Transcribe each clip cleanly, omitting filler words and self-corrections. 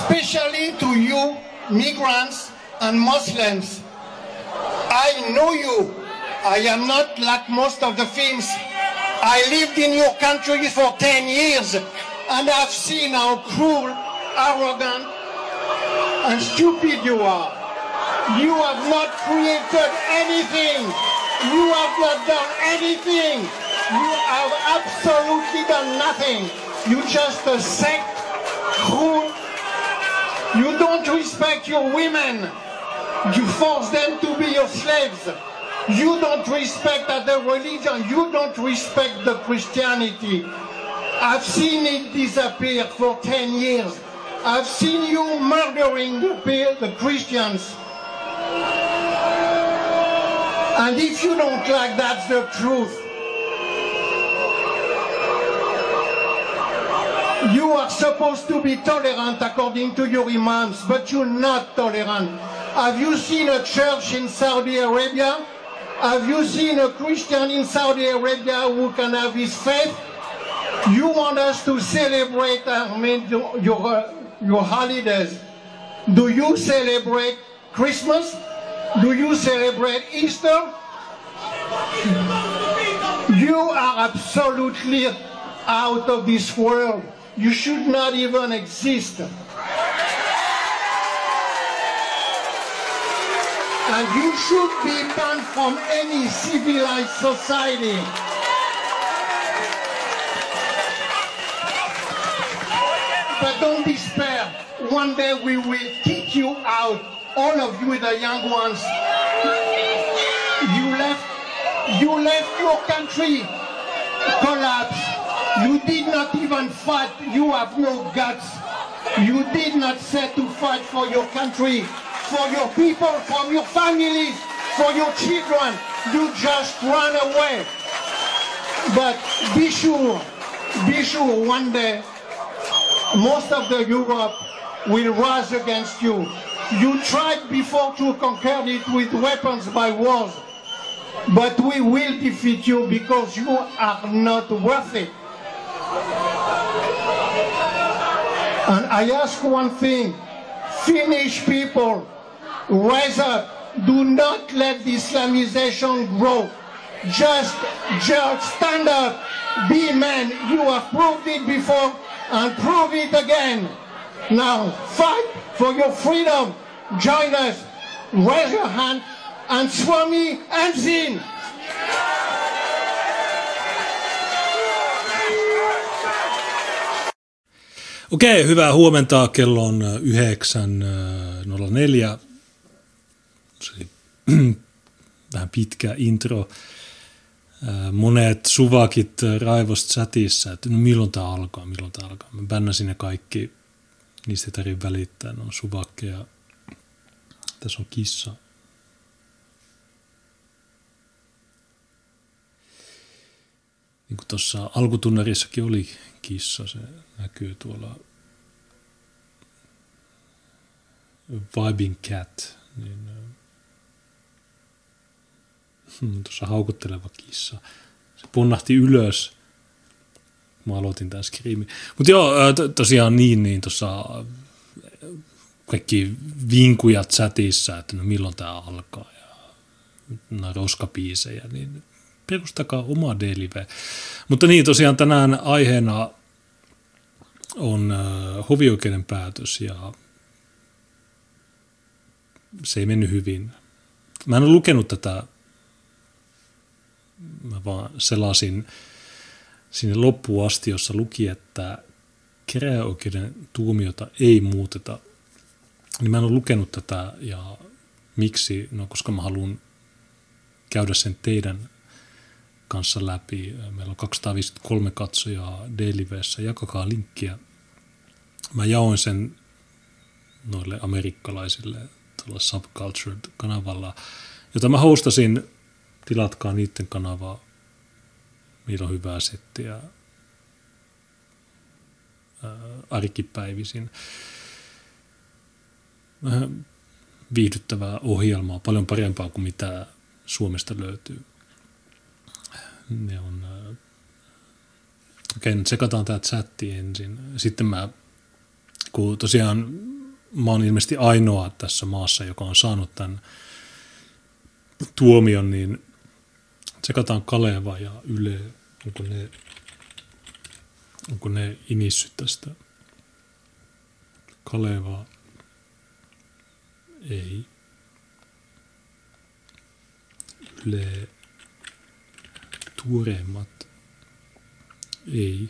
especially to you, migrants and Muslims. I know you. I am not like most of the Finns. I lived in your country for 10 years and I've seen how cruel, arrogant and stupid you are. You have not created anything. You have not done anything. You have absolutely done nothing. You just a sect, cruel. You don't respect your women. You force them to be your slaves. You don't respect the religion. You don't respect the Christianity. I've seen it disappear for 10 years. I've seen you murdering the Christians. And if you don't like that's the truth. You are supposed to be tolerant according to your imams, but you're not tolerant. Have you seen a church in Saudi Arabia? Have you seen a Christian in Saudi Arabia who can have his faith? You want us to celebrate your holidays. Do you celebrate Christmas? Do you celebrate Easter? You are absolutely out of this world. You should not even exist. And you should be banned from any civilized society. But don't despair. One day we will kick you out, all of you, the young ones. You left your country, collapsed. You did not even fight. You have no guts. You did not set to fight for your country, for your people, for your families, for your children. You just run away. But be sure, one day, most of the Europe will rise against you. You tried before to conquer it with weapons by wars, but we will defeat you because you are not worth it. And I ask one thing, Finnish people, rise up. Do not let the Islamization grow. Just stand up, be men. You have proved it before and prove it again. Now fight for your freedom. Join us. Raise your hand and Swami Ensin. Okei, hyvää huomenta. Kello on 9.04. Vähän pitkä intro. Monet suvakit raivosta chatissa, että no milloin tää alkaa. Mä bännäsin ne kaikki. Niistä ei tarvitse välittää. Ne on suvakkeja. Tässä on kissa. Niin kuin tuossa alkutunnarissakin oli kissa. Se näkyy tuolla Vibing Cat. Niin, tuossa haukutteleva kissa. Se punnahti ylös. Mä aloitin tämän skriimin. Mutta joo, tosiaan niin tuossa kaikki vinkuja chatissa, että no milloin tää alkaa ja roskapiisejä, niin perustakaa oma D-live. Mutta niin, tosiaan tänään aiheena on hovioikeuden päätös ja se ei mennyt hyvin. Mä en ole lukenut tätä, mä vaan selasin sinne loppuun asti, jossa luki, että käräjäoikeuden tuomiota ei muuteta. Niin mä en ole lukenut tätä ja miksi? No koska mä haluan käydä sen teidän kanssa läpi. Meillä on 253 katsojaa D-livessä. Jakakaa linkkiä. Mä jaoin sen noille amerikkalaisille tuolla Subcultured-kanavalla, jota mä hostasin. Tilatkaa niiden kanavaa. Niillä on hyvää settiä arkipäivisin. Vähän viihdyttävää ohjelmaa, paljon parempaa kuin mitä Suomesta löytyy. Ne on... Okei, nyt sekataan tää chatti ensin. Sitten kun tosiaan mä oon ilmeisesti ainoa tässä maassa, joka on saanut tämän tuomion, niin tsekataan Kaleva ja Yle, onko ne inissyt tästä. Kaleva, ei. Yle, tuoreimmat, ei.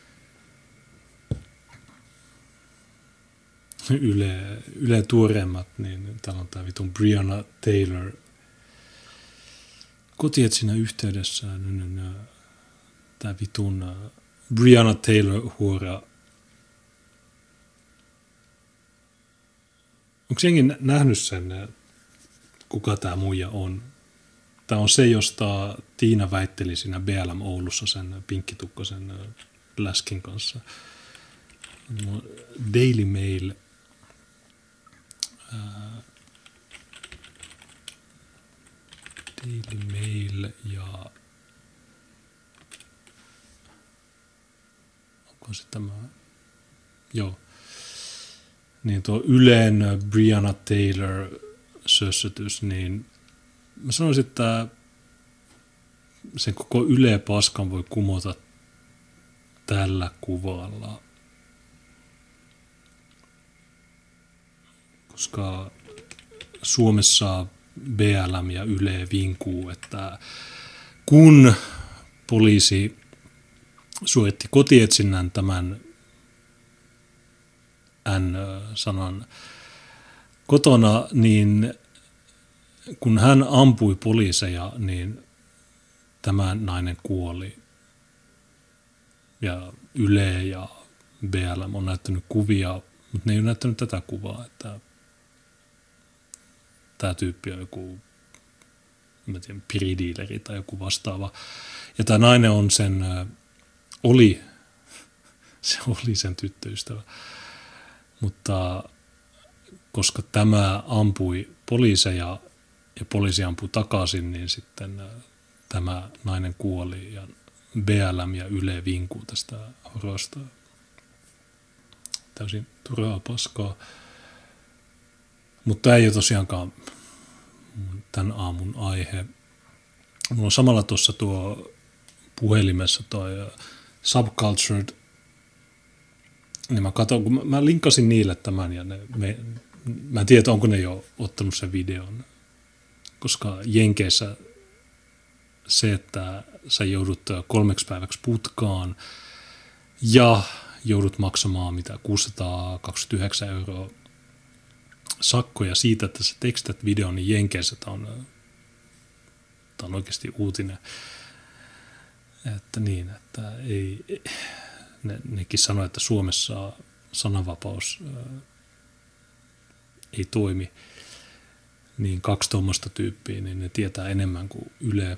Yle tuoreimmat, niin täällä on tää vitun Breonna Taylor kotietsinnän yhteydessä. Tää vitun Breonna Taylor huora. Onko jengi nähnyt sen, kuka tää muija on? Tää on se, josta Tiina väitteli siinä BLM Oulussa sen pinkkitukkasen läskin kanssa. Daily Mail. Daily Mail ja onko se tämä? Joo. Niin tuo Ylen Breonna Taylor sössötys, niin mä sanoisin, että sen koko Yle paskan voi kumota tällä kuvalla. Koska Suomessa BLM ja Yle vinkuu, että kun poliisi suoritti kotietsinnän tämän N-sanan kotona, niin kun hän ampui poliiseja, niin tämä nainen kuoli. Ja Yle ja BLM on näyttänyt kuvia, mutta ne ei ole näyttänyt tätä kuvaa, että tämä tyyppi on joku, en tiedä, piridiileri tai joku vastaava. Ja tämä nainen on oli sen tyttöystävä. Mutta koska tämä ampui poliiseja ja poliisi ampui takaisin, niin sitten tämä nainen kuoli ja BLM ja Yle vinkuu tästä horosta. Täysin turhaa paskaa. Mutta ei ole tosiaankaan tämän aamun aihe. Mulla on samalla tuossa tuo puhelimessa toi Subcultured. Niin mä katson, kun mä linkkasin niille tämän ja mä en tiedä, onko ne jo ottanut sen videon. Koska Jenkeissä se, että sä joudut 3 päiväksi putkaan ja joudut maksamaan 629 € sakkoja siitä, että sä tekstät videon, niin Jenkeissä tämä on oikeasti uutinen. Että niin, että nekin sanoo, että Suomessa sananvapaus ei toimi. Niin 2 tuommoista tyyppiä, niin ne tietää enemmän kuin Yle.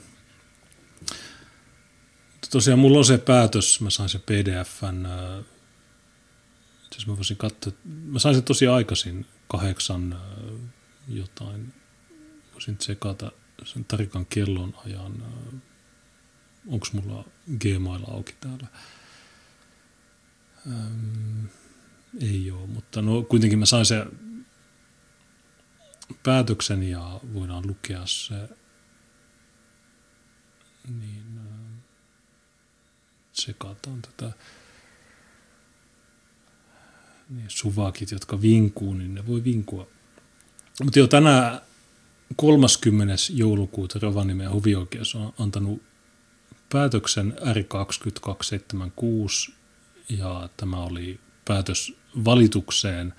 Mutta tosiaan mulla on se päätös, mä sain sen PDF:n, jos mä voisin katsoa, mä sain sen tosi aikaisin, 8 jotain, voisin tsekata sen tarikan kellon ajan, onko mulla Gmail auki täällä. Ei ole, mutta no kuitenkin mä sain sen päätöksen ja voidaan lukea se, niin tsekataan tätä, niin suvakit, jotka vinkuu, niin ne voi vinkua. Mutta jo tänään 30. joulukuuta Rovaniemen hovioikeus on antanut päätöksen R2276 ja tämä oli päätös valitukseen,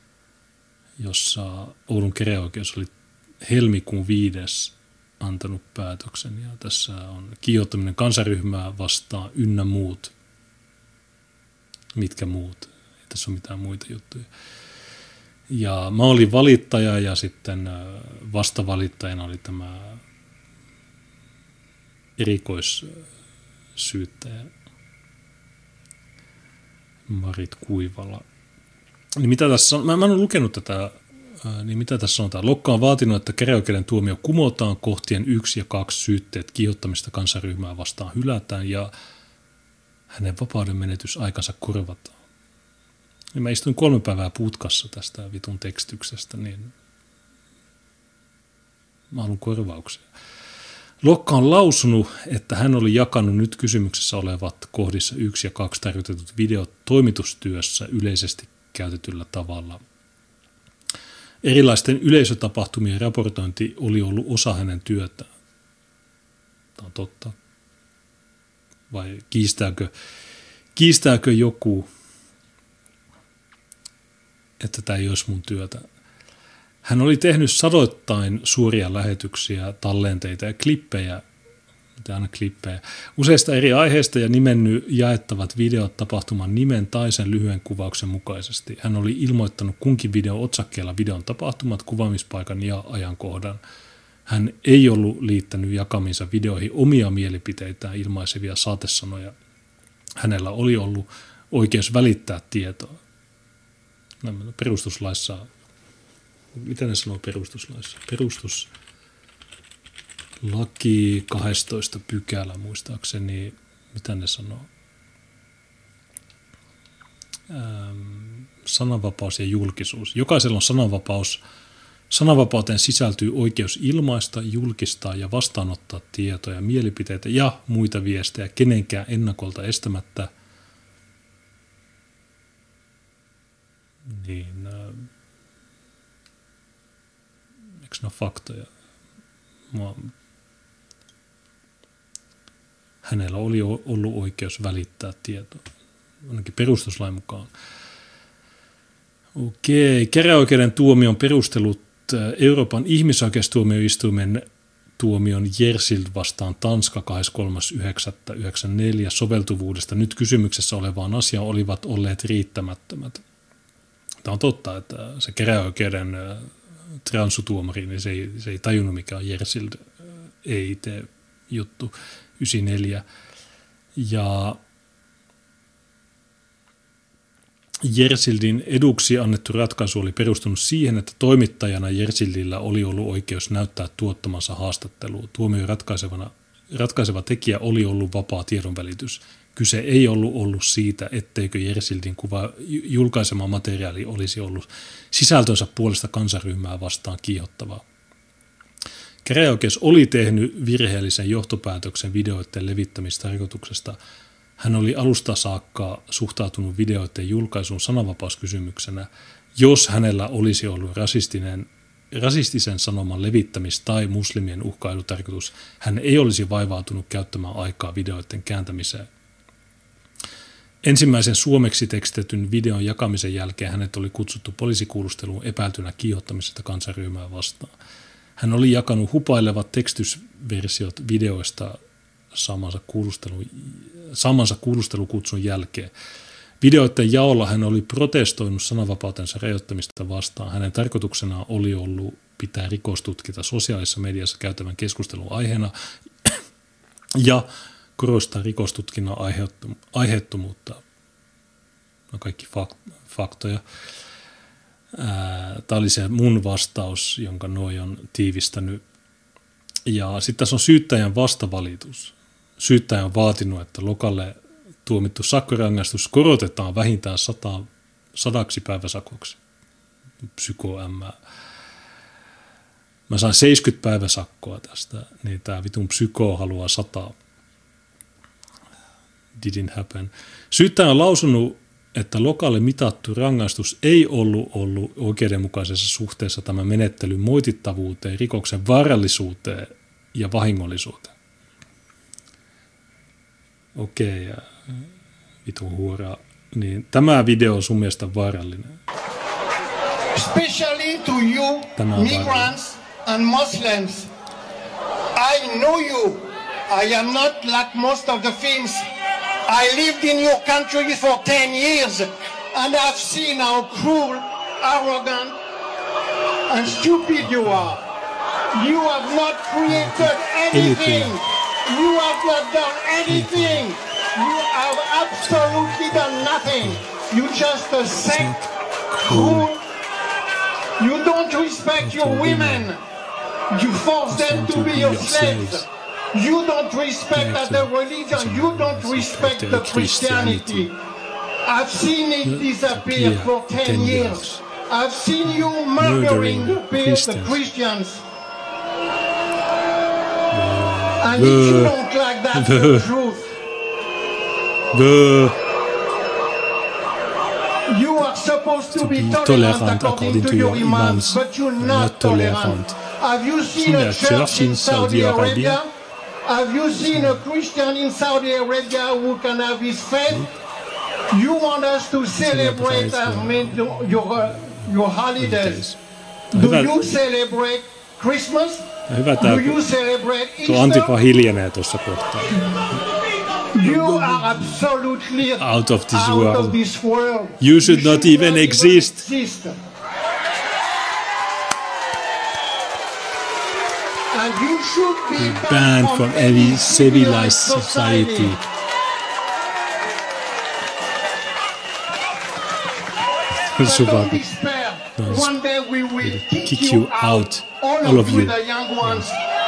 jossa Oulun käräjäoikeus oli helmikuun 5. antanut päätöksen ja tässä on kiihottaminen kansanryhmää vastaan ynnä muut. Mitkä muut? Ei tässä ole mitään muita juttuja. Ja mä olin valittaja ja sitten vastavalittajana oli tämä erikoissyyttäjä Marit Kuivala. Niin mitä tässä on? Mä en ole lukenut tätä, niin mitä tässä sanotaan? Lokka on vaatinut, että käräjäoikeuden tuomio kumotaan, kohtien 1 ja 2 syytteet kiihottamista kansanryhmää vastaan hylätään ja hänen vapauden menetysaikansa korvataan. Ja mä istuin 3 päivää putkassa tästä vitun tekstyksestä, niin mä haluan korvauksia. Lokka on lausunut, että hän oli jakanut nyt kysymyksessä olevat kohdissa 1 ja 2 tarkoitetut videot toimitustyössä yleisesti käytetyllä tavalla. Erilaisten yleisötapahtumien raportointi oli ollut osa hänen työtään. Tämä on totta. Vai kiistääkö joku, että tämä ei olisi mun työtä? Hän oli tehnyt sadoittain suoria lähetyksiä, tallenteita ja klippejä, useista eri aiheista ja nimennyt jaettavat videot tapahtuman nimen tai sen lyhyen kuvauksen mukaisesti. Hän oli ilmoittanut kunkin videon otsakkeella videon tapahtumat, kuvaamispaikan ja ajankohdan. Hän ei ollut liittänyt jakamiinsa videoihin omia mielipiteitään ilmaisevia saatesanoja. Hänellä oli ollut oikeus välittää tietoa. Perustuslaissa, mitä ne sanoo perustuslaissa? Perustuslaki 12 pykälä muistaakseni, mitä ne sanoo? Sananvapaus ja julkisuus. Jokaisella on sananvapaus. Sananvapauteen sisältyy oikeus ilmaista, julkistaa ja vastaanottaa tietoja, mielipiteitä ja muita viestejä kenenkään ennakolta estämättä. Niin, eikö ne ole faktoja? Hänellä oli ollut oikeus välittää tietoa, ainakin perustuslain mukaan. Okei, käräjäoikeuden tuomion perustelut Euroopan ihmisoikeustuomioistuimen tuomion Jersild vastaan Tanska 23.9.94 soveltuvuudesta nyt kysymyksessä olevaan asiaan olivat olleet riittämättömät. Tämä on totta, että se käräjäoikeuden transutuomari, niin se ei tajunnut mikä on Jersild EIT-juttu 94. Ja Jersildin eduksi annettu ratkaisu oli perustunut siihen, että toimittajana Jersildillä oli ollut oikeus näyttää tuottamansa haastattelua. Tuomion ratkaiseva tekijä oli ollut vapaa tiedonvälitys. Kyse ei ollut siitä, etteikö Jersildin julkaisema materiaali olisi ollut sisältönsä puolesta kansanryhmää vastaan kiihottavaa. Käräjäoikeus oli tehnyt virheellisen johtopäätöksen videoiden levittämistarkoituksesta. Hän oli alusta saakka suhtautunut videoiden julkaisuun sananvapauskysymyksenä, jos hänellä olisi ollut rasistisen sanoman levittämis- tai muslimien uhkailutarkoitus. Hän ei olisi vaivautunut käyttämään aikaa videoiden kääntämiseen. Ensimmäisen suomeksi tekstetyn videon jakamisen jälkeen hänet oli kutsuttu poliisikuulusteluun epäiltynä kiihottamisesta kansanryhmää vastaan. Hän oli jakanut hupailevat tekstysversiot videoista saamansa kuulustelukutsun jälkeen. Videoiden jaolla hän oli protestoinut sananvapautensa rajoittamista vastaan. Hänen tarkoituksenaan oli ollut pitää rikostutkinta sosiaalisessa mediassa käytävän keskustelun aiheena ja korostaa rikostutkinnan aiheettomuutta. No kaikki faktoja. Tämä oli se mun vastaus, jonka Noi on tiivistänyt. Ja sitten tässä on syyttäjän vastavalitus. Syyttäjä on vaatinut, että Lokalle tuomittu sakkorangaistus korotetaan vähintään 100 päiväsakoksi. Mä sain 70 päiväsakkoa tästä, niin tämä vitun psyko haluaa 100. Didn't happen. Syyttäjä on lausunut, että Lokalle mitattu rangaistus ei ollut oikeudenmukaisessa suhteessa tämän menettelyn moitittavuuteen, rikoksen vaarallisuuteen ja vahingollisuuteen. Okei, vitun huoraa. Niin, tämä video on sun mielestä vaarallinen. Especially to you, migrants and Muslims. I know you. I am not like most of the films. I lived in your country for 10 years and I've seen how cruel, arrogant and stupid you are. You have not created anything. You have not done anything. You have absolutely done nothing. You just a sect who you don't respect your women. You force them to be your slaves. You don't respect the religion. You don't respect the Christianity. I've seen it disappear for 10 years. I've seen you murdering the Christians. And if you don't like that, the truth. You are supposed to be tolerant according to your imams, but you're not tolerant. Have you seen a church in Saudi Arabia? Have you seen a Christian in Saudi Arabia who can have his faith? You want us to celebrate your holidays. Do you celebrate Christmas? Do you celebrate Easter? Tuo Antifa hiljenee tuossa kohtaa. You are absolutely out of this world. You should not even exist. And you should be banned from any civilized society. Don't despair. One day we will kick you out. All of you. The young ones.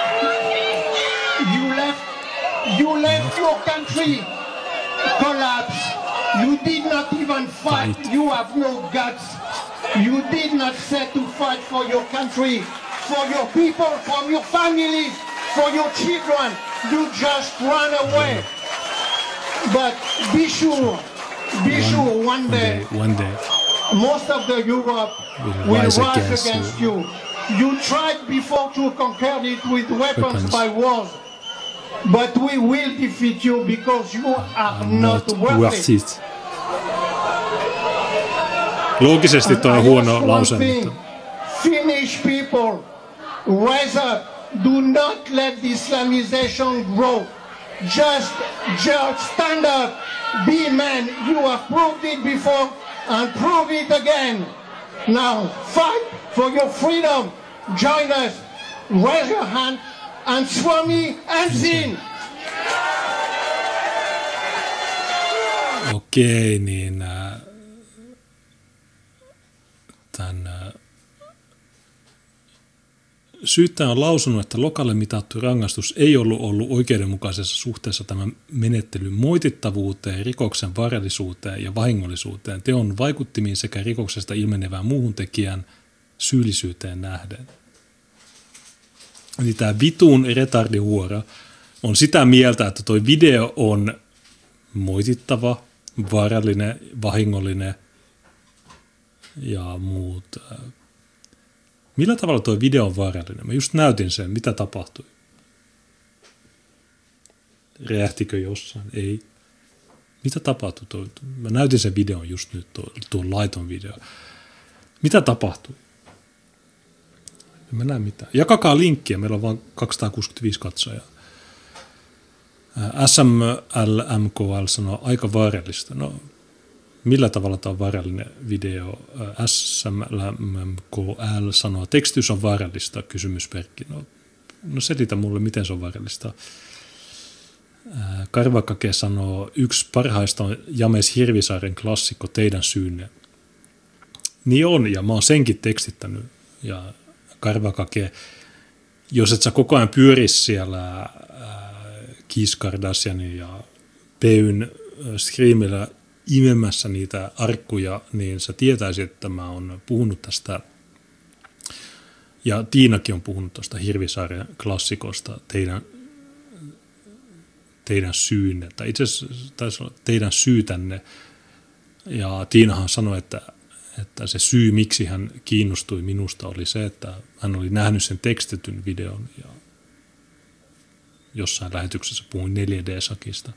You left your country. Collapse. You did not even fight. You have no guts. You did not set to fight for your country, for your people, for your families, for your children. You just run away. But be sure, one day, most of the Europe will rise against you. You tried before to conquer it with weapons by wars, but we will defeat you because you are not worth it. Loogisesti tuo on huono lause. Finnish people, rise up. Do not let the Islamization grow. Just stand up. Be men. You have proved it before and prove it again. Now fight for your freedom. Join us. Raise your hand and Swami Ensin. Okei, niin tämän syyttäjä on lausunut, että Lokalle mitattu rangaistus ei ollut oikeudenmukaisessa suhteessa tämän menettelyn moitittavuuteen, rikoksen vaarallisuuteen ja vahingollisuuteen, teon vaikuttimiin sekä rikoksesta ilmenevään muuhun tekijän syyllisyyteen nähden. Eli tämä vitun retardihuora on sitä mieltä, että tuo video on moitittava, vaarallinen, vahingollinen ja muut. Millä tavalla tuo video on vaarallinen? Mä just näytin sen, mitä tapahtui. Räjähtikö jossain? Ei. Mitä tapahtui? Mä näytin sen videon just nyt, tuon laiton video. Mitä tapahtui? En mä näe mitään. Jakakaa linkkiä, meillä on vain 265 katsojaa. SMLMKL sanoo aika vaarallista. No, millä tavalla tämä on vaarallinen video? SMLMKL sanoo, tekstitys on vaarallista, kysymysmerkki. No selitä mulle, miten se on vaarallista. Karvakake sanoo, yksi parhaista on James Hirvisaaren klassikko Teidän syynne. Niin on, ja mä oon senkin tekstittänyt. Ja Karvakake, jos et sä koko ajan pyörisi siellä Kees Kardashianin ja Peyn Screamilla imemässä niitä arkkuja, niin sä tietäisit, että mä oon puhunut tästä, ja Tiinakin on puhunut tuosta Hirvisaaren klassikosta teidän syynne, tai itse asiassa taisi olla teidän syytänne, ja Tiinahan sanoi, että se syy, miksi hän kiinnostui minusta, oli se, että hän oli nähnyt sen tekstetyn videon, ja jossain lähetyksessä puhuin 4D-sakista.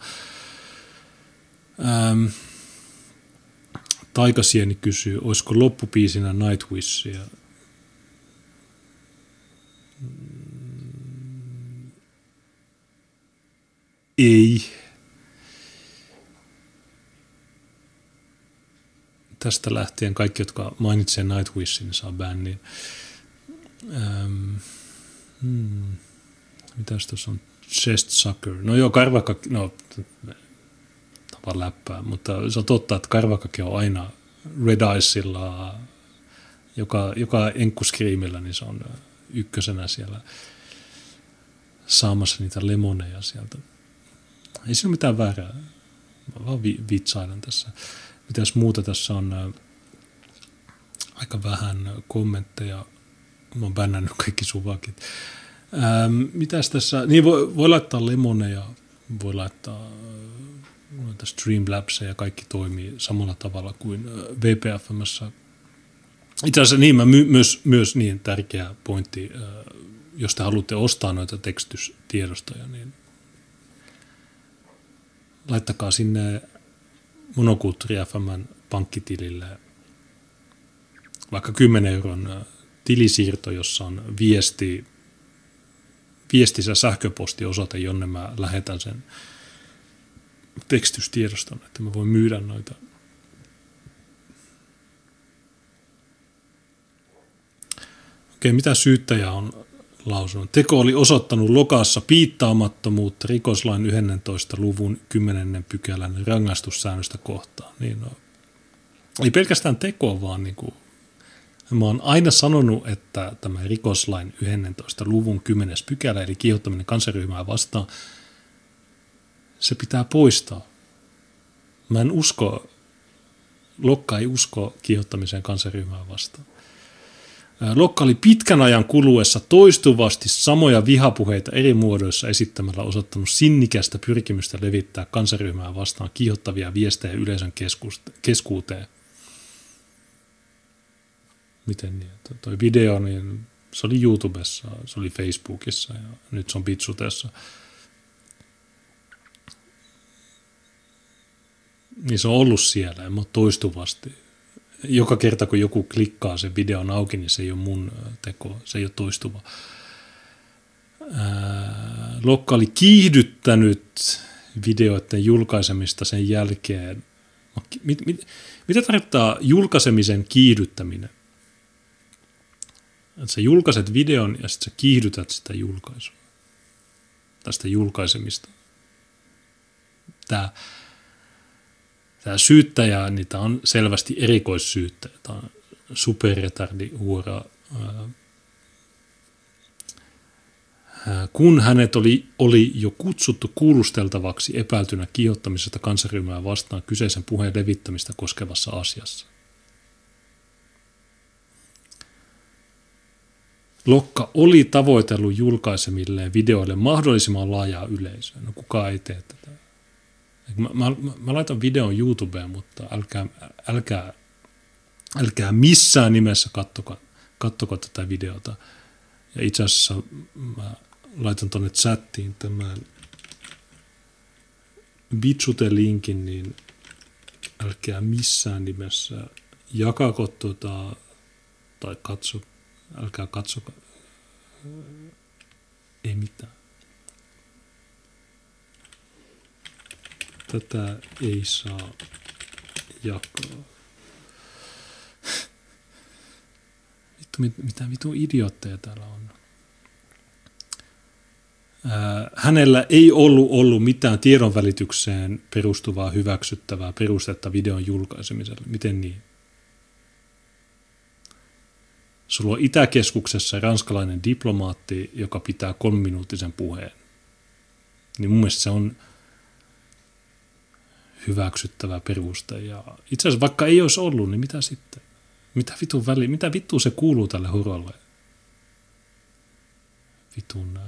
Taikasieni kysyy, olisiko loppupiisinä Nightwishia? Ei. Tästä lähtien kaikki, jotka mainitsee Nightwishin, saa bännin. Mitäs tuossa on? Chest Sucker. No joo, Karvakake, no tapa läppää, mutta se on totta, että Karvakake on aina Red Eyesilla, joka enkkuskriimillä, niin se on ykkösenä siellä saamassa niitä lemoneja sieltä. Ei siinä ole mitään väärää. Mä vaan vitsailen tässä. Mitäs muuta tässä on? Aika vähän kommentteja. Mä oon bännännyt kaikki suvakit. Mitäs tässä? Niin voi laittaa lemoneja, voi laittaa Streamlabsia ja kaikki toimii samalla tavalla kuin VPFM:ssä. Itse asiassa niin, myös niin tärkeä pointti, jos te haluatte ostaa noita tekstystiedostoja, niin laittakaa sinne Monokulttuuri FM:n pankkitilille vaikka 10 euron tilisiirto, jossa on viestissä sähköpostiosoite, jonne mä lähetän sen tekstystiedoston, että mä voin myydä noita. Okei, mitä syyttäjä on lausunut? Teko oli osoittanut Lokassa piittaamattomuutta rikoslain 11. luvun 10. pykälän rangaistussäännöstä kohtaan. Niin no, ei pelkästään tekoa, vaan niin kuin, mä oon aina sanonut, että tämä rikoslain 11. luvun 10. pykälä, eli kiihottaminen kansanryhmää vastaan, se pitää poistaa. Mä en usko, Lokka ei usko kiihottamiseen kansanryhmää vastaan. Lokka oli pitkän ajan kuluessa toistuvasti samoja vihapuheita eri muodoissa esittämällä osoittanut sinnikästä pyrkimystä levittää kansanryhmää vastaan kiihottavia viestejä yleisön keskuuteen. Miten niin? Toi video, niin se oli YouTubessa, se oli Facebookissa ja nyt se on Bitsutessa. Niin se on ollut siellä ja toistuvasti. Joka kerta, kun joku klikkaa sen videon auki, niin se ei ole mun teko, se ei ole toistuva. Lokka oli kiihdyttänyt videoiden julkaisemista sen jälkeen. Mitä tarkoittaa julkaisemisen kiihdyttäminen? Että sä julkaiset videon ja sitten sä kiihdytät sitä julkaisua. Tästä julkaisemista. Tämä syyttäjä, niin tämä on selvästi erikoissyyttäjä. Tämä on superretardihuora. Kun hänet oli jo kutsuttu kuulusteltavaksi epäiltynä kiihottamisesta kansanryhmää vastaan kyseisen puheen levittämistä koskevassa asiassa. Lokka oli tavoitellut julkaisemilleen videoille mahdollisimman laajaa yleisöä. No kukaan ei tee tätä. Mä laitan videon YouTubeen, mutta älkää missään nimessä kattoko tätä videota. Ja itse asiassa mä laitan tonne chattiin tämän Bitsute-linkin, niin älkää missään nimessä jakako tai älkää katsokaa. Ei mitään. Tätä ei saa jakaa. Mitä vitun idiootteja täällä on. Hänellä ei ollut mitään tiedonvälitykseen perustuvaa hyväksyttävää perustetta videon julkaisemiselle. Miten niin? Sulla on Itäkeskuksessa ranskalainen diplomaatti, joka pitää 3-minuuttisen puheen. Niin mun mielestä se on hyväksyttävä peruste. Ja itse asiassa vaikka ei olisi ollut, niin mitä sitten? Mitä vittua se kuuluu tälle horolle? Vitun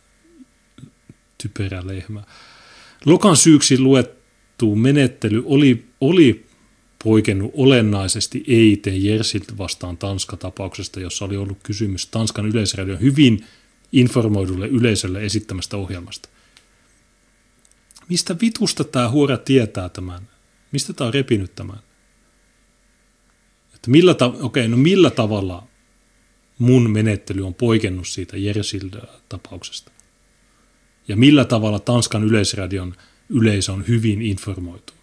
typerä lehmä. Lokan syyksi luettu menettely oli poikennut olennaisesti EIT Jersilt vastaan Tanska-tapauksesta, jossa oli ollut kysymys Tanskan yleisradion hyvin informoidulle yleisölle esittämästä ohjelmasta. Mistä vitusta tämä huora tietää tämän? Mistä tämä on repinyt tämän? Että millä tavalla mun menettely on poikennut siitä Jersild-tapauksesta? Ja millä tavalla Tanskan yleisradion yleisö on hyvin informoitu?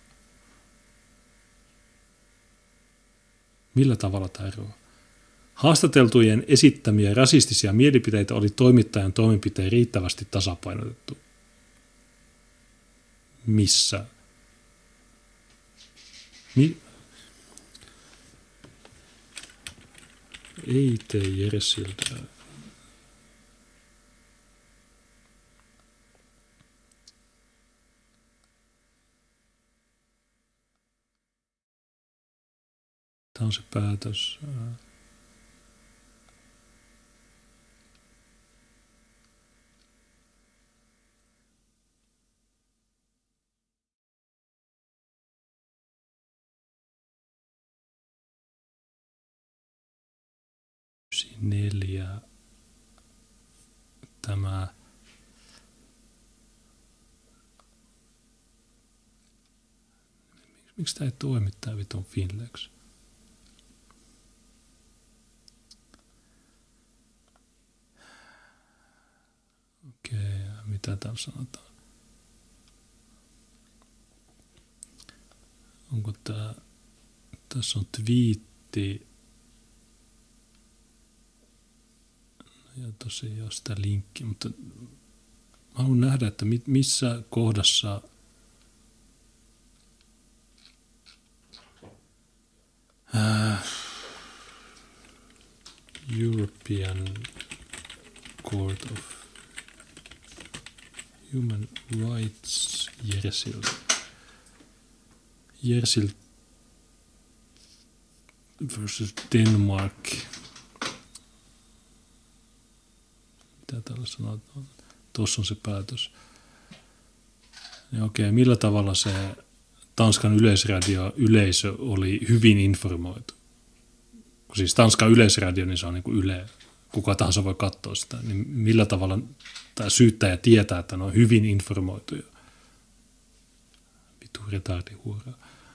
Millä tavalla tämä eroaa? Haastateltujen esittämiä rasistisia mielipiteitä oli toimittajan toimenpiteen riittävästi tasapainotettu. Missä? Ei tee Jersiltä. Tämä on se päätös. Neljä. Tämä miksi tämä ei toimi tämä vitun Finlex? Okei, mitä täällä sanotaan? Onko tämä, tässä on twiitti. Ja tosiaan sitä linkkiä, mutta haluan nähdä, että missä kohdassa European Court of Human Rights Jersild versus Denmark. Mitä täällä sanotaan? Tuossa on se päätös. Ja okei, millä tavalla se Tanskan yleisö oli hyvin informoitu? Kun siis Tanskan yleisradio, niin se on niin kuin Yle. Kuka tahansa voi katsoa sitä. Niin millä tavalla tämä syyttäjä tietää, että ne on hyvin informoituja? Vitu retardihuura.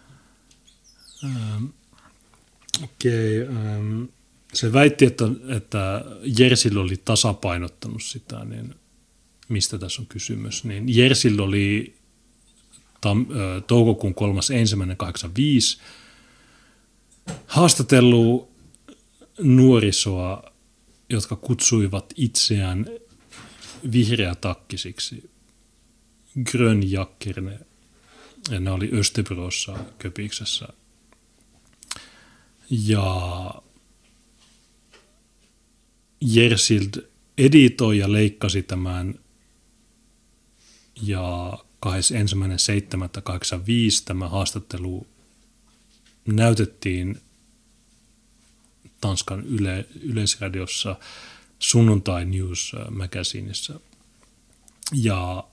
Se väitti, että Jersild oli tasapainottanut sitä, niin mistä tässä on kysymys. Niin Jersild oli toukokuun 3.1.85 haastatellut nuorisoa, jotka kutsuivat itseään vihreätakkisiksi, grönjackerne, ja ne oli Östebrossa Köpiksessä. Ja Jersild editoi ja leikkasi tämän, ja 21.7.85 tämä haastattelu näytettiin Tanskan yleisradiossa Sunnuntai News Magazineissa. Ja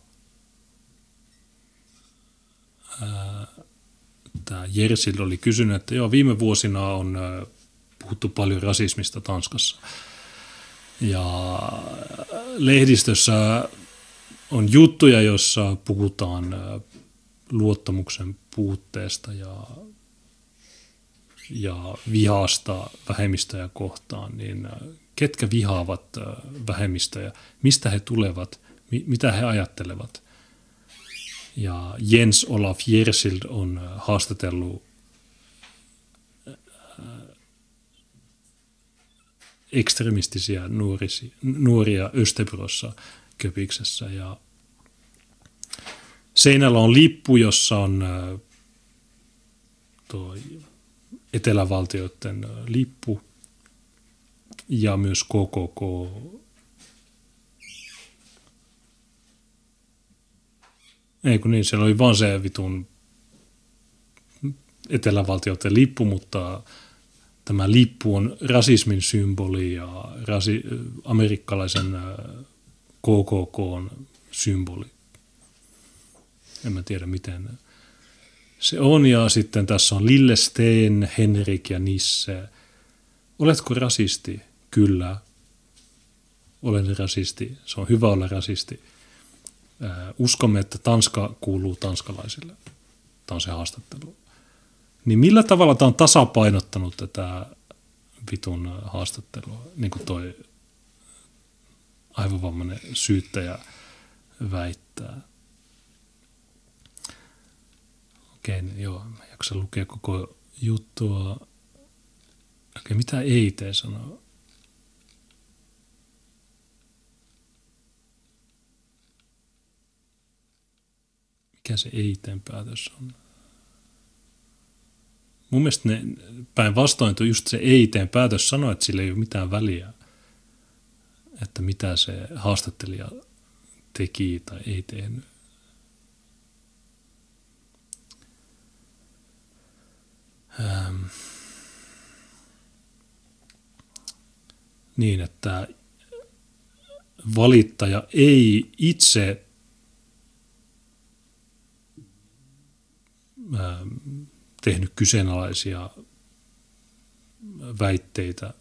tämä Jersild oli kysynyt, että joo, viime vuosina on puhuttu paljon rasismista Tanskassa. Ja lehdistössä on juttuja, joissa puhutaan luottamuksen puutteesta ja vihasta vähemmistöjä kohtaan, niin ketkä vihaavat vähemmistöjä, mistä he tulevat, mitä he ajattelevat. Ja Jens Olaf Jersild on haastatellut ekstremistisiä nuoria Östebrossa Köpiksessä. Ja seinällä on lippu, jossa on tuo etelävaltioiden lippu ja myös KKK. Ei kun niin, siellä oli vaan se vitun etelävaltioiden lippu, mutta tämä lippu on rasismin symboli ja amerikkalaisen KKK:n symboli. En mä tiedä miten se on. Ja sitten tässä on Lillesteen, Henrik ja Nisse. Oletko rasisti? Kyllä. Olen rasisti. Se on hyvä olla rasisti. Uskomme, että Tanska kuuluu tanskalaisille. Tämä on se haastattelu. Niin millä tavalla tämä on tasapainottanut tätä vitun haastattelua, niin kuin toi aivovammainen syyttäjä väittää. Okei, joo, mä jaksan lukea koko juttua. Okei, mitä EIT sanoo? Mikä se EIT:n päätös on? Mun mielestä ne päinvastoin just se EIT:n päätös sanoi, että sillä ei ole mitään väliä, että mitä se haastattelija teki tai ei tehnyt. niin, että valittaja ei itse tehnyt kyseenalaisia väitteitä,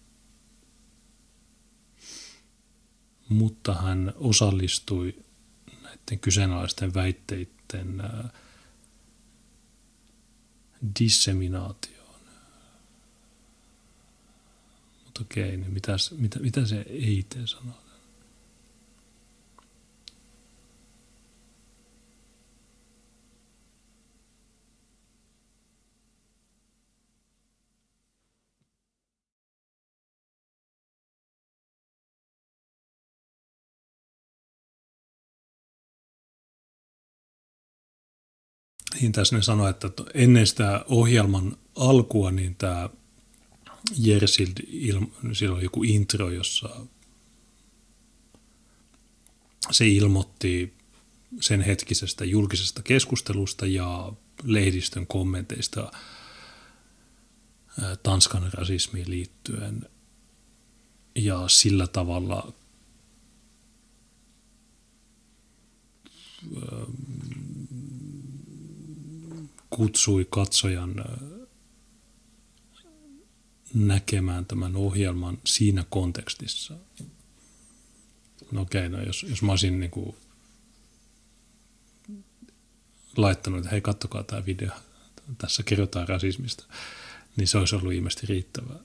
mutta hän osallistui näiden kyseenalaisten väitteiden disseminaatioon. Mutta okei, niin mitä se EIT sanoo? Niin tässä ne sanoi, että ennen sitä ohjelman alkua, niin tämä Jersild, siellä oli joku intro, jossa se ilmoitti sen hetkisestä julkisesta keskustelusta ja lehdistön kommenteista Tanskan rasismiin liittyen. Ja sillä tavalla kutsui katsojan näkemään tämän ohjelman siinä kontekstissa. No okei, no jos mä olisin niin kuin laittanut, että hei, katsokaa tämä video, tässä kerrotaan rasismista, niin se olisi ollut ilmeisesti riittävää.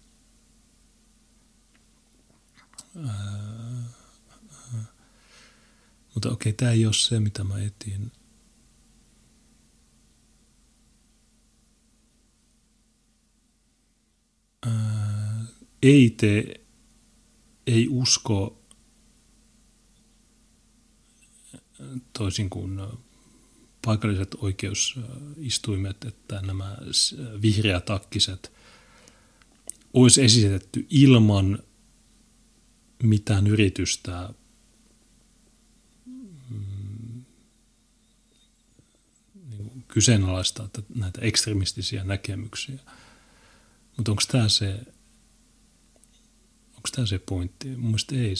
Mutta okei, tämä ei ole se, mitä mä etin. EIT ei usko, toisin kuin paikalliset oikeusistuimet, että nämä vihreätakkiset olisi esitetty ilman mitään yritystä kyseenalaistaa näitä ekstremistisiä näkemyksiä. Mutta onko tämä se pointti? Mun mielestä ei.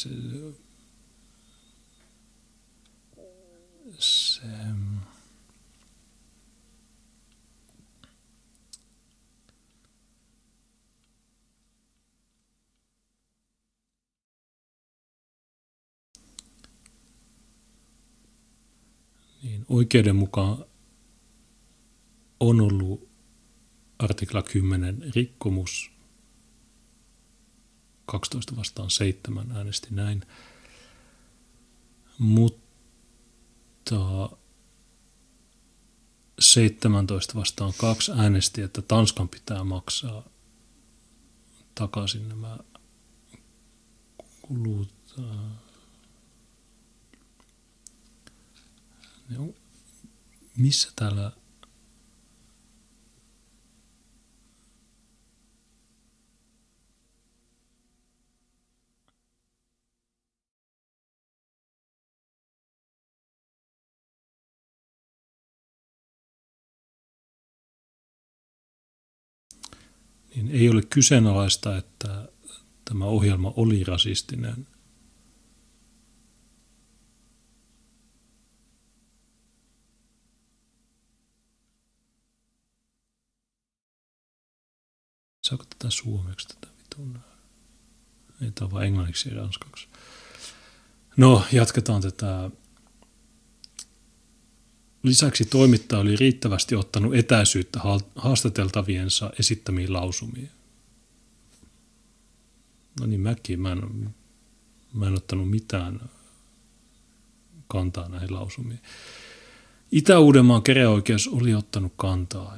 Niin, oikeuden mukaan on ollut artikla 10 rikkomus, 12 vastaan 7 äänesti näin, mutta 17 vastaan 2 äänesti, että Tanskan pitää maksaa takaisin nämä kulut. Missä täällä niin ei ole kyseenalaista, että tämä ohjelma oli rasistinen. Saako tätä suomeksi tätä vitun? Ei tämä vaan englanniksi ja ranskaksi. No, jatketaan tätä. Lisäksi toimittaja oli riittävästi ottanut etäisyyttä haastateltaviensa esittämiin lausumiin. No niin, mä en ottanut mitään kantaa näihin lausumiin. Itä-Uudenmaan käräjäoikeus oli ottanut kantaa.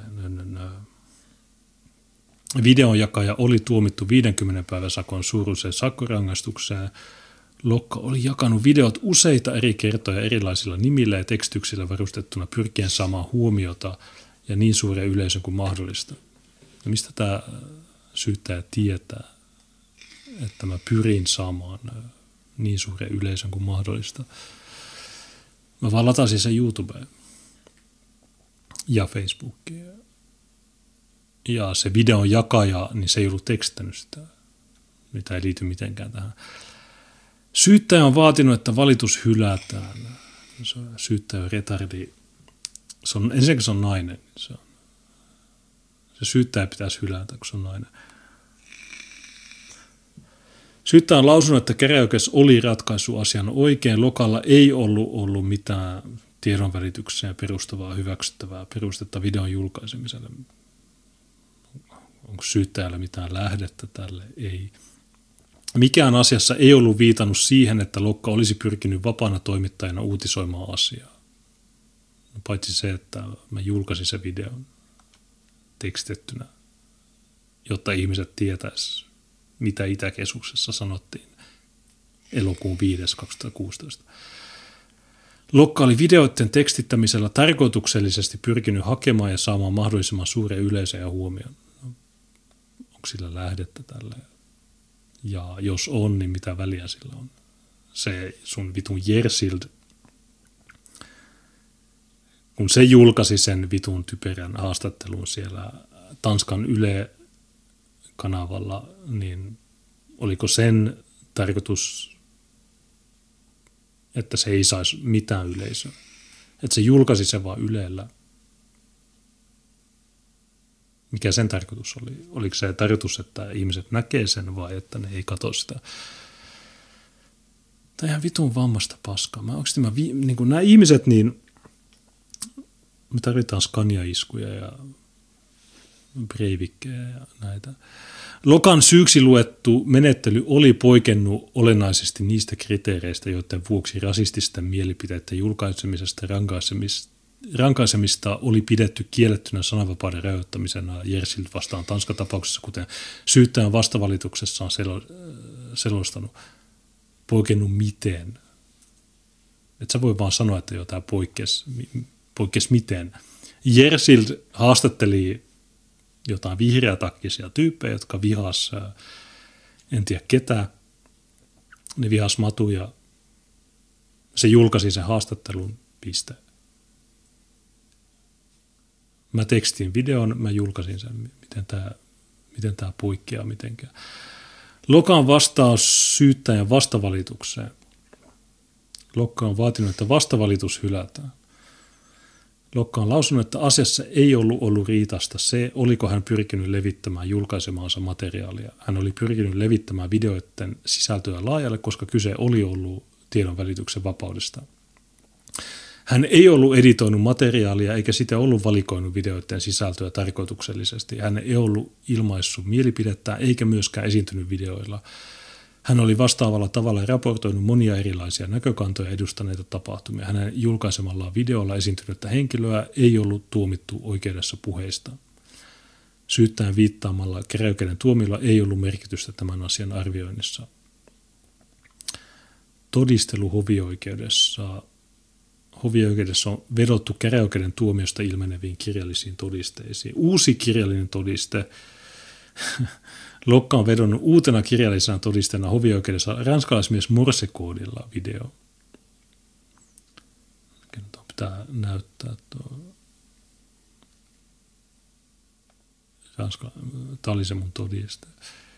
Videonjakaja oli tuomittu 50 päivän sakon suuruiseen sakkorangaistukseen. Lokka oli jakanut videot useita eri kertoja erilaisilla nimillä ja tekstityksillä varustettuna pyrkien saamaan huomiota ja niin suuren yleisön kuin mahdollista. Ja mistä tämä syyttäjä tietää, että mä pyrin saamaan niin suuren yleisön kuin mahdollista? Mä vaan latasin sen YouTubeen ja Facebookiin. Ja se videon jakaja, niin se ei ollut tekstänyt sitä. mitä ei liity mitenkään tähän. Syyttäjä on vaatinut, että valitus hylätään. Syyttäjä on retardi. Ensinnäkin se on nainen. Se syyttäjä pitäisi hylätä, kun se on nainen. Syyttäjä on lausunut, että käräjäoikeus oli ratkaissut asian oikein. Lokalla ei ollut mitään tiedonvälitykseen perustavaa hyväksyttävää perustetta videon julkaisemiselle. Onko syyttäjällä mitään lähdettä tälle? Ei. Mikään asiassa ei ollut viitannut siihen, että Lokka olisi pyrkinyt vapaana toimittajana uutisoimaan asiaa. Paitsi se, että mä julkaisin sen videon tekstettynä, jotta ihmiset tietäisivät, mitä Itäkeskuksessa sanottiin elokuun 5.2016. Lokka oli videoiden tekstittämisellä tarkoituksellisesti pyrkinyt hakemaan ja saamaan mahdollisimman suuren yleisön ja huomioon. Onko sillä lähdettä tälle? Ja jos on, niin mitä väliä sillä on? Se sun vitun Jersild, kun se julkaisi sen vitun typerän haastattelun siellä Tanskan Yle-kanavalla, niin oliko sen tarkoitus, että se ei saisi mitään yleisöä? Että se julkaisi sen vaan Ylellä. Mikä sen tarkoitus oli? Oliko se tarkoitus, että ihmiset näkee sen vai että ne ei katso sitä? Tämä on ihan vitun vammasta paskaa. Niin nämä ihmiset, niin me tarvitaan Scania-iskuja ja Breivikkejä ja näitä. Lokan syyksi luettu menettely oli poikennut olennaisesti niistä kriteereistä, joiden vuoksi rasististen mielipiteiden julkaisemisesta rankaisemista oli pidetty kiellettynä sananvapauden rajoittamisena Jersild vastaan Tanskan tapauksessa, kuten syyttäjän vastavalituksessa on selostanut. Poikennut miten? Et sä voi vaan sanoa, että tämä poikkesi miten. Jersild haastatteli jotain vihreätakkisia tyyppejä, jotka vihas, en tiedä ketä, ne vihas Matu ja se julkaisi sen haastattelun, piste. Mä tekstin videon, mä julkaisin sen, miten tämä poikkeaa mitenkään. Lokan vastaus syyttäjän vastavalitukseen. Lokka on vaatinut, että vastavalitus hylätään. Lokka on lausunut, että asiassa ei ollut riitasta se, oliko hän pyrkinyt levittämään julkaisemaansa materiaalia. Hän oli pyrkinyt levittämään videoiden sisältöä laajalle, koska kyse oli ollut tiedon välityksen vapaudesta. Hän ei ollut editoinut materiaalia eikä sitä ollut valikoinut videoiden sisältöä tarkoituksellisesti. Hän ei ollut ilmaissut mielipidettään eikä myöskään esiintynyt videoilla. Hän oli vastaavalla tavalla raportoinut monia erilaisia näkökantoja edustaneita tapahtumia. Hänen julkaisemallaan videolla esiintynyttä henkilöä ei ollut tuomittu oikeudessa puheista. Syyttäjän viittaamalla käräjäoikeuden tuomilla ei ollut merkitystä tämän asian arvioinnissa. Todistelu hovioikeudessa. Hovioikeudessa on vedottu käräjäoikeuden tuomiosta ilmeneviin kirjallisiin todisteisiin. Uusi kirjallinen todiste. Lokka on vedonnut uutena kirjallisena todisteena hovioikeudessa ranskalaismies morsekoodilla video. Pitää näyttää tuo. Tämä oli se mun todiste.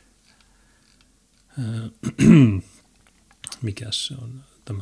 Mikäs se on tämä?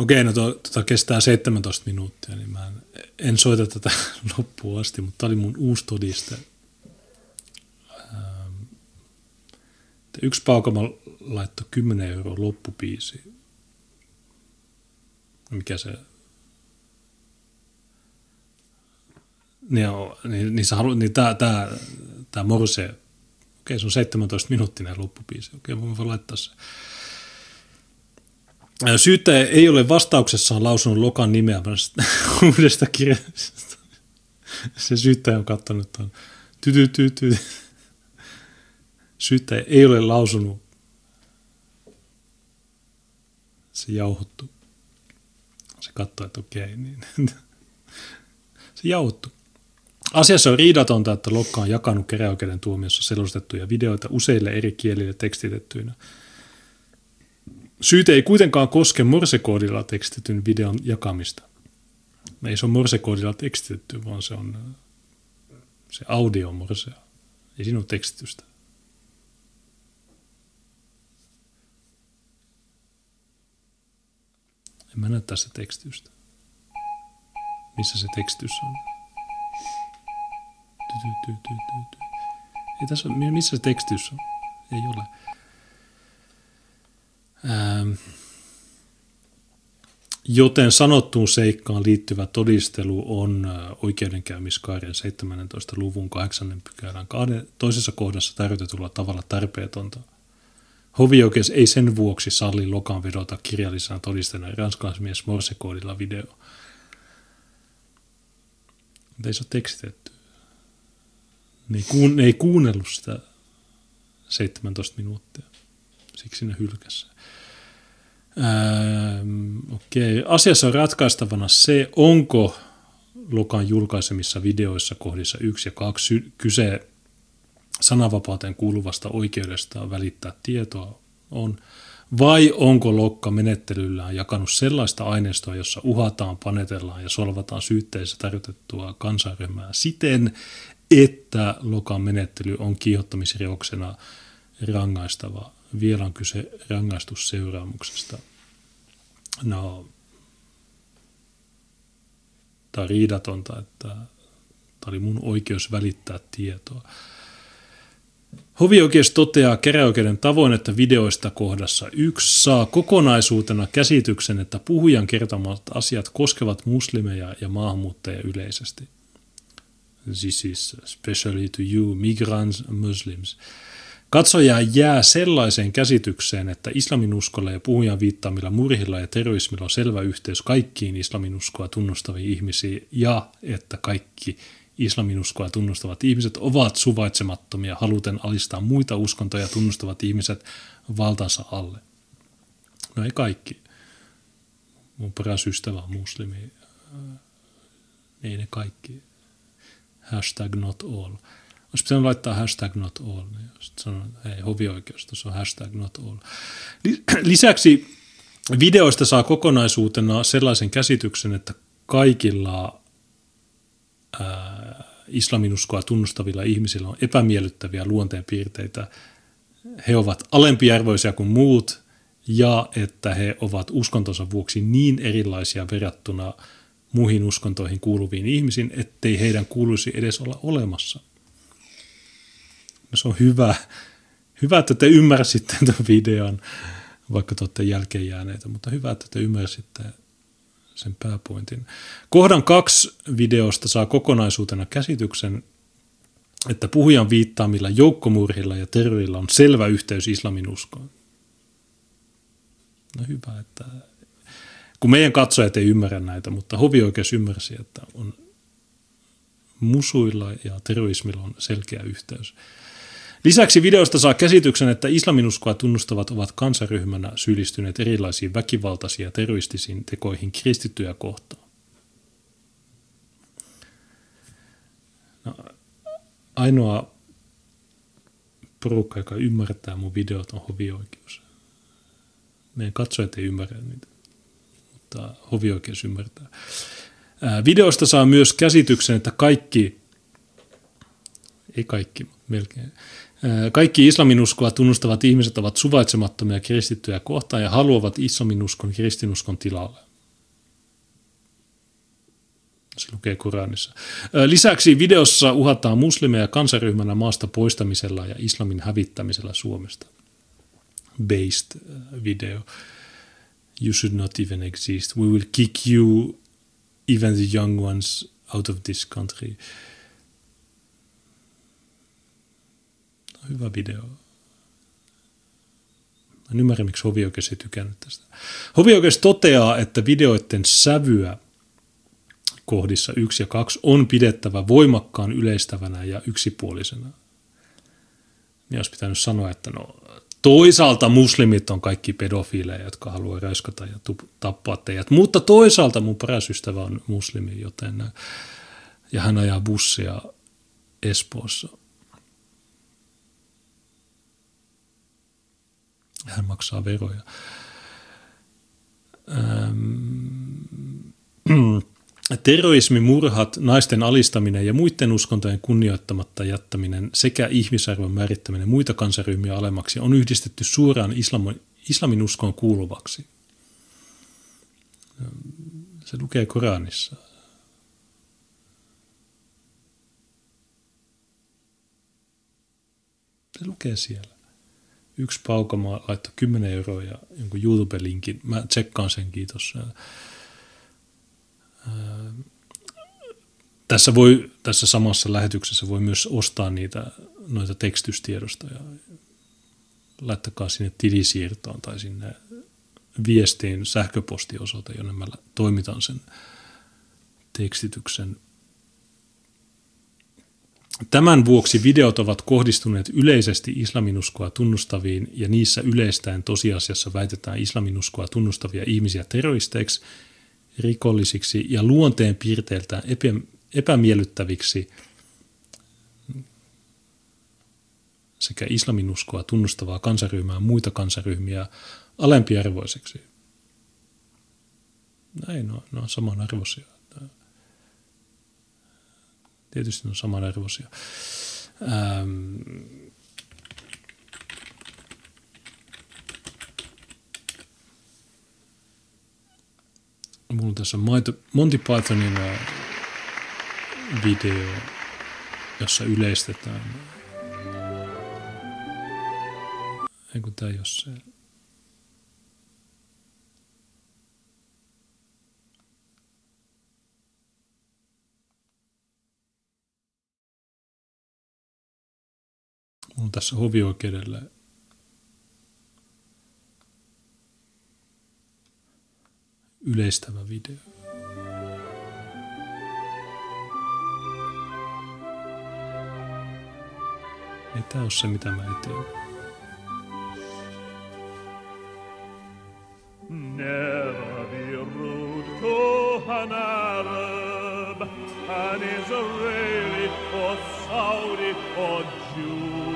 Okei, no kestää 17 minuuttia, niin mä en soita tätä loppuun asti, mutta tämä oli mun uusi todiste. Yksi paukama laittoi 10 € loppubiisiin. Mikä se... Niin sä haluat, niin tää Morse, okei, se on 17 minuuttinen loppubiisi, okei, mä voin laittaa se. Syyttäjä ei ole vastauksessaan lausunut Lokan nimeä uudesta kirjasta. Se syyttäjä on katsonut tuon. Syyttäjä ei ole lausunut. Se jauhottu. Se katsoi, että okei, niin. Se jauhottu. Asiassa on riidatonta, että Lokka on jakanut käräjäoikeuden tuomiossa selostettuja videoita useille eri kielille tekstitettyinä. Syyte ei kuitenkaan koske morsekoodilla tekstitetyn videon jakamista. Ei se ole morsekoodilla tekstitetty, vaan se on se audio morsea. Ei siinä ole tekstitystä. En mä näe tässä tekstitystä. Missä se tekstitys on? Ei tässä ole, missä se tekstitys on? Ei ole. Joten sanottuun seikkaan liittyvä todistelu on oikeudenkäymiskaaren 17. luvun 8. pykälän toisessa kohdassa tarjotetulla tavalla tarpeetonta. Hovioikeus ei sen vuoksi salli Lokan vedota kirjallisena todisteena ranskalaismies morsekoodilla video. Mutta ei se ole tekstitetty. Ne ei kuunnellut sitä 17 minuuttia. Siksi ne hylkäsi. Okei. Asiassa on ratkaistavana se, onko Lokan julkaisemissa videoissa kohdissa 1 ja 2 kyse sananvapauteen kuuluvasta oikeudesta välittää tietoa on, vai onko Lokka menettelyllään jakanut sellaista aineistoa, jossa uhataan, panetellaan ja solvataan syytteessä tarjotettua kansanryhmää siten, että Lokan menettely on kiihottamisrikoksena rangaistava. Vielä on kyse rangaistusseuraamuksesta. No, tämä on riidatonta, että tämä oli mun oikeus välittää tietoa. Hovioikeus toteaa käräjäoikeuden tavoin, että videoista kohdassa 1 saa kokonaisuutena käsityksen, että puhujan kertomat asiat koskevat muslimeja ja maahanmuuttajia yleisesti. This is especially to you, migrants and Muslims. Katsoja jää sellaiseen käsitykseen, että islaminuskolla ja puhujan viittaamilla murhilla ja terrorismilla on selvä yhteys kaikkiin islaminuskoa tunnustaviin ihmisiin ja että kaikki islaminuskoa tunnustavat ihmiset ovat suvaitsemattomia haluten alistaa muita uskontoja tunnustavat ihmiset valtansa alle. No ei kaikki. Mun paras ystävä on muslimi. Ei ne kaikki. #not all. Olisi pitänyt laittaa #not all. Sitten sanon, hei, hovioikeus, tuossa on #not all. Lisäksi videoista saa kokonaisuutena sellaisen käsityksen, että kaikilla islaminuskoa tunnustavilla ihmisillä on epämiellyttäviä luonteenpiirteitä. He ovat alempiarvoisia kuin muut ja että he ovat uskontonsa vuoksi niin erilaisia verrattuna muihin uskontoihin kuuluviin ihmisiin, ettei heidän kuuluisi edes olla olemassa. No se on hyvä, että te ymmärsitte tämän videon, vaikka te olette jälkeen jääneitä, mutta hyvä, että te ymmärsitte sen pääpointin. Kohdan 2 videosta saa kokonaisuutena käsityksen, että puhujan viittaamilla joukkomurhilla ja terrorilla on selvä yhteys islaminuskoon. No hyvä, että kun meidän katsojat ei ymmärrä näitä, mutta hovioikeus ymmärsi, että on musuilla ja terrorismilla on selkeä yhteys. Lisäksi videosta saa käsityksen, että islaminuskoa tunnustavat ovat kansaryhmänä syyllistyneet erilaisiin väkivaltaisiin ja terroristisiin tekoihin kristittyjä kohtaan. No, ainoa porukka, joka ymmärtää mun videot, on hovioikeus. Meidän katsojat ei ymmärrä niitä, mutta hovioikeus ymmärtää. Videosta saa myös käsityksen, että kaikki islaminuskoa tunnustavat ihmiset ovat suvaitsemattomia kristittyjä kohtaan ja haluavat islaminuskon kristinuskon tilalle. Se lukee Koranissa. Lisäksi videossa uhataan muslimeja kansaryhmänä maasta poistamisella ja islamin hävittämisellä Suomesta. Based video. You should not even exist. We will kick you, even the young ones, out of this country. Hyvä video. En ymmärrä, miksi hovioikeus ei tykännyt tästä. Hovioikeus toteaa, että videoiden sävyä kohdissa 1 ja 2 on pidettävä voimakkaan yleistävänä ja yksipuolisena. Niin olisi pitänyt sanoa, että no, toisaalta muslimit on kaikki pedofiileja, jotka haluaa raiskata ja tappaa teidät, mutta toisaalta mun paras ystävä on muslimi, joten ja hän ajaa bussia Espoossa. Hän maksaa veroja. Terrorismi, murhat, naisten alistaminen ja muiden uskontojen kunnioittamatta jättäminen sekä ihmisarvon määrittäminen muita kansaryhmiä alemmaksi on yhdistetty suoraan islamin uskoon kuuluvaksi. Se lukee Koranissa. Se lukee siellä. Yksi paukamaa laittoi 10 € ja jonkun YouTube-linkin. Mä tsekkaan sen, kiitos. Tässä samassa lähetyksessä voi myös ostaa noita tekstystiedostoja. Laittakaa sinne tilisiirtoon tai sinne viestiin sähköpostiosoite, jonne mä toimitan sen tekstityksen. Tämän vuoksi videot ovat kohdistuneet yleisesti islaminuskoa tunnustaviin ja niissä yleistäen tosiasiassa väitetään islaminuskoa tunnustavia ihmisiä terroristeiksi, rikollisiksi ja luonteen piirteiltään epämiellyttäviksi sekä islaminuskoa tunnustavaa kansaryhmää muita kansaryhmiä alempiarvoiseksi. Näin, ne on samanarvoisia. Tietysti ne on samanarvoisia. Mulla on tässä Monty Pythonin video, jossa yleistetään. Eikö tämä jos se... Mulla on tässä hovioikeudelle yleistävä video. Ei tää ole se, mitä mä eteen. Never be rude to an Arab, an Israeli or Saudi or Jew.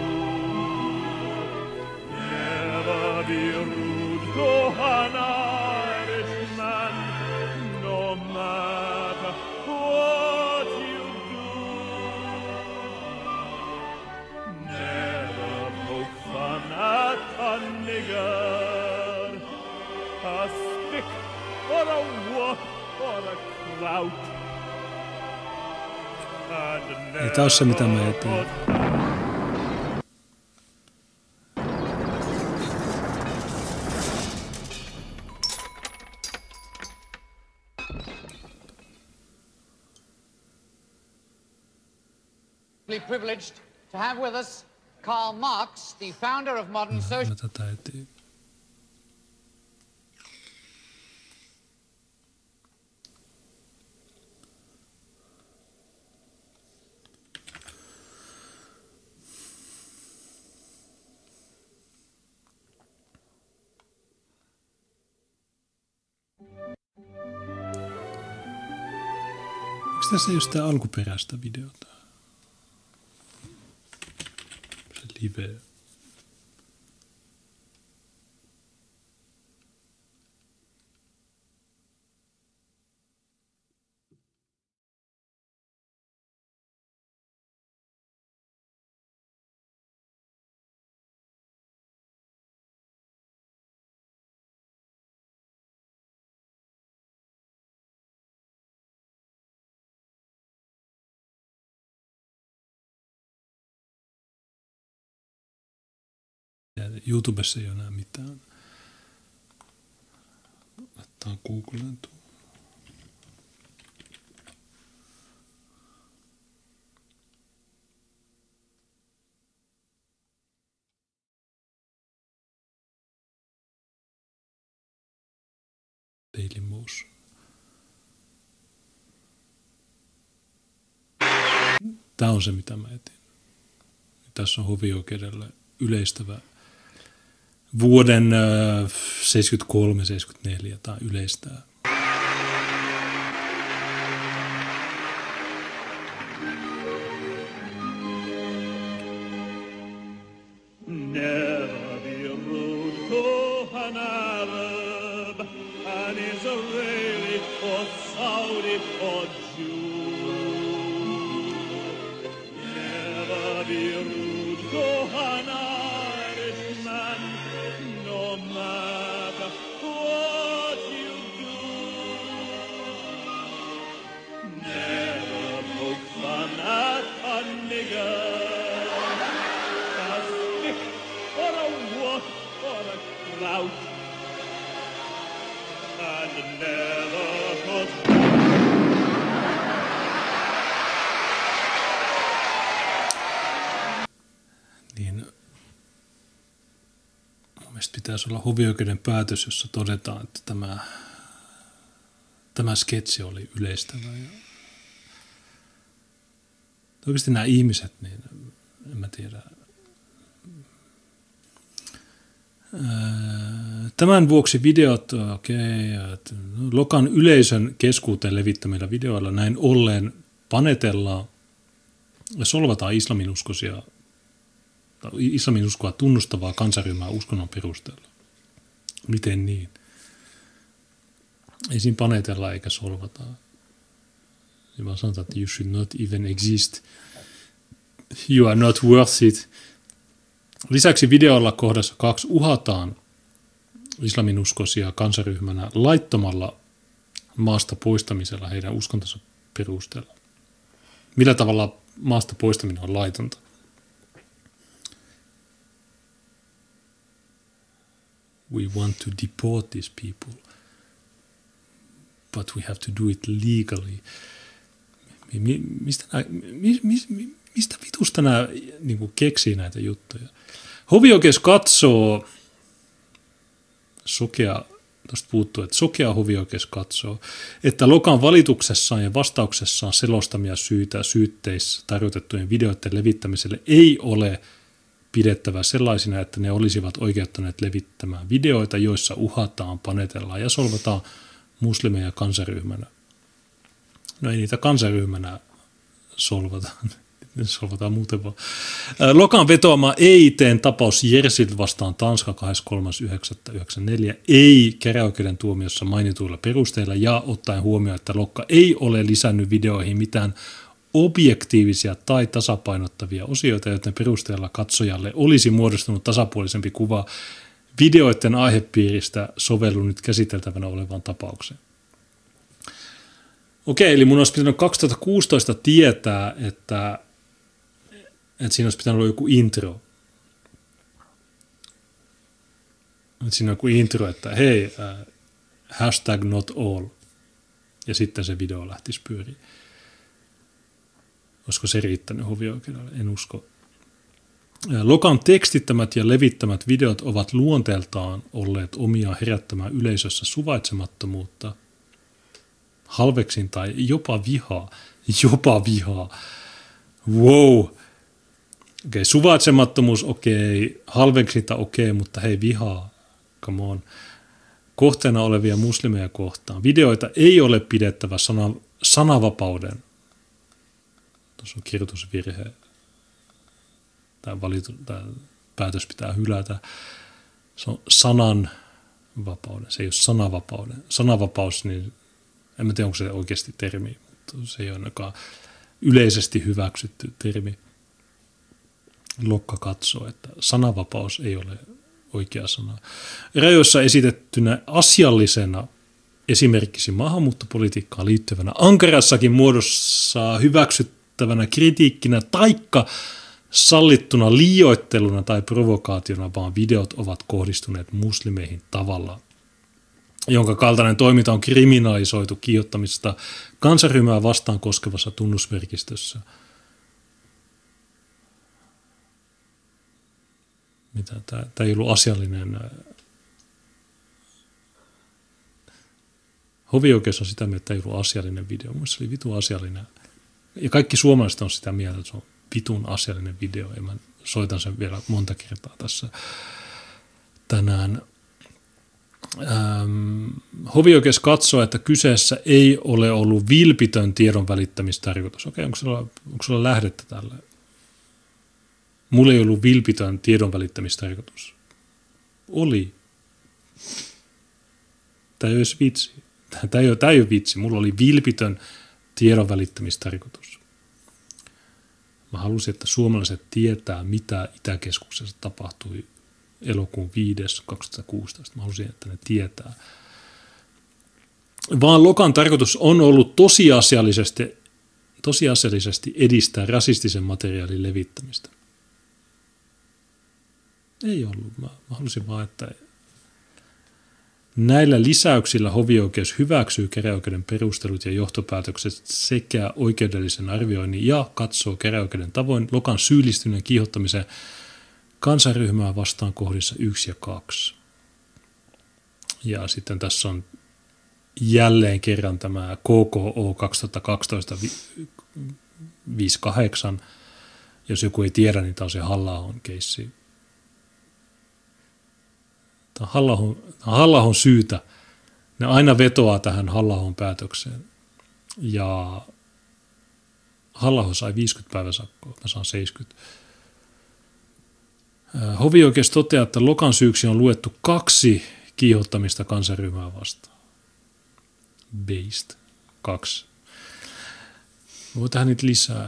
Never be rude to an Irishman, no matter what you do. Never poke fun at a nigger, a stick or a whoop or a clout. Ei tää ole se, mitä mä eteen. Privileged to have with us Karl Marx, the founder of modern social... Tätä eteen. Miksi tässä ei ole sitä alkuperäistä videota? Se live. YouTubessa ei ole enää mitään. Laittaa Googleen tuo. Daily Motion. Tämä on se, mitä mä etin. Tässä on hovioikeudelle yleistävä vuoden 73-74 tai yleistää. Never be rude to an Arab, an Israeli or Saudi or Jew. Never be rude to an Irishman, no matter what you do. Never poke fun at a nigger. Out and never put Niin mun mielestä pitäisi olla hovioikeuden päätös, jossa todetaan, että tämä sketsi oli yleistävä. Ja oikeasti nämä ihmiset, niin en mä tiedä. Tämän vuoksi videot, Lokan yleisön keskuuteen levittämillä videoilla näin ollen panetellaan ja solvataan islaminuskoa tunnustavaa kansanryhmää uskonnon perusteella. Miten niin? Ei siinä panetella eikä solvata. Ja vaan sanotaan, että you should not even exist. You are not worth it. Lisäksi videolla kohdassa 2 uhataan islaminuskoisia kansaryhmänä laittomalla maasta poistamisella heidän uskontonsa perusteella. Millä tavalla maasta poistaminen on laitonta? We want to deport these people, but we have to do it legally. Mistä vitusta nämä niin keksii näitä juttuja? Hovioikeus katsoo, sokea hovioikeus katsoo, että Lokan valituksessaan ja vastauksessaan selostamia syitä syytteissä tarjotettujen videoiden levittämiselle ei ole pidettävä sellaisina, että ne olisivat oikeuttaneet levittämään videoita, joissa uhataan, panetellaan ja solvataan muslimeja kansaryhmänä. No ei niitä kansaryhmänä solvataan. Solvataan muuten vaan. Lokan vetoama EIT:n tapaus Jersil vastaan Tanska 23.9.94 ei käräjäoikeuden tuomiossa mainituilla perusteilla ja ottaen huomioon, että Lokka ei ole lisännyt videoihin mitään objektiivisia tai tasapainottavia osioita, joten perusteella katsojalle olisi muodostunut tasapuolisempi kuva videoiden aihepiiristä sovellu nyt käsiteltävänä olevaan tapaukseen. Okei, eli mun olisi pitänyt 2016 tietää, että siinä olisi pitänyt olla joku intro. Että siinä on joku intro, että hei, #not all. Ja sitten se video lähtisi pyöriin. Olisiko se riittänyt hovioikeudelle? En usko. Lokan tekstittämät ja levittämät videot ovat luonteeltaan olleet omia herättämään yleisössä suvaitsemattomuutta, halveksin tai jopa vihaa. Jopa vihaa. Wow. Okei, suvaitsemattomuus, okei, halveksinta, okei, mutta hei, vihaa. Come on. Kohteena olevia muslimeja kohtaan. Videoita ei ole pidettävä sananvapauden. Tuossa on kirjoitusvirhe. Tämä päätös pitää hylätä. Se on sananvapauden. Se ei ole sananvapauden. Sananvapaus, niin en tiedä, onko se oikeasti termi, mutta se ei ole ainakaan yleisesti hyväksytty termi. Lokka katsoo, että sananvapaus ei ole oikea sana. Rajoissa esitettynä asiallisena esimerkiksi maahanmuuttopolitiikkaan liittyvänä ankarassakin muodossa hyväksyttävänä kritiikkinä taikka sallittuna liioitteluna tai provokaationa, vaan videot ovat kohdistuneet muslimeihin tavalla, jonka kaltainen toiminta on kriminalisoitu kiihottamisesta kansanryhmää vastaan koskevassa tunnusmerkistössä. Mitä? Tämä ei ollut asiallinen. Hovioikeus on sitä mieltä, että ei ollut asiallinen video. Mielestäni se oli vitun asiallinen. Ja kaikki suomalaiset on sitä mieltä, että se on vitun asiallinen video. Ja mä soitan sen vielä monta kertaa tässä tänään. Hovioikeus katsoo, että kyseessä ei ole ollut vilpitön tiedon välittämistarkoitus. Okei, onko sulla lähdettä tälle? Mulla ei ollut vilpitön tiedon välittämistarkoitus. Oli. Tämä ei ole vitsi. Tämä ei ole vitsi. Mulla oli vilpitön tiedon välittämistarkoitus. Mä halusin, että suomalaiset tietää, mitä Itäkeskuksessa tapahtui elokuun 5.2016. Mä halusin, että ne tietää. Vaan Lokan tarkoitus on ollut tosiasiallisesti edistää rasistisen materiaalin levittämistä. Ei ollut. Mä halusin vaan, että näillä lisäyksillä hovioikeus hyväksyy käräjäoikeuden perustelut ja johtopäätökset sekä oikeudellisen arvioinnin ja katsoo käräjäoikeuden tavoin Lokan syyllistyneen kiihottamiseen kansanryhmää vastaan kohdissa 1 ja 2. Ja sitten tässä on jälleen kerran tämä KKO 2012-58. Jos joku ei tiedä, niin tämä on se Halla-ahon keissi. Tämä on Halla-ahon syytä. Ne aina vetoaa tähän Halla-ahon päätökseen. Ja Halla-aho sai 50 päiväsakkoa, mä saan 70. Hovioikeus toteaa, että Lokan syyksi on luettu 2 kiihottamista kansanryhmää vastaan. Based. 2. Voi tähän niitä lisää.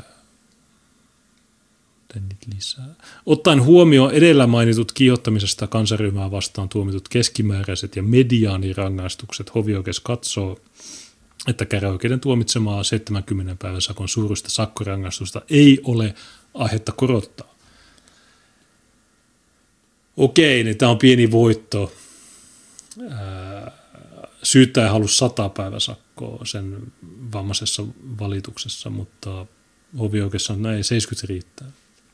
Ottaen huomioon edellä mainitut kiihottamisesta kansanryhmää vastaan tuomitut keskimääräiset ja mediaanirangaistukset, hovioikeus katsoo, että käräjäoikeuden tuomitsemaa 70 päivän sakon suuruista sakkorangaistusta ei ole aihetta korottaa. Okei, niin tämä on pieni voitto. Syyttäjä halusi 100 päiväsakkoa sen vammaisessa valituksessa, mutta hovioikeus on näin 70 riittää.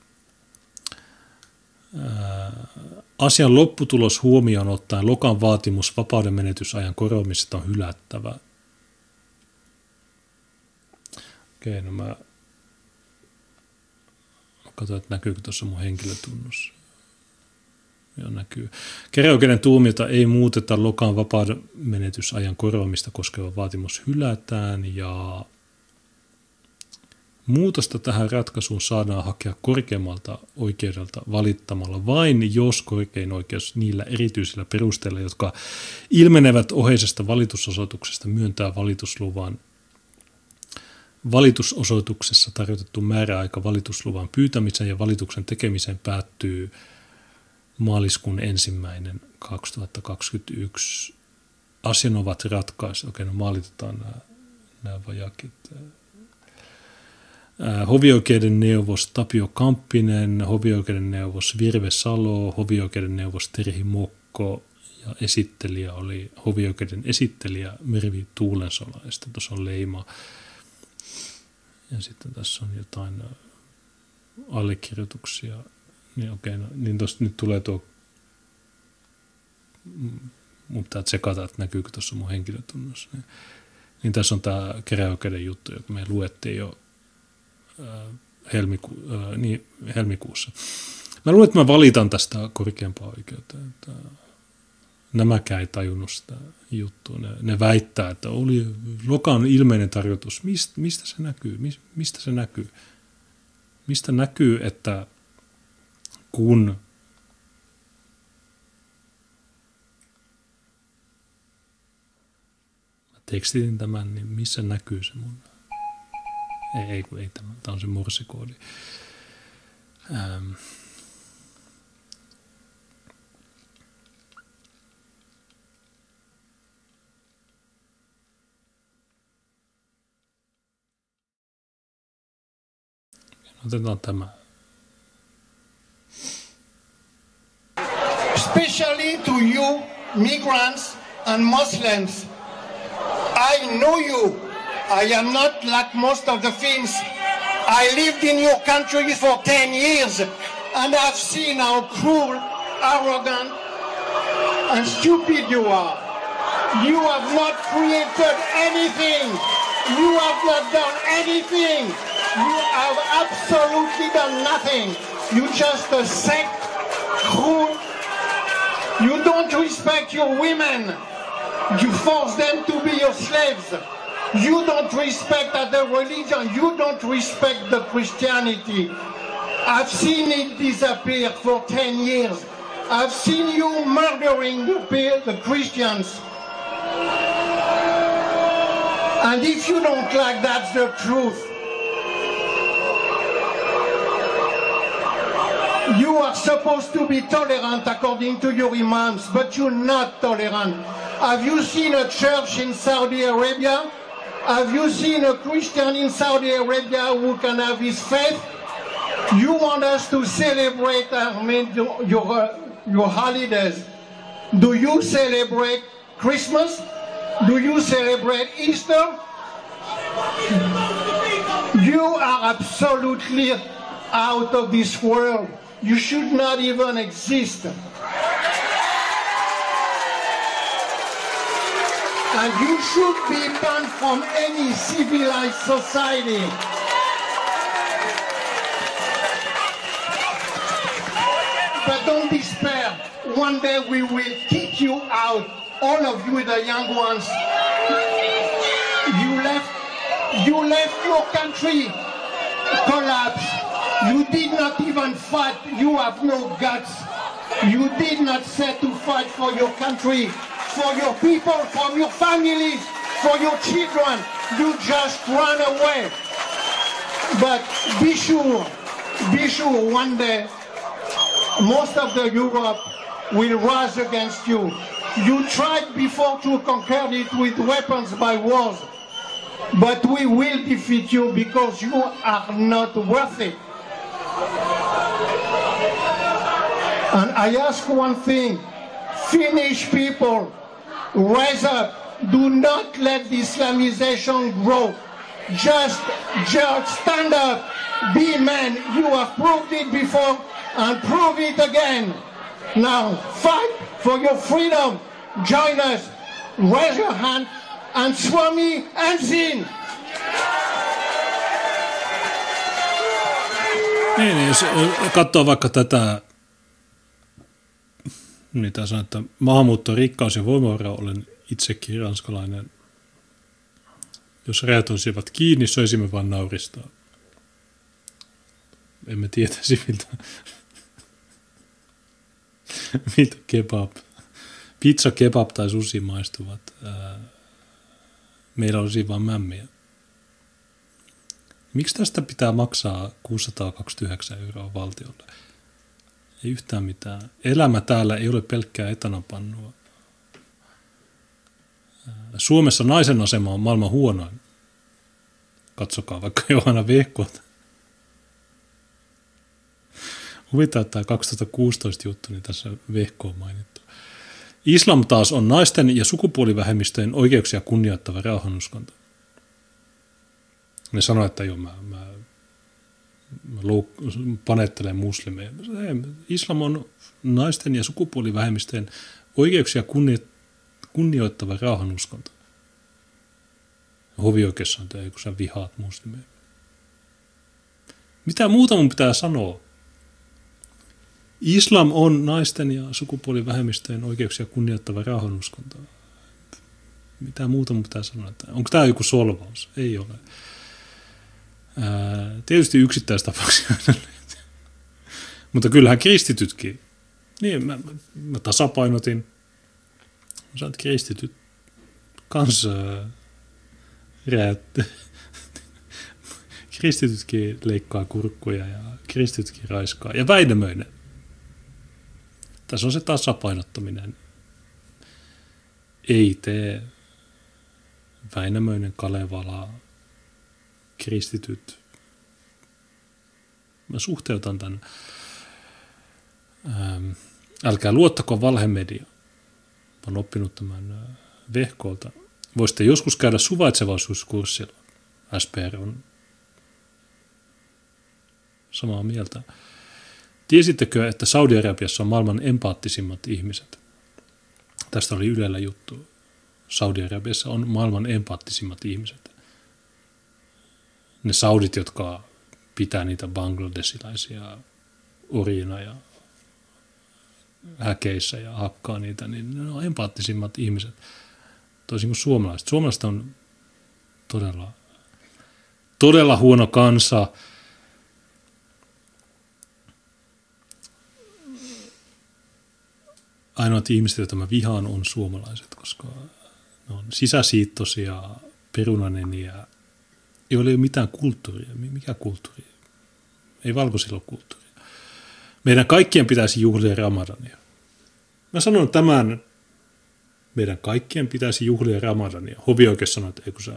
Asian lopputulos huomioon ottaen Lokan vaatimus vapauden menetysajan koroamisesta on hylättävä. Okei, no mä katsoin, että näkyykö tuossa mun henkilötunnus. Joo, näkyy. Käräjäoikeuden tuomiota ei muuteta, Lokan vapauden menetysajan koroamista koskeva vaatimus hylätään ja muutosta tähän ratkaisuun saadaan hakea korkeammalta oikeudelta valittamalla vain, jos korkein oikeus niillä erityisillä perusteilla, jotka ilmenevät oheisesta valitusosoituksesta, myöntää valitusluvan. Valitusosoituksessa tarjotettu määräaika valitusluvan pyytämiseen ja valituksen tekemiseen päättyy maaliskuun 1.2021. Asian ovat ratkaisuja. Okei, no maalitetaan nämä vajakit. Hovioikeuden neuvos Tapio Kamppinen, hovioikeuden neuvos Virve Salo, hovioikeuden neuvos Terhi Mokko ja esittelijä oli hovioikeuden esittelijä Mervi Tuulensola ja sitten tuossa on leima. Ja sitten tässä on jotain allekirjoituksia. Niin okei, no, niin tuossa nyt tulee tuo, mun pitää tsekata, että näkyykö tuossa mun henkilötunnus. Niin tässä on tämä käräjäoikeuden juttu, joka me luettiin jo helmikuussa. Mä luulen, että mä valitan tästä korkeampaa oikeuteen. Nämäkään ei tajunnut sitä juttua. Ne väittää, että oli Lokan ilmeinen tarkoitus. Mistä se näkyy? Mistä se näkyy? Mistä näkyy, että kun mä tekstitin tämän, niin missä näkyy se mun? Ei tämä on se morsikoodi. Otetaan tämä. to you, migrants and Muslims. I know you. I am not like most of the Finns. I lived in your country for 10 years and I've seen how cruel, arrogant and stupid you are. You have not created anything. You have not done anything. You have absolutely done nothing. You just a sect, cruel. You don't respect your women. You force them to be your slaves. You don't respect the religion. You don't respect the Christianity. I've seen it disappear for 10 years. I've seen you murdering the Christians. And if you don't like that's the truth, you are supposed to be tolerant according to your imams, but you're not tolerant. Have you seen a church in Saudi Arabia? Have you seen a Christian in Saudi Arabia who can have his faith? You want us to celebrate your holidays. Do you celebrate Christmas? Do you celebrate Easter? You are absolutely out of this world. You should not even exist. And you should be banned from any civilized society. But don't despair. One day we will kick you out, all of you, the young ones. You left your country, collapse. You did not even fight. You have no guts. You did not set to fight for your country, for your people, for your families, for your children. You just run away. But be sure, one day, most of the Europe will rise against you. You tried before to conquer it with weapons by wars, but we will defeat you because you are not worth it. And I ask one thing, Finnish people, rise up. Do not let the Islamization grow. Just stand up, be men. You have proved it before and prove it again. Now fight for your freedom. Join us. Raise your hand and Swami Ensin. Niin, jos katsoo vaikka tätä, mitä sanotaan, että maahanmuutto, rikkaus ja voimavara, olen itsekin ranskalainen. Jos rajat olisivat kiinni, söisimme vaan nauristaa. Emme tietäisi, miltä pizza, kebab tai sushi maistuvat. Meillä olisi vaan mämmiä. Miksi tästä pitää maksaa 629 € valtiolle? Ei yhtään mitään. Elämä täällä ei ole pelkkää etanopannua. Suomessa naisen asema on maailman huonoin. Katsokaa vaikka Johanna Vehkota. Huvittaa, että tämä 2016 juttu, niin tässä Vehko on mainittu. Islam taas on naisten ja sukupuolivähemmistöjen oikeuksia kunnioittava rauhanuskonto. Ne sanoo, että joo, mä panettelen muslimeja. Islam on naisten ja sukupuolivähemmistöjen oikeuksia kunnioittava rauhanuskonto. Hovioikeus on tämä, kun sä vihaat muslimeja. Mitä muuta mun pitää sanoa? Islam on naisten ja sukupuolivähemmistöjen oikeuksia kunnioittava rauhanuskonto. Mitä muuta mun pitää sanoa? Onko tämä joku solvaus? Ei ole. Tietysti yksittäistapauksia. Mutta kyllähän kristitytkin. Niin, mä tasapainotin. Mä sanoin, että kristityt kanssa kristitytkin leikkaa kurkkuja ja kristitytkin raiskaa. Ja Väinämöinen. Tässä on se tasapainottaminen. Ei tee. Väinämöinen, Kalevala, kristityt. Mä suhteutan tämän. Älkää luottako valhemedia. olen oppinut tämän Vehkolta. Voisitte joskus käydä suvaitsevaisuuskurssilla. SPR on samaa mieltä. Tiesittekö, että Saudi-Arabiassa on maailman empaattisimmat ihmiset? Tästä oli Ylellä juttu. Saudi-Arabiassa on maailman empaattisimmat ihmiset. Ne saudit, jotka pitää niitä bangladesilaisia orjina ja häkeissä ja hakkaa niitä, niin ne on empaattisimmat ihmiset. Toisin kuin suomalaiset. Suomalaiset on todella huono kansa. Ainoat ihmiset, joita mä vihaan, on suomalaiset, koska ne on sisäsiittoisia, perunaneniä, joilla ei ole mitään kulttuuria. Mikä kulttuuri? Ei valkoisilla ole kulttuuria. Meidän kaikkien pitäisi juhlia Ramadania. Mä sanon tämän, meidän kaikkien pitäisi juhlia Ramadania. Hovioikeus sanoi, että eikö sä,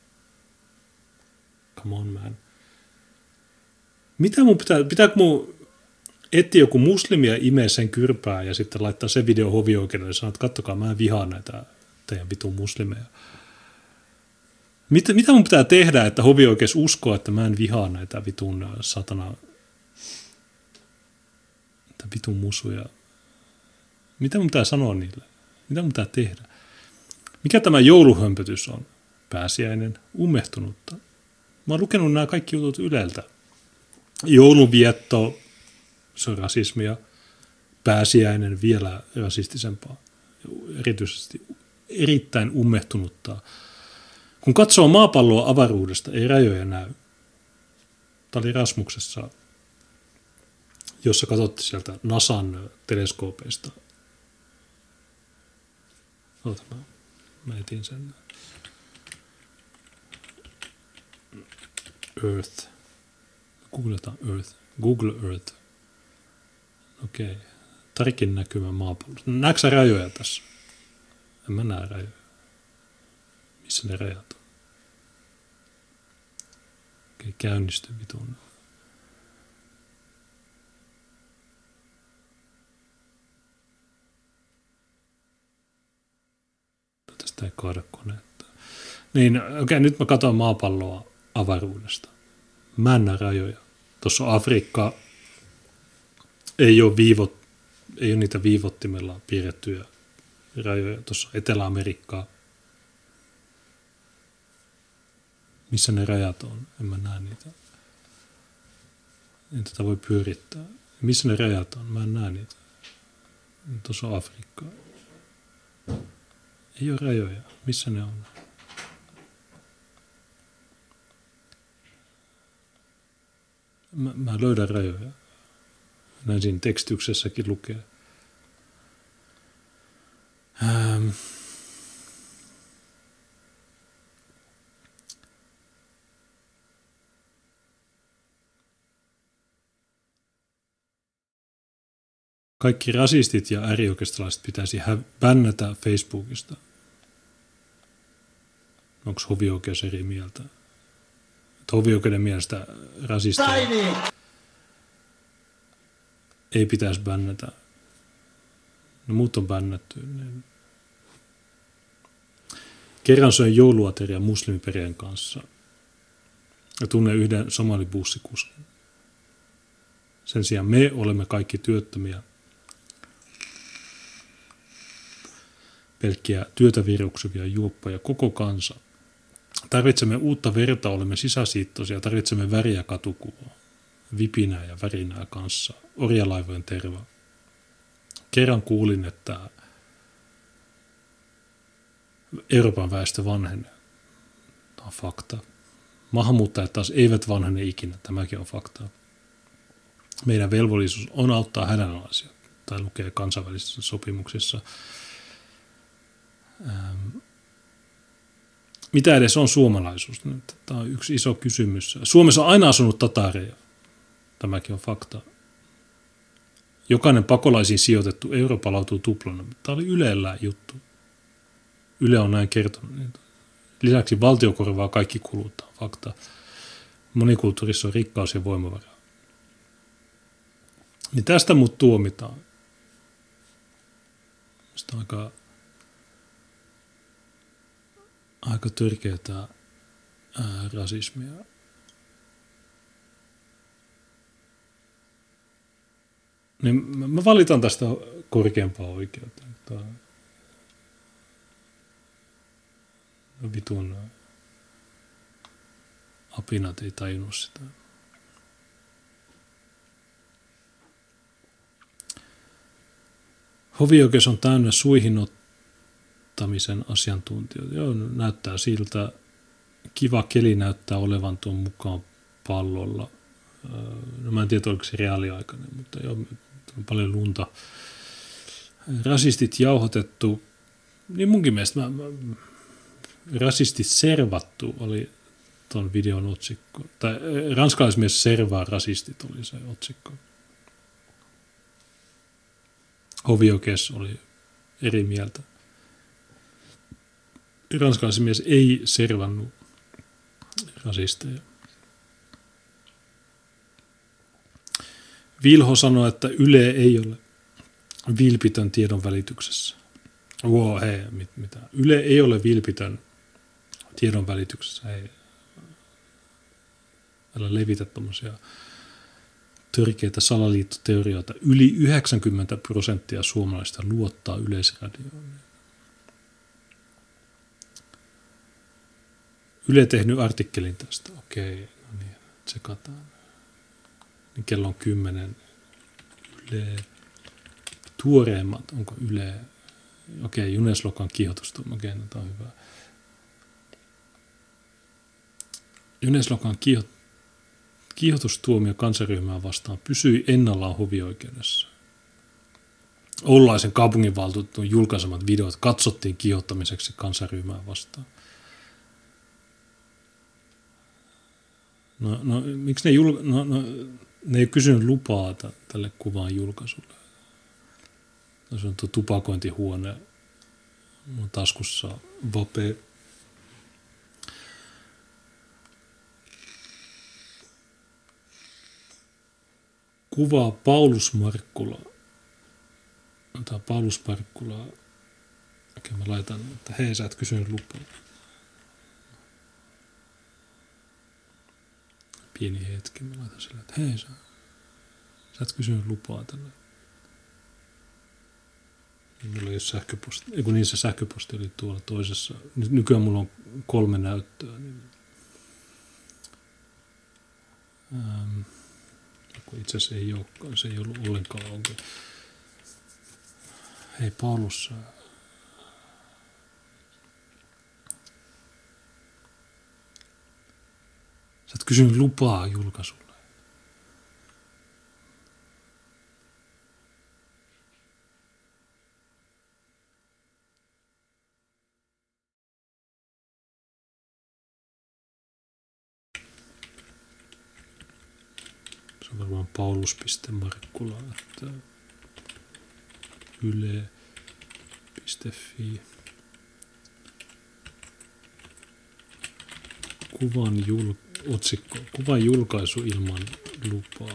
come on man. Mitä mun pitääkö mun etsiä joku muslimi ja imee sen kyrpää ja sitten laittaa se video hovioikeudelle ja sanoa, että kattokaa, mä en vihaa näitä teidän vitun muslimeja. Mitä mun pitää tehdä, että hovioikeus uskoo, että mä en vihaa näitä vitun satana, vitun musuja? Mitä mun pitää sanoa niille? Mitä mun pitää tehdä? Mikä tämä jouluhömpötys on? Pääsiäinen, ummehtunutta. Mä oon lukenut nämä kaikki jutut Yleltä. Joulunvietto, se on rasismia. Pääsiäinen vielä rasistisempaa. Erityisesti erittäin ummehtunutta. Kun katsoo maapalloa avaruudesta, ei rajoja näy. Tämä oli Rasmuksessa, jossa katsottiin sieltä NASAn teleskoopeista. Mä etin sen. Earth. Googletaan Earth. Google Earth. Okei. Tarikin näkymä maapallosta. Näetkö sä rajoja tässä? En mä näe rajoja. Missä ne rajat on? Okei, käynnisty vitun. Tästä ei kaada koneetta. Niin, okei, nyt mä katson maapalloa avaruudesta. Mä en näe rajoja. Tuossa on Afrikka. Ei ole niitä viivottimella piirrettyjä rajoja. Tuossa on Etelä-Amerikkaa. Missä ne rajat on? En mä näe niitä. En tätä voi pyörittää. Missä ne rajat on? Mä en näe niitä. Tuossa on Afrikka. Ei ole rajoja. Missä ne on? Mä löydän rajoja. Näin siinä tekstyksessäkin lukee. Kaikki rasistit ja äärioikeistolaiset pitäisi bännätä Facebookista. Onko hovioikeus eri mieltä? Hovioikeuden mielestä rasisteja ei pitäisi bännätä. No muut on bännätty. Kerran söin jouluateria muslimiperheen kanssa ja tunnen yhden somalibussikuskin. Sen sijaan me olemme kaikki työttömiä. Pelkkiä työtä viruksuvia juoppoja, koko kansa. Tarvitsemme uutta verta, olemme sisäsiittoisia, tarvitsemme väriä katukuvaa, vipinää ja värinää kanssa, orjalaivojen terva. Kerran kuulin, että Euroopan väestö vanhenee. Tämä on fakta. Maahanmuuttajat taas eivät vanhene ikinä, tämäkin on fakta. Meidän velvollisuus on auttaa hädänalaisia, tai lukee kansainvälisissä sopimuksissa. Mitä edes on suomalaisuus? Tämä on yksi iso kysymys. Suomessa on aina asunut tataareja. Tämäkin on fakta. Jokainen pakolaisiin sijoitettu euro palautuu tuplana. Tämä oli Ylellä juttu. Yle on näin kertonut. Lisäksi valtio korvaa kaikki kulut. Tämä on fakta. Monikulttuurissa on rikkaus ja voimavaraa. Niin tästä mut tuomitaan. Sitä on aika aika törkeätä rasismia. Niin mä valitan tästä korkeampaa oikeutta. Vitun apinat ei tajunnut sitä. Hovioikeus on täynnä suihin ottamisen asiantuntijoita. Joo, näyttää siltä. Kiva keli näyttää olevan tuon mukaan pallolla. No mä en tiedä, oliko se reaaliaikainen, mutta joo, on paljon lunta. Rasistit jauhotettu. Niin munkin mielestä rasistit servattu oli ton videon otsikko. Tai ranskalaismies servaa rasistit oli se otsikko. Hovioikeus oli eri mieltä. Ranskalaismies ei servannut rasisteja. Vilho sanoi, että Yle ei ole vilpitön tiedon välityksessä. Wow, hei, mitä? Yle ei ole vilpitön tiedon välityksessä. Hei, älä levitä tommosia törkeitä salaliittoteorioita. Yli 90% suomalaisista luottaa Yleisradioon. Yle tehnyt artikkelin tästä. Okei, no niin, tsekataan. Niin kello on 10. Yle. Tuoreimmat, onko Yle? Okei, Juneslokan kiihotustuomio. Okei, no tämä on hyvä. Juneslokan kiihotustuomio kansanryhmää vastaan pysyi ennallaan hovioikeudessa. Oulaisen kaupunginvaltuutetun julkaisemat videot katsottiin kiihottamiseksi kansanryhmää vastaan. No miksi ne ei kysynyt lupaa tälle kuvan julkaisulle. Se on tuo tupakointihuone. Mun taskussa vape. Kuvaa Paulus Markkula. Tämä Paulus Markkula. Okei, mä laitan, että hei, sä et kysynyt lupaa. Pieni hetki, mä laitan sille, että hei, sä et kysynyt lupaa tälle. Mulla ei ole sähköposti, kun niin se sähköposti oli tuolla toisessa. Nykyään mulla on 3 näyttöä. Niin, itse asiassa ei olekaan, se ei ollut ollenkaan onko. Hei Paulus, sä et kysynyt lupaa julkaisulle. Se on varmaan paulus.markkula, että yle.fi. Kuvan julkaisu ilman lupaa.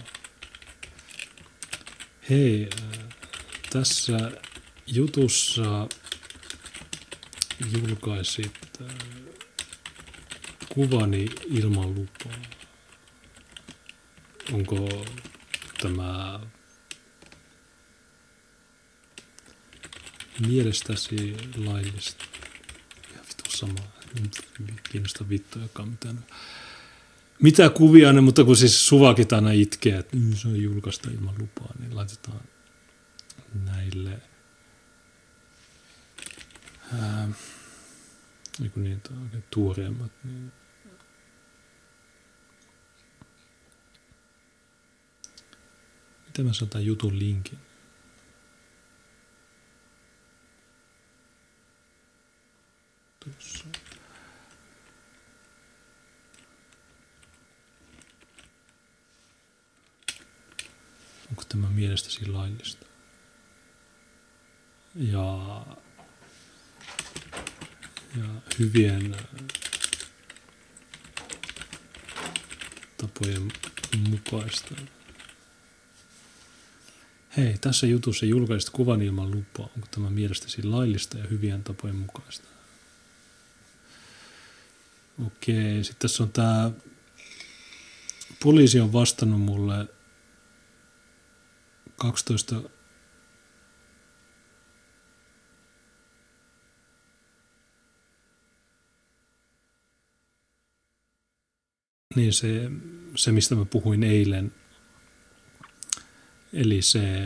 Hei, tässä jutussa julkaisit kuvani ilman lupaa. Onko tämä mielestäsi laillista? Ja vittu sama. Kiinnosta vittuakaan mitään. Mitä kuvia ne, mutta kun siis Suvakit aina itkee, että se on julkaista ilman lupaa, niin laitetaan näille niitä oikein tuoreemmat. Niin. Miten mä saan tämän jutun linkin? Tuossa. Onko tämä mielestäsi laillista? Ja hyvien tapojen mukaista. Hei, tässä jutussa julkaisit kuvan ilman lupaa. Onko tämä mielestäsi laillista ja hyvien tapojen mukaista? Okei, sitten tässä on tämä, poliisi on vastannut mulle 12, niin se mistä mä puhuin eilen, eli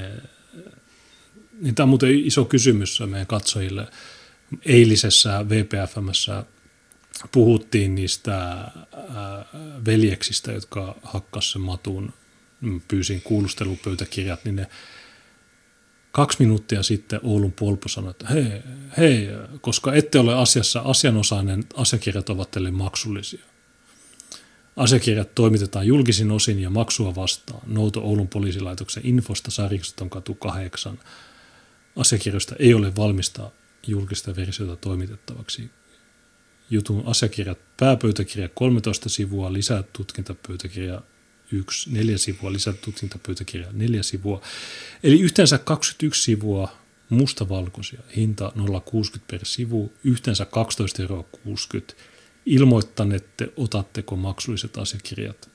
niin tämä on muuten iso kysymys meidän katsojille. Eilisessä VPFM:ssä puhuttiin niistä veljeksistä, jotka hakkas sen matun. Pyysin kuulustelupöytäkirjat, niin ne 2 minuuttia sitten Oulun Polpo sanoi, että hei, koska ette ole asiassa asianosainen, asiakirjat ovat teille maksullisia. Asiakirjat toimitetaan julkisin osin ja maksua vastaan. Nouto Oulun poliisilaitoksen infosta Sarikiston katu 8. Asiakirjoista ei ole valmista julkista versiota toimitettavaksi. Jutun asiakirjat, pääpöytäkirja 13 sivua, lisätutkintapöytäkirja 1, 4 sivua, lisätutkintapöytäkirja 4 sivua. Eli yhteensä 21 sivua mustavalkoisia, hinta 0,60 per sivu, yhteensä 12,60 €. Ilmoittanette, otatteko maksulliset asiakirjat.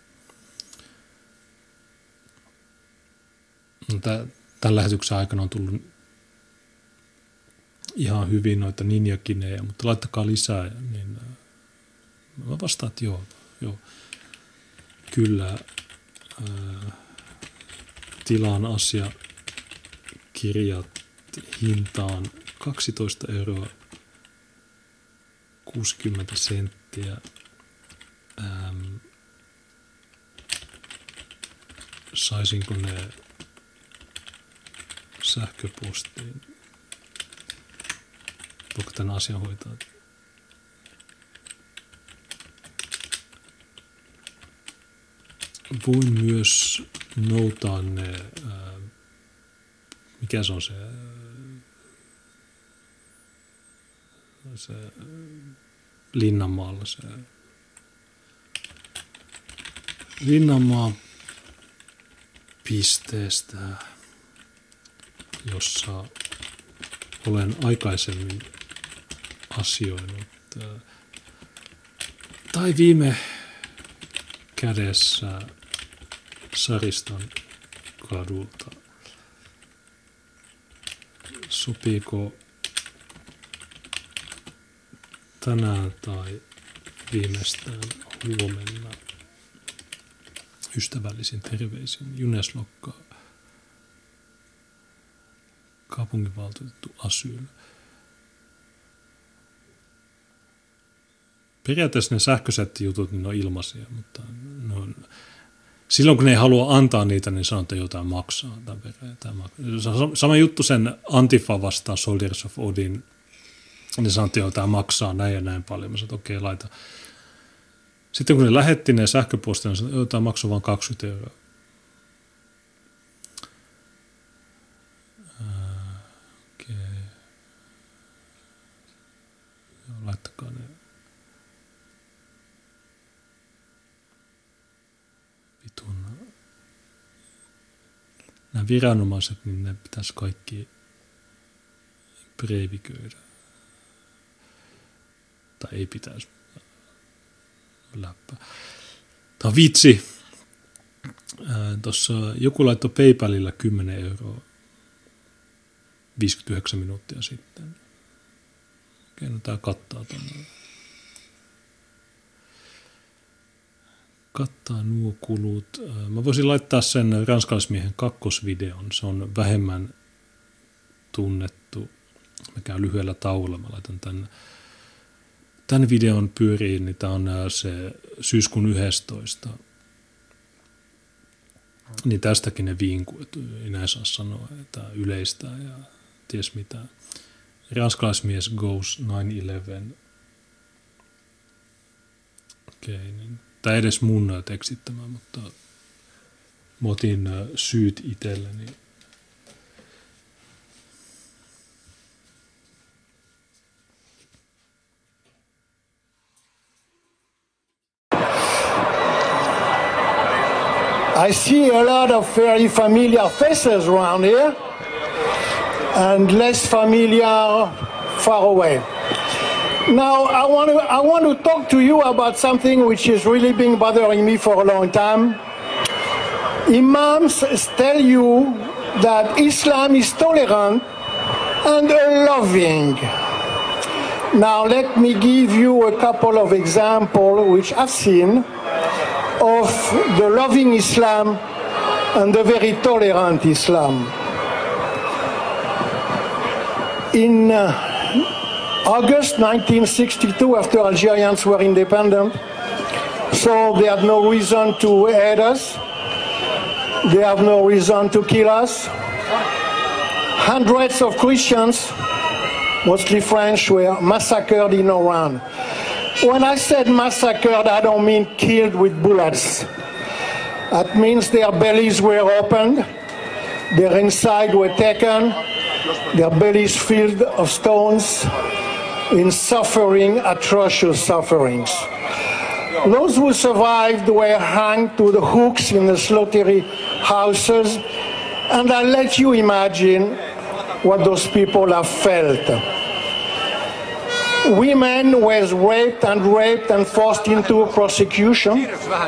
Tämän lähetyksen aikana on tullut ihan hyvin noita ninjakinejä, mutta laittakaa lisää. Niin mä vastaan, että joo. Kyllä tilaan asiakirjat hintaan 12,60 €. Saisinko ne sähköpostiin? Voiko tämän asian hoitaa? Voin myös noutaa ne, mikä se on se Linnanmaalla se Linnanmaan pisteestä, jossa olen aikaisemmin asioinut. Tai viime kädessä Sariston kadulta. Sopiiko tänään tai viimeistään huomenna? Ystävällisin terveisin Juneslokka, kaupunginvaltuutettu Asyl. Periaatteessa ne sähköiset jutut niin on ilmaisia, mutta silloin kun ne ei halua antaa niitä, niin sanoo, että jotain maksaa. Sama juttu sen Antifa vastaan Soldiers of Odin. Ne sanoo, että jotain maksaa näin ja näin paljon. Mä sanoin, että okei, laita. Sitten kun ne lähetti ne sähköpostia, niin sanoin, että jotain maksoi vain 20 €. Okei. Laittakaa ne. Nämä viranomaiset, niin ne pitäisi kaikki breiviköidä. Tai ei pitäisi. Läppä. Tämä on vitsi. Tuossa joku laittoi PayPalilla 10 € 59 minuuttia sitten. Okei, no tämä kattaa tuonne. Kattaa nuo kulut. Mä voisin laittaa sen ranskalaismiehen kakkosvideon. Se on vähemmän tunnettu. Mä käyn lyhyellä tauolla. Mä laitan tämän videon pyöriin. Niin tää on se syyskuun 11. Niin tästäkin ne vinkuu. Että ei näin saa sanoa. Että yleistää ja ties mitä. Ranskalaismies goes 9/11. Okei, niin. Tämä ei edes mun tekstittämään, mutta mä otin syyt itselleni. I see a lot of very familiar faces around here and less familiar far away. Now, I want to talk to you about something which has really been bothering me for a long time. Imams tell you that Islam is tolerant and loving. Now, let me give you a couple of examples which I've seen of the loving Islam and the very tolerant Islam. In August 1962, after Algerians were independent, so they had no reason to hate us. They have no reason to kill us. Hundreds of Christians, mostly French, were massacred in Oran. When I said massacred, I don't mean killed with bullets. That means their bellies were opened, their inside were taken, their bellies filled of stones, in suffering, atrocious sufferings. Those who survived were hung to the hooks in the slaughterhouses, and I let you imagine what those people have felt. Women were raped and forced into prostitution.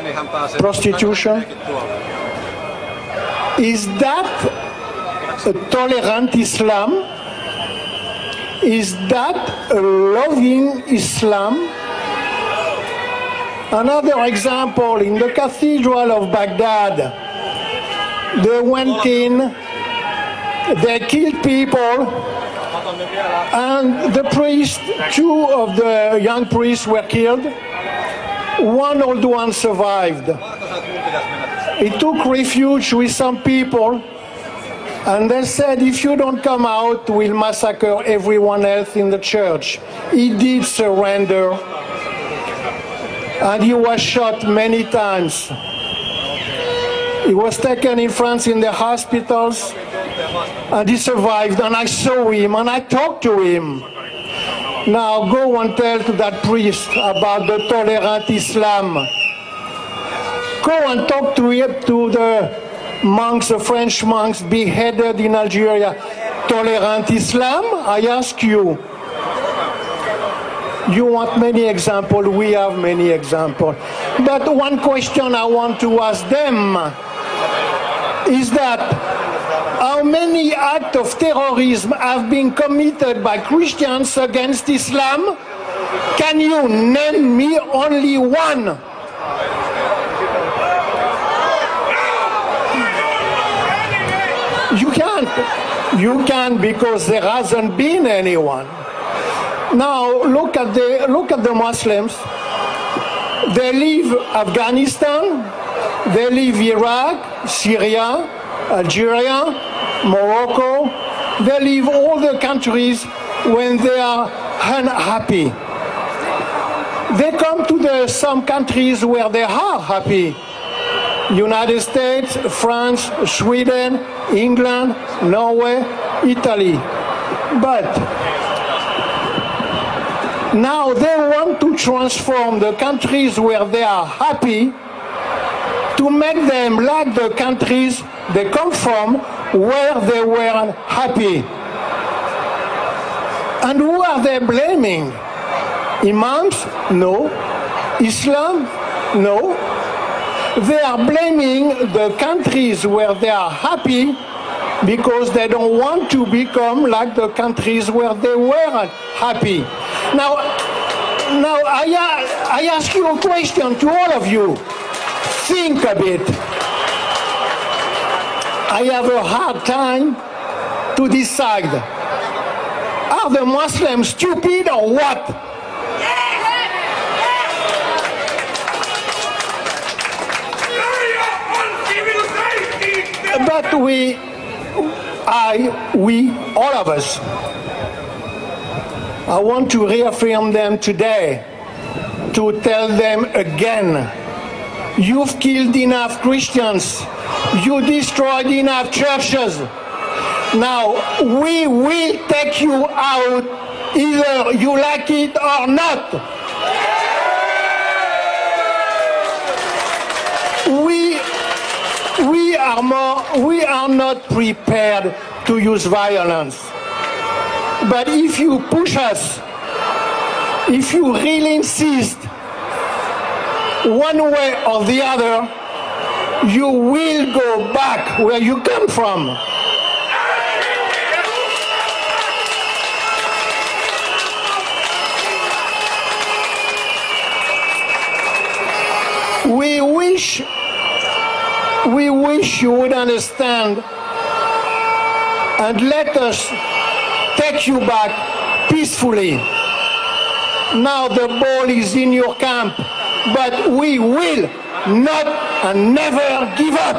Is that a tolerant Islam? Is that a loving Islam? Another example, in the Cathedral of Baghdad, they went in, they killed people, and the priest, two of the young priests were killed. One old one survived. He took refuge with some people, and they said, if you don't come out, we'll massacre everyone else in the church. He did surrender, and he was shot many times. He was taken in France in the hospitals, and he survived, and I saw him, and I talked to him. Now go and tell to that priest about the tolerant Islam. Go and talk to the monks, the French monks beheaded in Algeria. Tolerant Islam? I ask you. You want many examples, we have many examples. But one question I want to ask them is that how many acts of terrorism have been committed by Christians against Islam? Can you name me only one? You can't. You can, because there hasn't been anyone. Now look at the Muslims. They leave Afghanistan, they leave Iraq, Syria, Algeria, Morocco. They leave all the countries when they are unhappy. They come to some countries where they are happy. United States, France, Sweden, England, Norway, Italy. But now they want to transform the countries where they are happy to make them like the countries they come from where they were happy. And who are they blaming? Imams? No. Islam? No. They are blaming the countries where they are happy because they don't want to become like the countries where they were happy. Now I ask you a question to all of you. Think a bit. I have a hard time to decide. Are the Muslims stupid or what? But all of us, I want to reaffirm them today, to tell them again, you've killed enough Christians, you destroyed enough churches. Now, we will take you out, either you like it or not. We are not prepared to use violence. But if you push us if you really insist one way or the other, you will go back where you come from. We wish you would understand and let us take you back peacefully. Now the ball is in your camp, but we will not and never give up.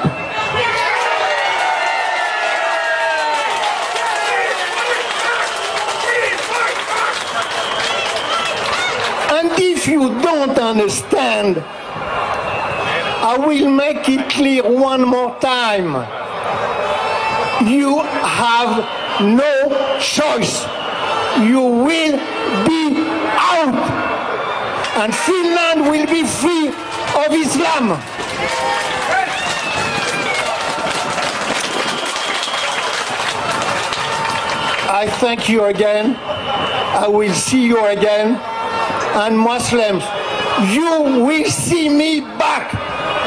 And if you don't understand, I will make it clear one more time. You have no choice. You will be out. And Finland will be free of Islam. I thank you again. I will see you again. And Muslims, you will see me back.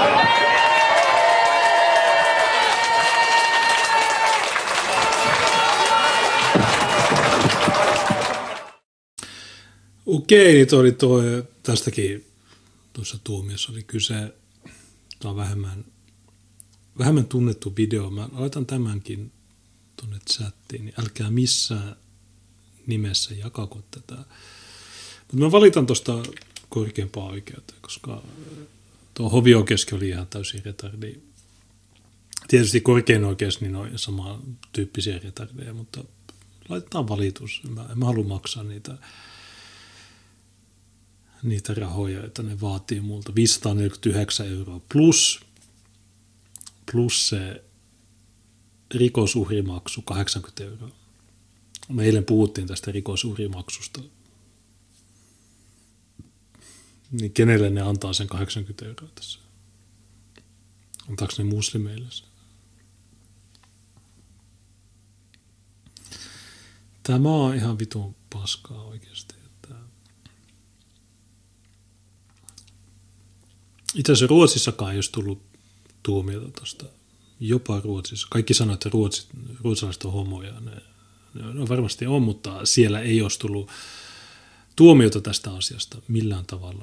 Okei, niin tästäkin tuossa tuomiossa oli kyse. Tämä on vähemmän tunnettu video. Mä laitan tämänkin tuonne chattiin, niin älkää missään nimessä jakako tätä. Mutta mä valitan tuosta korkeampaa oikeuteen, koska tuo hovioikeuskin oli ihan täysin retardi. Tietysti korkein oikeus niin on samantyyppisiä retardeja, mutta laitetaan valitus. En mä halua maksaa niitä rahoja, joita ne vaatii multa. 549 € plus se rikosuhrimaksu 80 €. Me eilen puhuttiin tästä rikosuhrimaksusta. Niin kenelle ne antaa sen 80 € tässä? Antaako ne muslimeille sen? Tämä on ihan vitun paskaa oikeasti. Itse asiassa Ruotsissakaan ei olisi tullut tuomiota tuosta. Jopa Ruotsissa. Kaikki sanoo, että ruotsalaiset on homoja. Ne varmasti on, mutta siellä ei olisi tullut tuomiota tästä asiasta millään tavalla.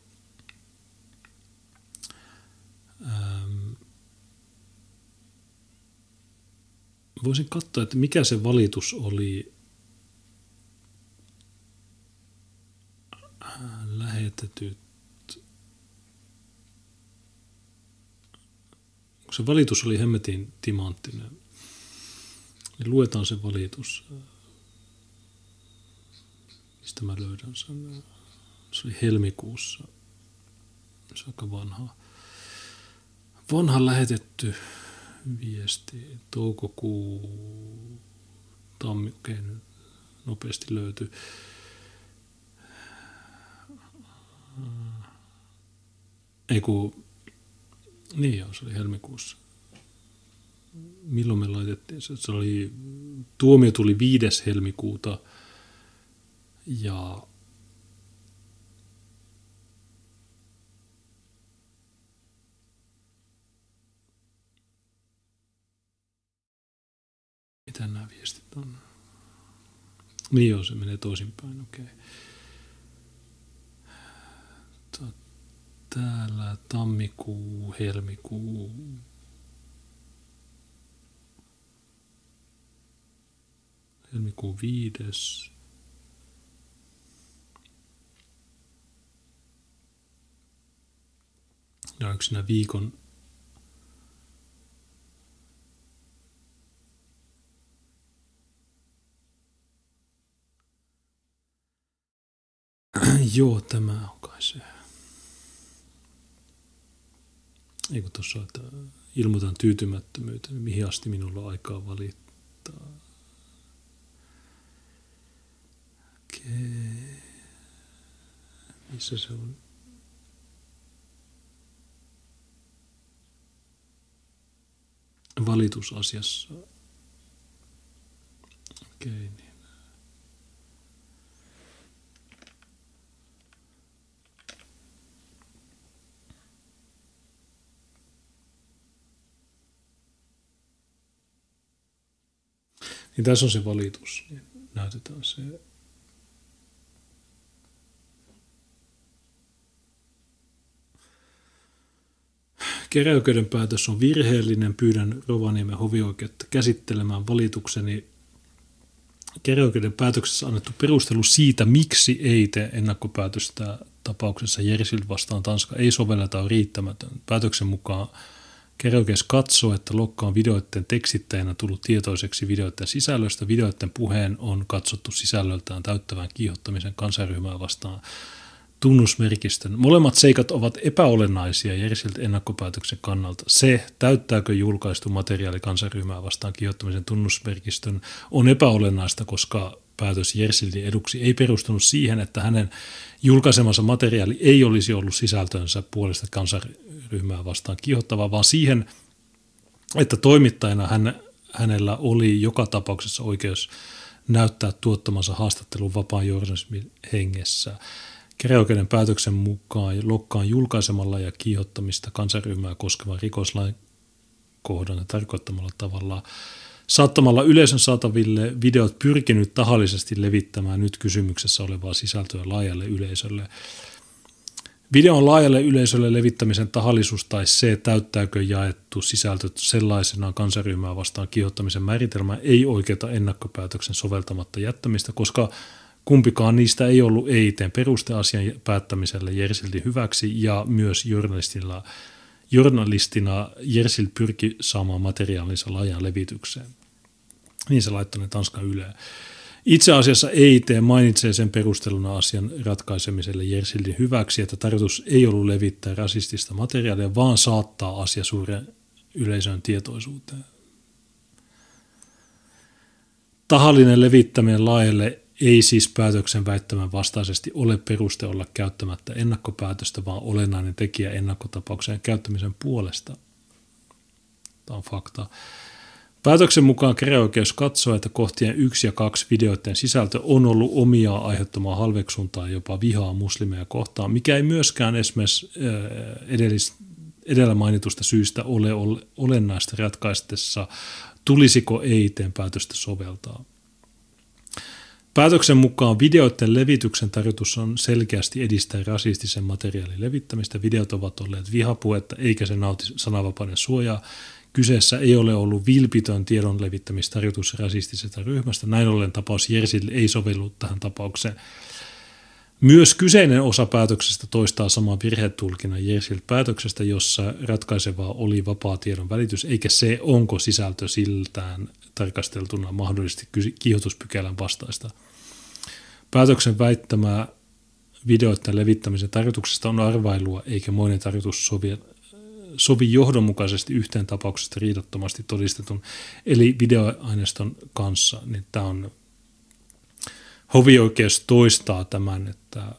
Voisin katsoa, että mikä se valitus oli lähetetyt. Se valitus oli hemmetin timanttinen. Niin luetaan se valitus. Mistä mä löydän sen? Se oli helmikuussa. Se on aika vanha lähetetty viesti. Toukokuu. Okei, nopeasti löytyy. Niin joo, se oli helmikuussa. Milloin me laitettiin se? Tuomio tuli 5. helmikuuta ja mitä nämä viestit on? Niin joo, se menee toisinpäin, okei. Täällä tammikuu, helmikuu. Helmikuun 5. Ja onko siinä viikon joo, tämä on kai se. Eikö tuossa, että ilmoitan tyytymättömyyteni, mihin asti minulla on aikaa valittaa. Okei. Missä se on? Valitusasiassa. Okei, niin. Niin tässä on se valitus. Niin näytetään se. Käräjäoikeuden päätös on virheellinen. Pyydän Rovaniemen hovioikeutta käsittelemään valitukseni. Käräjäoikeuden päätöksessä annettu perustelu siitä, miksi ei tee ennakkopäätöstä tapauksessa Jersild vastaan Tanska ei sovelleta on riittämätön. Päätöksen mukaan käräjäoikeus katsoo, että Lokka on videoiden tekstittäjänä tullut tietoiseksi videoiden sisällöstä. Videoiden puheen on katsottu sisällöltään täyttävän kiihottamisen kansanryhmää vastaan tunnusmerkistön. Molemmat seikat ovat epäolennaisia Jersild ennakkopäätöksen kannalta. Se, täyttääkö julkaistu materiaali kansanryhmää vastaan kiihottamisen tunnusmerkistön, on epäolennaista, koska päätös Jersildin eduksi ei perustunut siihen, että hänen julkaisemansa materiaali ei olisi ollut sisältönsä puolesta kansanryhmää vastaan kiihottavaa, vaan siihen, että toimittajana hänellä oli joka tapauksessa oikeus näyttää tuottamansa haastattelun vapaan journalismin hengessä. Käräjäoikeuden päätöksen mukaan Lokkaan julkaisemalla ja kiihottamista kansanryhmää koskevan rikoslain kohdan ja tarkoittamalla tavalla saattamalla yleisön saataville videot pyrkinyt tahallisesti levittämään nyt kysymyksessä olevaa sisältöä laajalle yleisölle. Videon laajalle yleisölle levittämisen tahallisuus tai se, täyttääkö jaettu sisältö sellaisenaan kansanryhmää vastaan kiihottamisen määritelmää, ei oikeuta ennakkopäätöksen soveltamatta jättämistä, koska kumpikaan niistä ei ollut EIT:n peruste asian päättämiselle Jersildin hyväksi ja myös journalistina Jersild pyrki saamaan materiaalinsa laajan levitykseen. Niin se laittoi ne Tanskan Yleen. Itse asiassa EIT mainitsee sen perusteluna asian ratkaisemiselle Jersildin hyväksi, että tarkoitus ei ollut levittää rasistista materiaalia, vaan saattaa asia suuren yleisön tietoisuuteen. Tahallinen levittäminen laajalle ei siis päätöksen väittämän vastaisesti ole peruste olla käyttämättä ennakkopäätöstä, vaan olennainen tekijä ennakkotapauksen käyttämisen puolesta. Tämä on fakta. Päätöksen mukaan käräjäoikeus katsoo, että kohtien 1 ja 2 videoiden sisältö on ollut omiaan aiheuttamaan halveksuntaa jopa vihaa muslimeja kohtaan, mikä ei myöskään esimerkiksi edellä mainitusta syystä ole olennaista ratkaistessa, tulisiko EIT:n päätöstä soveltaa. Päätöksen mukaan videoiden levityksen tarkoitus on selkeästi edistää rasistisen materiaalin levittämistä. Videot ovat olleet vihapuhetta eikä se nauti sananvapauden suojaa. Kyseessä ei ole ollut vilpitön tiedon levittämistarkoitus rasistisesta ryhmästä. Näin ollen tapaus Jersild ei sovellu tähän tapaukseen. Myös kyseinen osa päätöksestä toistaa saman virhetulkinnan Jersild-päätöksestä, jossa ratkaisevaa oli vapaa tiedon välitys, eikä se, onko sisältö siltään tarkasteltuna mahdollisesti kiihotuspykälän vastaista. Päätöksen väittämää videoiden levittämisen tarkoituksesta on arvailua, eikä moinen tarkoitus sovi johdonmukaisesti yhteen tapauksesta riidattomasti todistetun, eli videoaineiston kanssa. Niin tämä on hovioikeus toistaa tämän, että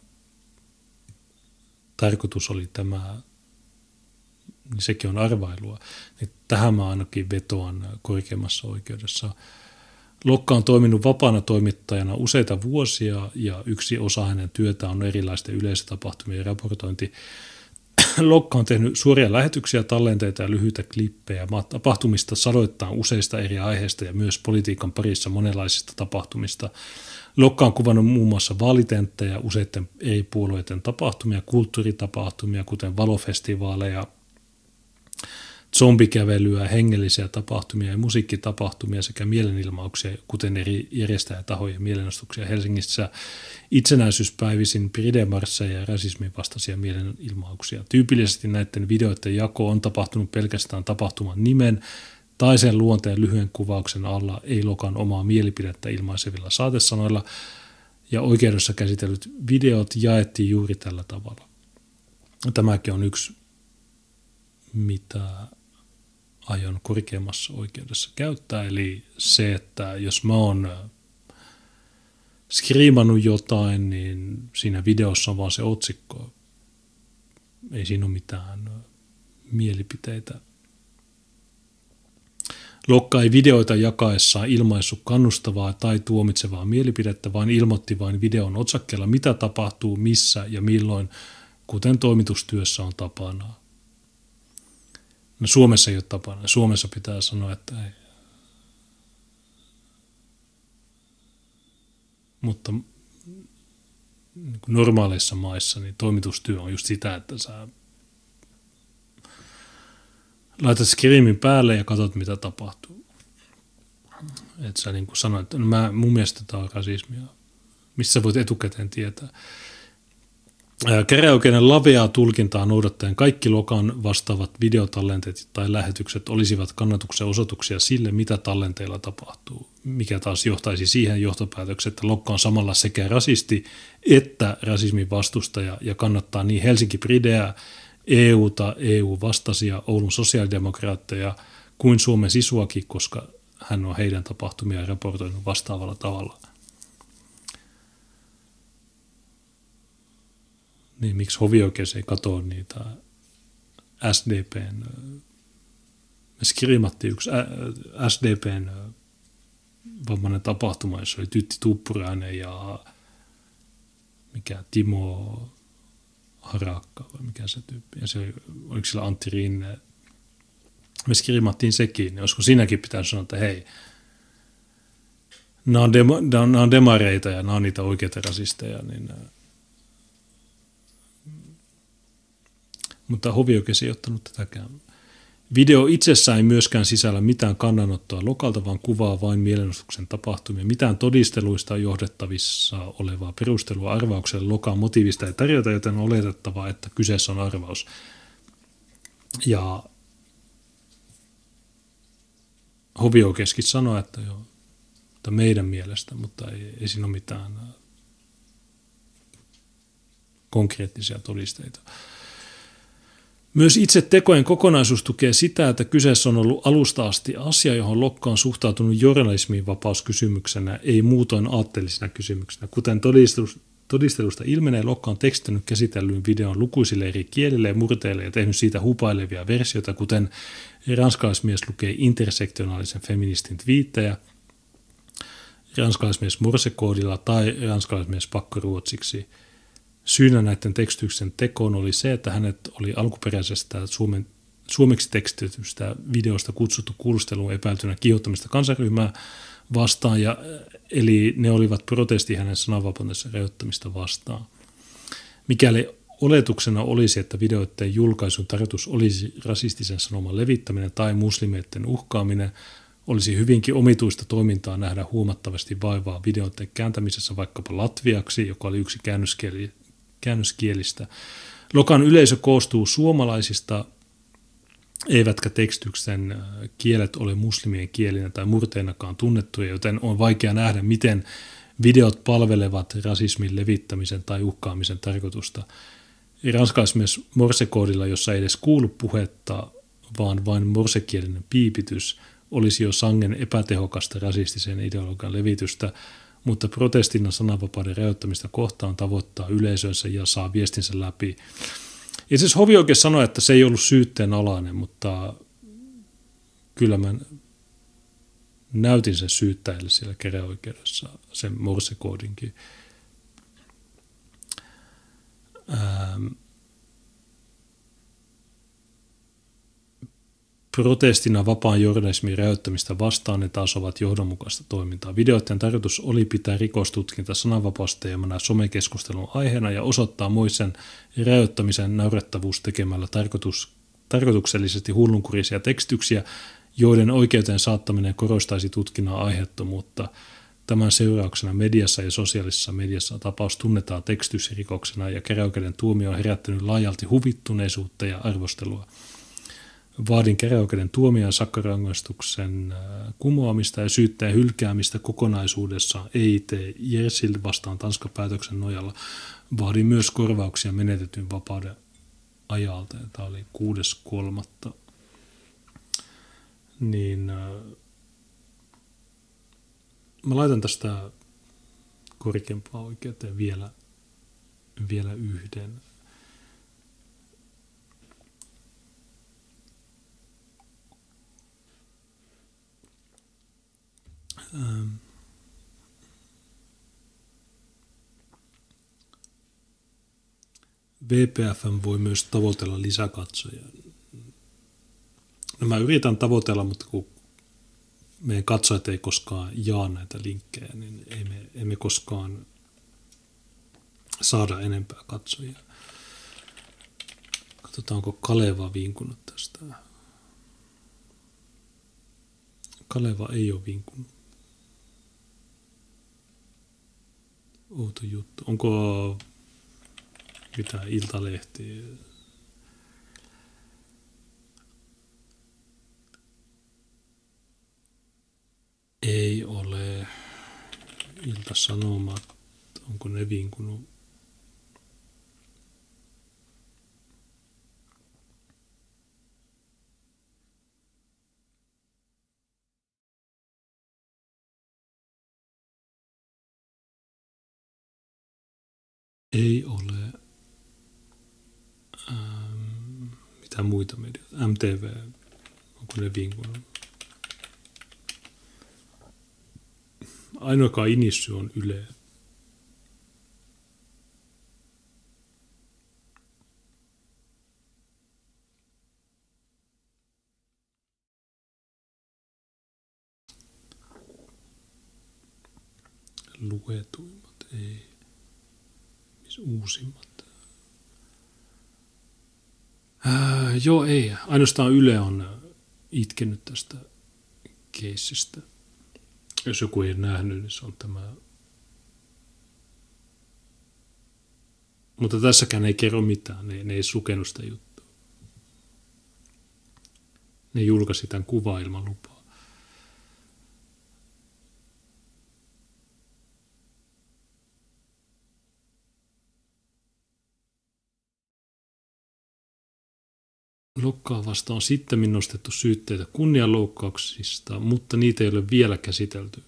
tarkoitus oli tämä, niin sekin on arvailua. Niin tähän mä ainakin vetoan korkeimmassa oikeudessa. Lokka on toiminut vapaana toimittajana useita vuosia ja yksi osa hänen työtään on erilaisten yleisötapahtumien raportointi. Lokka on tehnyt suoria lähetyksiä, tallenteita ja lyhyitä klippejä tapahtumista sadoittain useista eri aiheista ja myös politiikan parissa monenlaisista tapahtumista. Lokka on kuvannut muun muassa vaalitenttejä, useiden eri puolueiden tapahtumia, kulttuuritapahtumia, kuten valofestivaaleja, zombikävelyä, hengellisiä tapahtumia ja musiikkitapahtumia sekä mielenilmauksia, kuten eri järjestäjätahojen mielenostuksia Helsingissä, itsenäisyyspäivisin, pridemarsseja ja rasismin vastaisia mielenilmauksia. Tyypillisesti näiden videoiden jako on tapahtunut pelkästään tapahtuman nimen tai sen luonteen lyhyen kuvauksen alla, ei Lokan omaa mielipidettä ilmaisevilla saatesanoilla, ja oikeudessa käsitellyt videot jaettiin juuri tällä tavalla. Tämäkin on yksi, mitä aion korkeimmassa oikeudessa käyttää, eli se, että jos mä oon skriimannut jotain, niin siinä videossa on vaan se otsikko. Ei siinä ole mitään mielipiteitä. Lokka ei videoita jakaessaan ilmaissut kannustavaa tai tuomitsevaa mielipidettä, vaan ilmoitti vain videon otsakkeella, mitä tapahtuu, missä ja milloin, kuten toimitustyössä on tapana. No Suomessa ei ole tapana. Suomessa pitää sanoa, että ei. mutta niin kuin normaaleissa maissa niin toimitustyö on just sitä, että sä laitat skriimin päälle ja katsot, mitä tapahtuu. Että sä niin kuin sanoit, että no mun mielestä tämä on rasismia. Missä voit etukäteen tietää. Käräjäoikeuden laveaa tulkintaa noudattaen kaikki Lokan vastaavat videotallenteet tai lähetykset olisivat kannatuksen osoituksia sille, mitä tallenteilla tapahtuu, mikä taas johtaisi siihen johtopäätökseen, että Lokka on samalla sekä rasisti että rasismin vastustaja ja kannattaa niin Helsinki Prideä, EUta, EU-vastaisia, Oulun sosiaalidemokraatteja kuin Suomen Sisuakin, koska hän on heidän tapahtumia raportoinut vastaavalla tavalla. Niin miksi hovioikeus ei katoa niitä SDPn, me skriimattiin yksi SDPn vammainen tapahtuma, jossa oli Tytti Tuppurainen ja mikä Timo Harakka vai mikä se tyyppi, ja se oliko sillä Antti Rinne. Me skriimattiin sekin, niin olisiko siinäkin pitäisi sanoa, että hei, nämä on demareita ja nämä on niitä oikeita rasisteja, niin mutta hovioikeus ei ottanut tätäkään. Video itsessään ei myöskään sisällä mitään kannanottoa Lokalta, vaan kuvaa vain mielenosoituksen tapahtumia. Mitään todisteluista johdettavissa olevaa perustelua arvaukselle Lokan motiivista ei tarjota, joten on oletettavaa, että kyseessä on arvaus. Ja hovioikeuskin sanoi, että joo, että meidän mielestä, mutta ei siinä ole mitään konkreettisia todisteita. Myös itse tekojen kokonaisuus tukee sitä, että kyseessä on ollut alusta asti asia, johon Lokka on suhtautunut journalismin vapauskysymyksenä, ei muutoin aatteellisena kysymyksenä. Kuten todistelusta ilmenee, Lokka on tekstinyt käsitellyn videon lukuisille eri kielille ja murteille ja tehnyt siitä hupailevia versioita, kuten ranskalaismies lukee intersektionaalisen feministin twiittejä, ranskalaismies morsekoodilla tai ranskalaismies pakkoruotsiksi. Syynä näiden tekstyksen tekoon oli se, että hänet oli alkuperäisestä suomeksi tekstitystä videosta kutsuttu kuulusteluun epäiltynä kiihottamista kansanryhmää vastaan, eli ne olivat protesti hänen sananvapautensa rajoittamista vastaan. Mikäli oletuksena olisi, että videoiden julkaisun tarkoitus olisi rasistisen sanoman levittäminen tai muslimeiden uhkaaminen, olisi hyvinkin omituista toimintaa nähdä huomattavasti vaivaa videoiden kääntämisessä vaikkapa latviaksi, joka oli yksi käännöskielistä. Lokan yleisö koostuu suomalaisista, eivätkä tekstyksen kielet ole muslimien kielinä tai murteinakaan tunnettuja, joten on vaikea nähdä, miten videot palvelevat rasismin levittämisen tai uhkaamisen tarkoitusta. Ranskalaismies morsekoodilla, jossa ei edes kuulu puhetta, vaan vain morsekielinen piipitys, olisi jo sangen epätehokasta rasistisen ideologian levitystä, mutta protestina sananvapauden rajoittamista kohtaan tavoittaa yleisönsä ja saa viestinsä läpi. Itse asiassa hovioikeus sanoi, että se ei ollut syytteen alainen, mutta kyllä mä näytin sen syyttäjälle siellä käräjäoikeudessa, sen morsekoodinkin. Protestina vapaan journalismin rajoittamista vastaan ne taas ovat johdonmukaista toimintaa. Videoiden tarkoitus oli pitää rikostutkinta sananvapausteemana somekeskustelun aiheena ja osoittaa moisen rajoittamisen naurettavuus tekemällä tarkoituksellisesti hullunkurisia tekstyksiä, joiden oikeuteen saattaminen korostaisi tutkinnan aiheettomuutta. Tämän seurauksena mediassa ja sosiaalisessa mediassa tapaus tunnetaan tekstysrikoksena ja käräjäoikeuden tuomio on herättänyt laajalti huvittuneisuutta ja arvostelua. Vaadin käräjäoikeuden tuomion sakkorangaistuksen kumoamista ja syytteen hylkäämistä kokonaisuudessaan EIT Jersil vastaan Tanskan päätöksen nojalla. Vaadin myös korvauksia menetetyn vapauden ajalta. Tämä oli 6.3. Niin, mä laitan tästä korkeampaa oikeuteen vielä yhden. VPFM voi myös tavoitella lisäkatsojia. No mä yritän tavoitella, mutta kun meidän katsojat ei koskaan jaa näitä linkkejä, niin emme koskaan saada enempää katsojia. Katsotaan, onko Kaleva vinkunut tästä. Kaleva ei ole vinkunut. Outo juttu. Onko mitään Iltalehtiä? Ei ole. Ilta-Sanomat. Onko ne vinkunut? Ei ole. Mitä muita medioita? MTV. Onko ne vinkunut? Ainoa, joka inissy, on Yle. Luetuimmat, ei. Missä uusimmat? Joo, ei. Ainoastaan Yle on itkenyt tästä keissistä. Jos joku ei nähnyt, niin se on tämä. Mutta tässäkään ei kerro mitään. Ne ei sukenut sitä juttua. Ne julkaisi tämän kuvaa ilman lupaa. Lokkaa vastaan on sittemmin nostettu syytteitä kunnianloukkauksista, mutta niitä ei ole vielä käsitelty.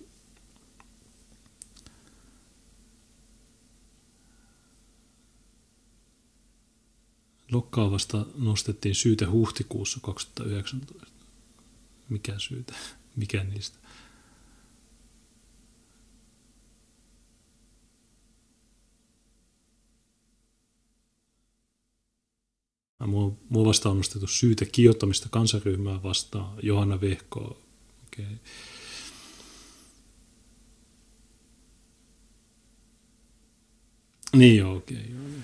Lokkaa vasta nostettiin syyte huhtikuussa 2019. Mikä syyte? Mikä niistä? Mua vastaan on nostettu syyte kiihottamista kansanryhmää vastaan. Johanna Vehko. Okay. Niin joo, okei. Okay.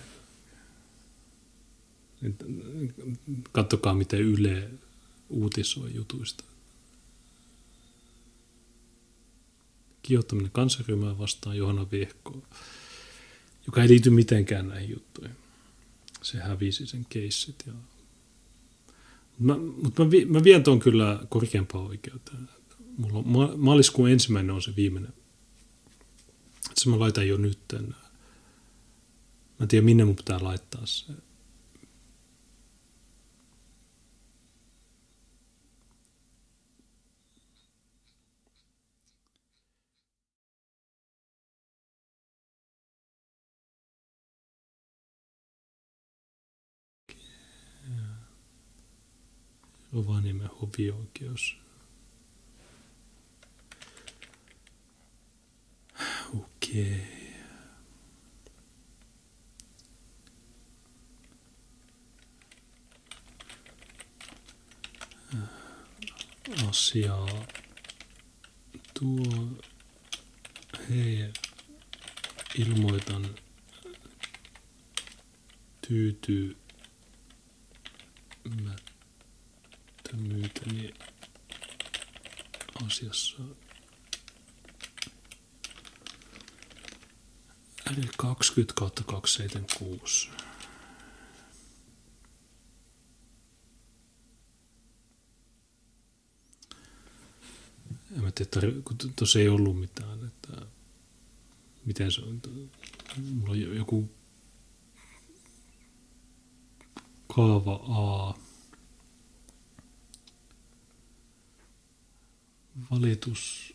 Katsokaa, miten Yle uutisoi jutuista. Kiihottaminen kansanryhmää vastaan Johanna Vehko, joka ei liity mitenkään näihin juttuihin. Se hävisi sen keissit. Mutta mä vien tuon kyllä korkeampaan oikeuteen. Mulla on, maaliskuun 1. on se viimeinen. Se mä laitan jo nyt. Mä en tiedä, minne mun pitää laittaa se. Rovaniemen hovioikeus. Okei. Asiaa. Tuo. Hei. Ilmoitan tyytymättömyyteni asiassa. Eli 20/276. En mä tiedä, kun tuossa ei ollut mitään, että miten se on. Mulla on joku kaava A. Valitus.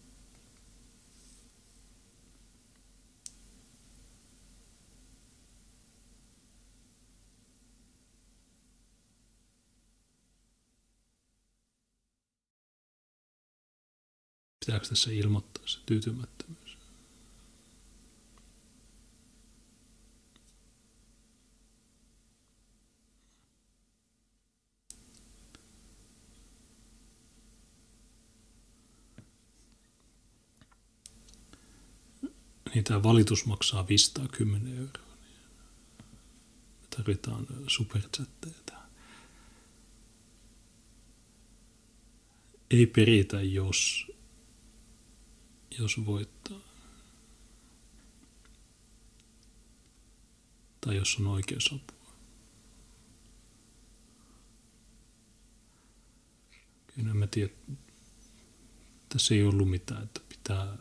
Pitääkö tässä ilmoittaa se tyytymättömyys? niin tämä valitus maksaa 510 €. Me tarvitaan superchatteja tähän. Ei peritä, jos voittaa. Tai jos on oikeusapua. Kyllä mä tiedän, tässä ei ollut mitään, että pitää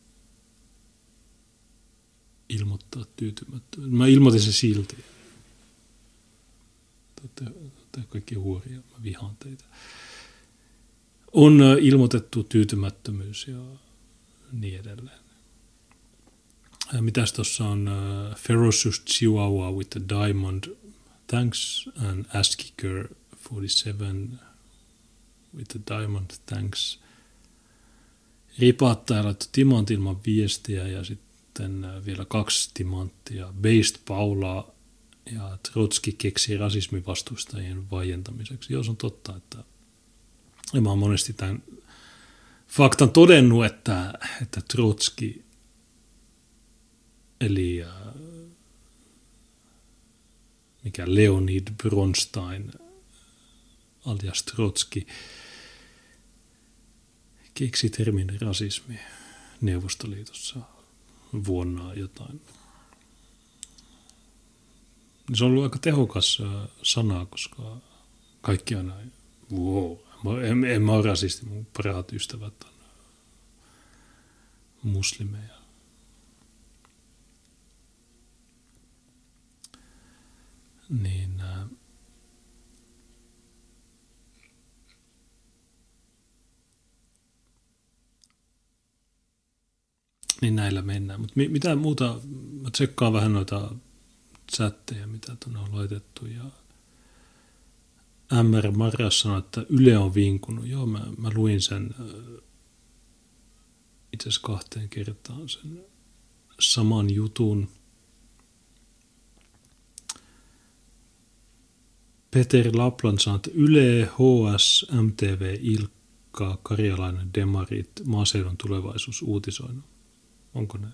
ilmoittaa tyytymättömyyttä. Mä ilmoitin se silti. Te kaikki huoria, mä vihaan teitä. On ilmoitettu tyytymättömyys ja niin edelleen. Mitäs tuossa on? Ferocious Chihuahua with a diamond. Thanks. And Ass Kicker 47 with a diamond. Thanks. Ripattaja laittoi timantti ilman viestiä ja sitten vielä 2 timanttia. Based Paula ja Trotski keksii rasismivastustajien vaientamiseksi. Joo, se on totta, että mä oon monesti tämän faktan todennut, että Trotski eli mikä Leonid Bronstein alias Trotski keksi termin rasismi Neuvostoliitossa vuonna jotain. Se on ollut aika tehokas sana, koska kaikki on näin, wow, en mä ole rasisti, mun parhaat ystävät on muslimeja. Niin näillä mennään. Mutta mitä muuta, mä tsekkaan vähän noita chatteja, mitä tuonne on laitettu. Ja MR Marjas sanoi, että Yle on vinkunut. Joo, mä luin sen itse asiassa 2 kertaan sen saman jutun. Peter Lapland sanoi, että Yle, HS, MTV, Ilkka, Karjalainen, Demarit, Maaseudun tulevaisuus uutisoinut. Onko ne?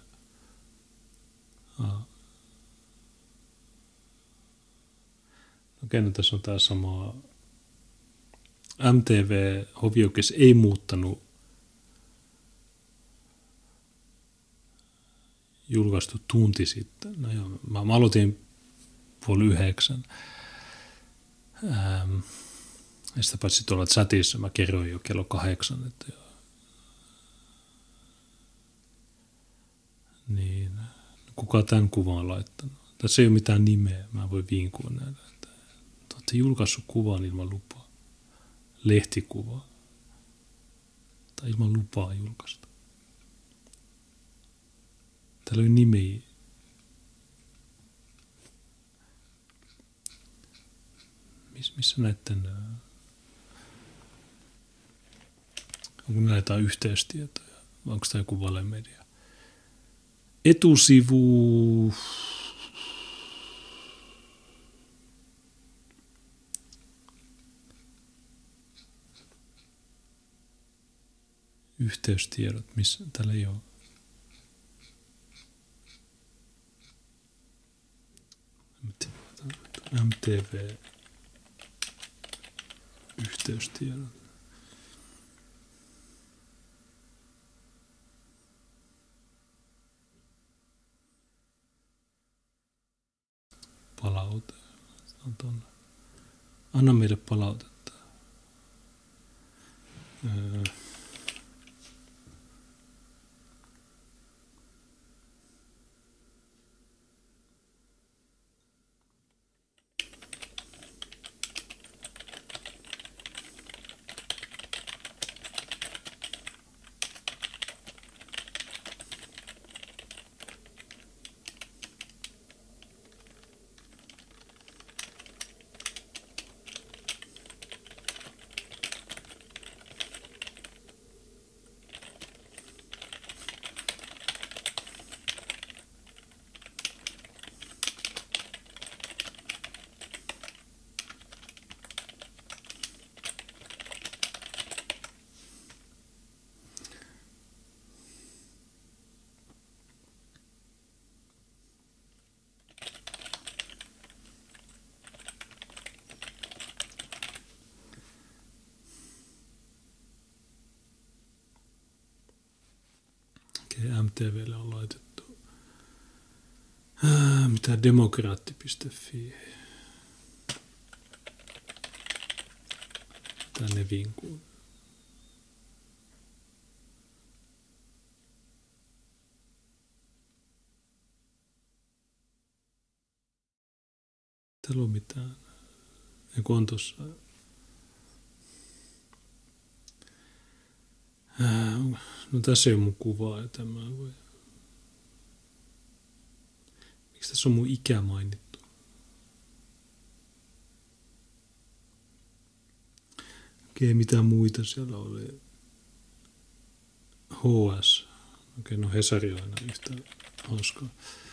Okei, no tässä on tämä sama. MTV hovioikeus ei muuttanut julkaistu tunti sitten. No joo, mä aloitin 8:30. Ja sitä paitsi tuolla chatissa mä kerroin jo kello 8, että niin, kuka tämän kuvan on laittanut? Tässä ei ole mitään nimeä, mä voin viinkua näillä. Te olette julkaissut kuvan ilman lupaa. Lehtikuva. Tai ilman lupaa julkaista. Täällä on nimi. Missä näiden, onko näitä yhteystietoja, vai onko tämä joku valemedia? Etusivu, yhteystiedot, missä täällä ei ole. MTV yhteystiedot. Palaute. Anna meille palautetta. siihen MTVlle on laitettu. Mitä demokraatti.fi. Tänne vinkuu. Täällä on mitään. Eiku on tossa. No tässä ei ole mun kuvaa ja tämä voi. Miksi tässä on mun ikä mainittu? Okei, mitä muita siellä oli? HS. Okei, no Hesari on aina yhtä hauskaa.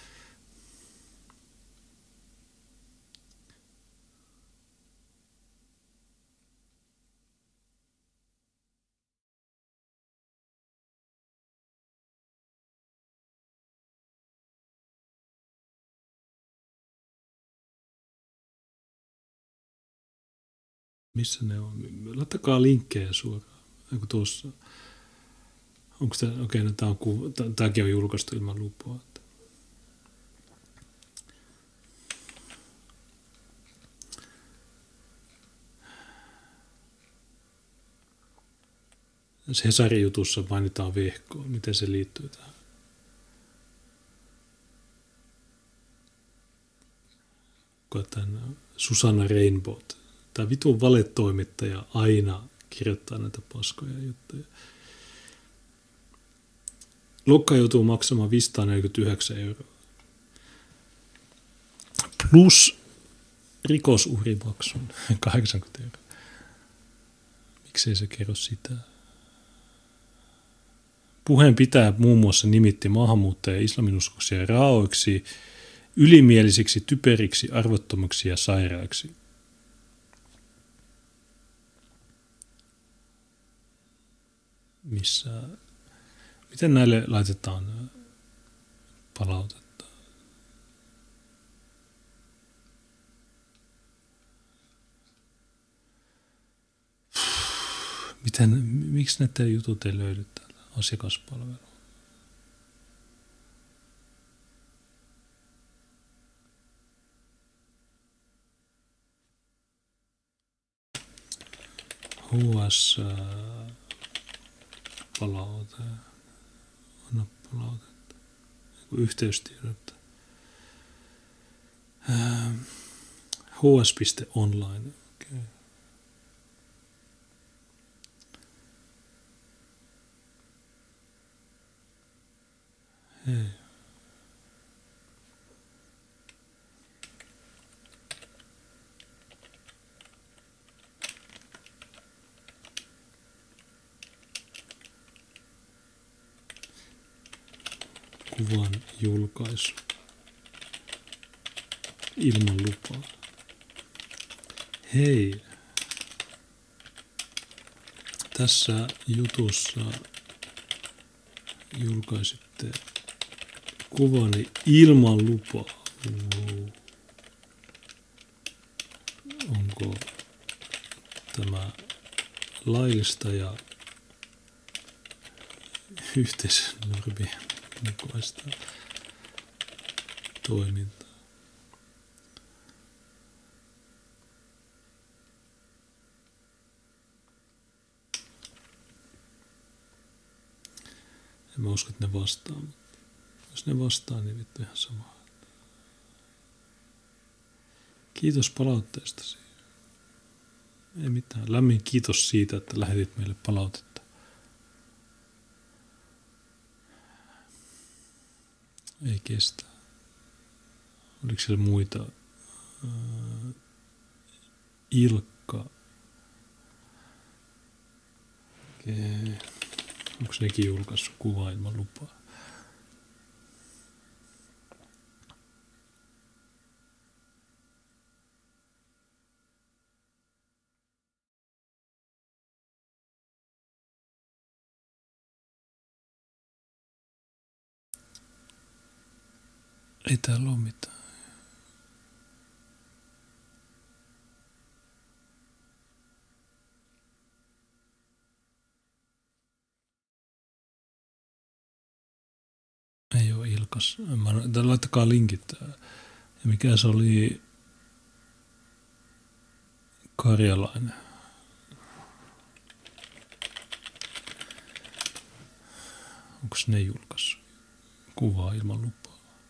Missä ne on? Laittakaa linkkejä suoraan. Eiku tuossa. Onko tämä, okei, no tämäkin on julkaistu ilman lupaa. Hesarin jutussa mainitaan vehkoa. Miten se liittyy tähän? Tämän Susanna Rainbow. Tämä vitun valetoimittaja aina kirjoittaa näitä paskoja juttuja. Lokka joutuu maksamaan 549 €. Plus rikosuhrimaksun 80 €. Miksei se kerro sitä? Puheen pitää muun muassa nimitti maahanmuuttajia islaminuskoisia raaoiksi, ylimielisiksi, typeriksi, arvottomiksi ja sairaiksi. Miten näille laitetaan palautetta? Miksi näiden jutut ei löydy täältä asiakaspalveluun? HS palaute. Anna palautetta. Yhteystiedot. hs.online. Okay. Hei. Kuvan julkaisu ilman lupaa. Hei, tässä jutussa julkaisitte kuvani ilman lupaa. Wow. Onko tämä laillista ja yhteisön normien mukaista toimintaa? En mä usko, että ne vastaa, mutta jos ne vastaa, niin vittu ihan sama. Kiitos palautteestasi. Ei mitään. Lämmin kiitos siitä, että lähetit meille palautetta. Ei kestä. Oliko siellä muita? Ilkka. Okei. Onko nekin julkaissut kuvaa ilman lupaa? Ei täällä ole mitään. Julkais. Laittakaa linkit. Ja mikä se oli Karjalainen. Onko ne julkaissut kuvaa ilman lupaa?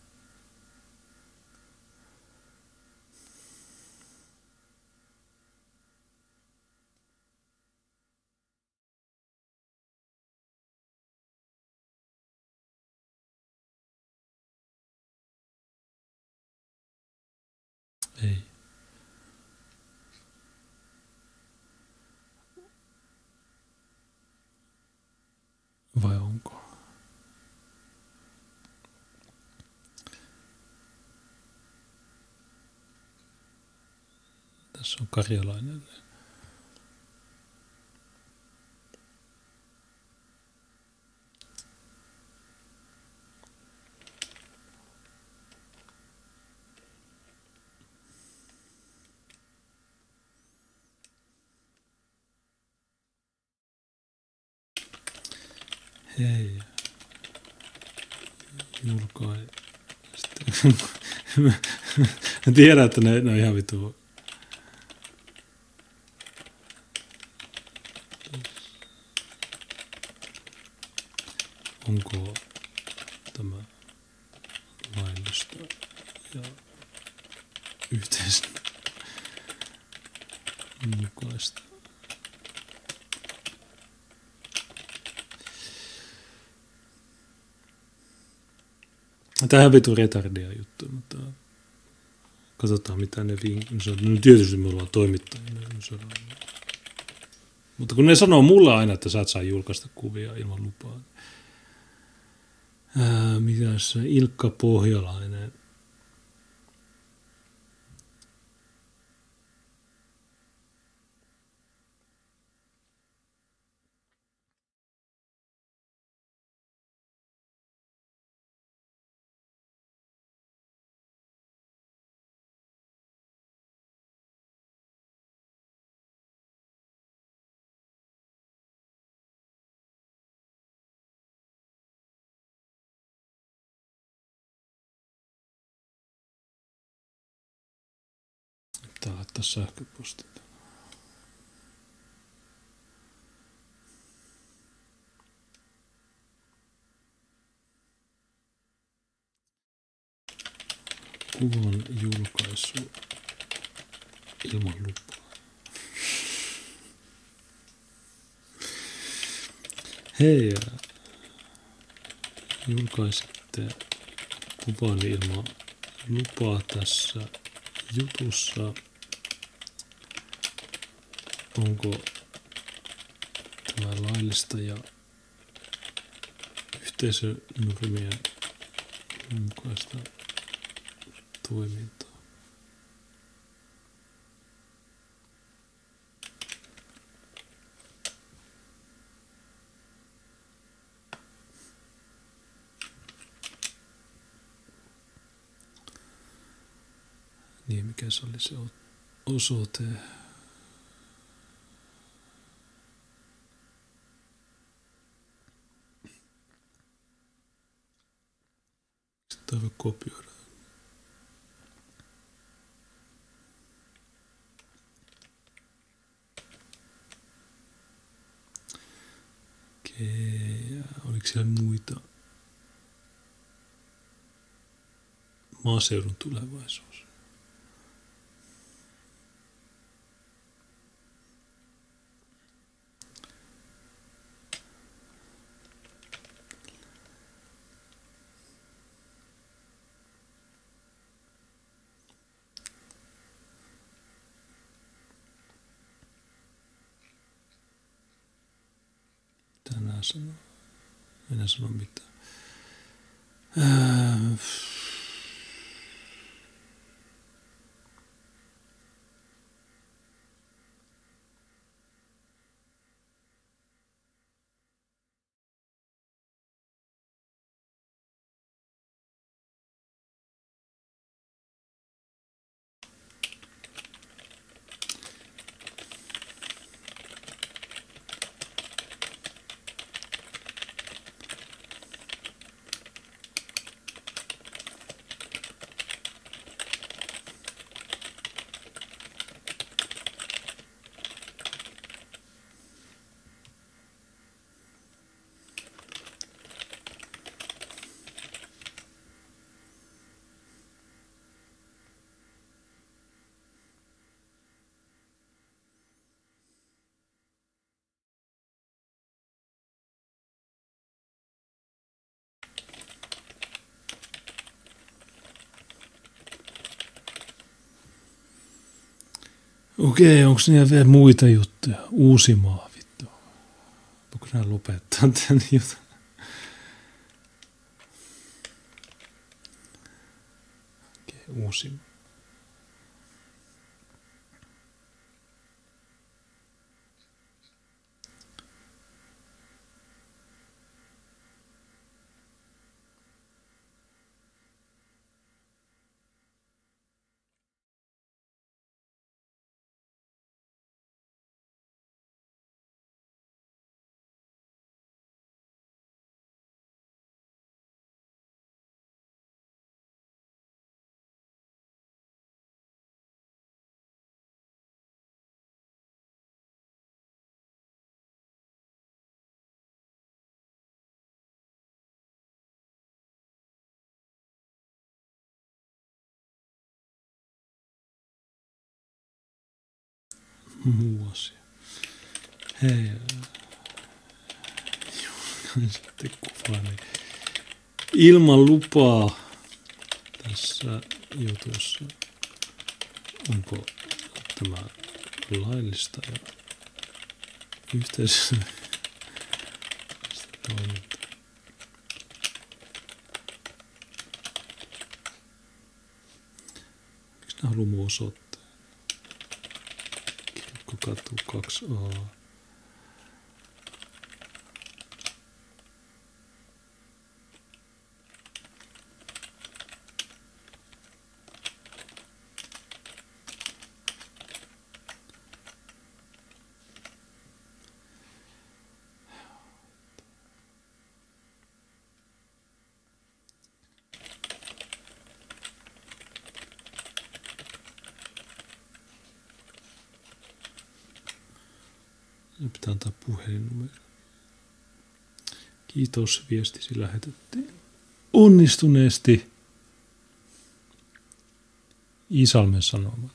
Ei. Vai onko? Tässä on Karjalainen. Hei. Julkai. Mä tiedän, että ne on ihan vitu. Onko tämä laillista ja yhteisön mukaista? Tämä on vitu retardia juttu, mutta katsotaan mitä ne no tietysti me ollaan toimittajia. Mutta kun ne sanoo mulle aina, että sä et saa julkaista kuvia ilman lupaa. Mitäs Ilkka Pohjalainen. Pitää laittaa sähköpostit. Kuvan julkaisu ilman lupaa. Hei, julkaisitte kuvan ilman lupaa tässä jutussa. Onko tämä laillista ja yhteisönormien mukaista toimintaa? Niin, mikä se oli se osoite? Sitten voi kopioida. Okei, oliko siellä muita? Maaseudun tulevaisuus. Tänään sanoo. Enää sano mitään. Okei, onko niillä vielä muita juttuja? Uusimaa, vittu. Voiko nää lopettaa tän jutun? Okei, Uusimaa. Muu asia. Hei. Sitten kuvaa. Niin. Ilman lupaa tässä jutussa. Onko tämä laillista ja yhteisössä toimintaa? Miksi nämä haluaa mun osoittaa? Katu 2A. Pitää antaa puhelinnumero. Kiitos, viestisi lähetettiin onnistuneesti Iisalmen Sanomalle.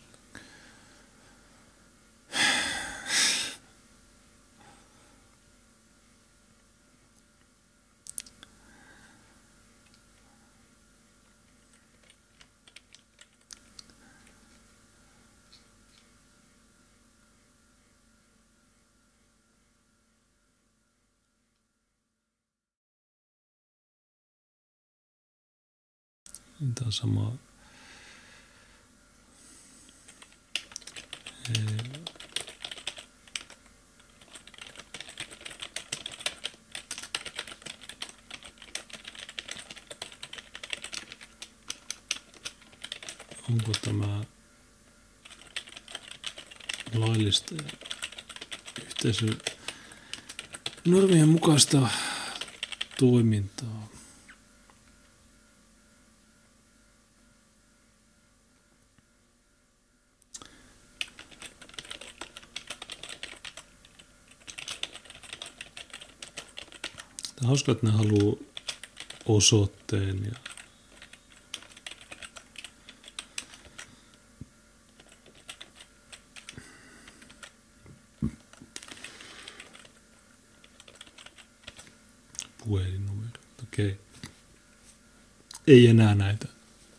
Tämä on sama. Onko tämä laillista yhteisön normien mukaista toimintaa? Tämä on hauska, että ne haluaa osoitteen ja puhelinnumero. Okei. Ei enää näitä.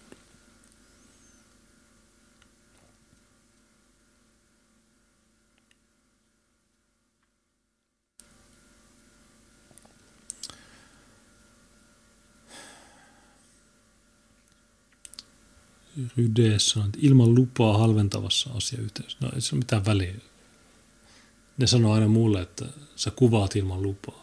Rydeessä on, että ilman lupaa halventavassa asiayhteydessä. No ei se ole mitään väliä. Ne sanoo aina mulle, että sä kuvaat ilman lupaa.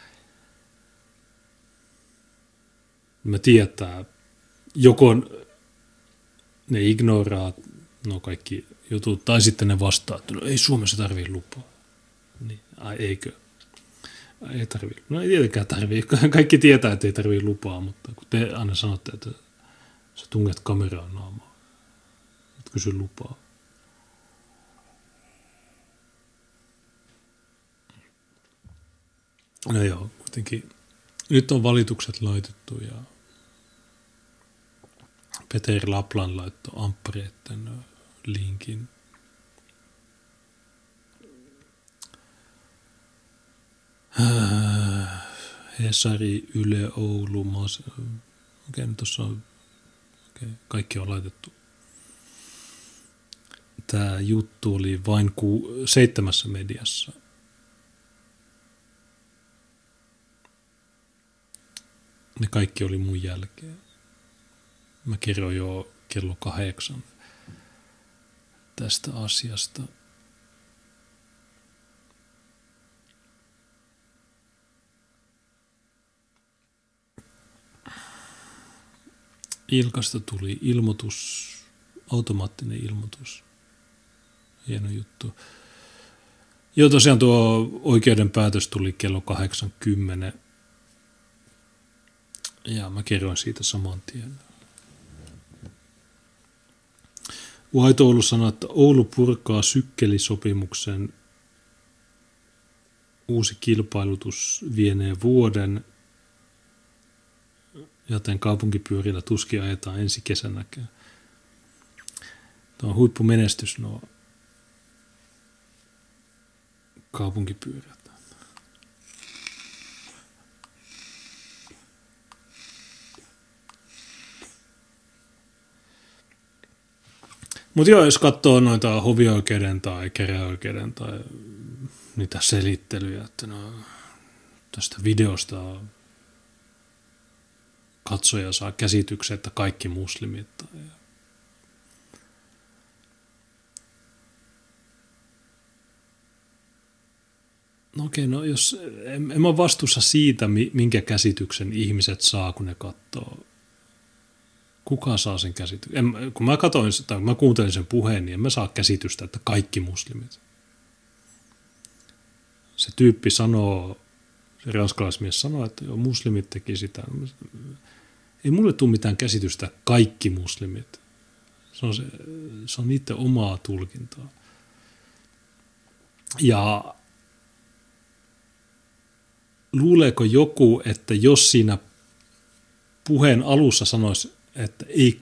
Mä tietää, joko ne ignoraa kaikki jutut, tai sitten ne vastaa, että no ei Suomessa tarvii lupaa. Niin, eikö? Ei tarvii. No ei tietenkään tarvii. Kaikki tietää, että ei tarvii lupaa, mutta kun te aina sanotte, että sä tunget kameraan naamaan, et kysy lupaa. No joo, kuitenkin. Nyt on valitukset laitettu ja Peter Laplan laittoi amppareitten linkin. Hesari, Yle, Oulu, okei, nyt tuossa on, kaikki on laitettu tämä juttu oli vain 7 mediassa. Ne kaikki oli mun jälkeen. Mä kerroin jo kello 8 tästä asiasta. Ilkasta tuli ilmoitus, automaattinen ilmoitus. Hieno juttu. Joo, tosiaan tuo oikeuden päätös tuli kello 8:10. Ja mä kerroin siitä saman tien. White Oulu sanoi, että Oulu purkaa sykkelisopimuksen. Uusi kilpailutus vienee vuoden, joten kaupunkipyörillä tuskin ajetaan ensi kesänäkään. Tämä on huippumenestys nuo kaupunkipyörät. Mutta joo, jos katsoo noita hovioikeuden tai käräjäoikeuden tai niitä selittelyjä, että no, tästä videosta katsoja saa käsityksen, että kaikki muslimit. No okei, no jos en mä vastuussa siitä, minkä käsityksen ihmiset saa, kun ne katsoo. Kuka saa sen käsityksen? Kun mä katsoin tai kun mä kuuntelin sen puheen, niin en mä saa käsitystä, että kaikki muslimit. Se tyyppi sanoo, se ranskalaismies sanoo, että joo, muslimit teki sitä. Ei mulle tule mitään käsitystä, kaikki muslimit. Se on niiden omaa tulkintaa. Ja luuleeko joku, että jos siinä puheen alussa sanoisi, että ei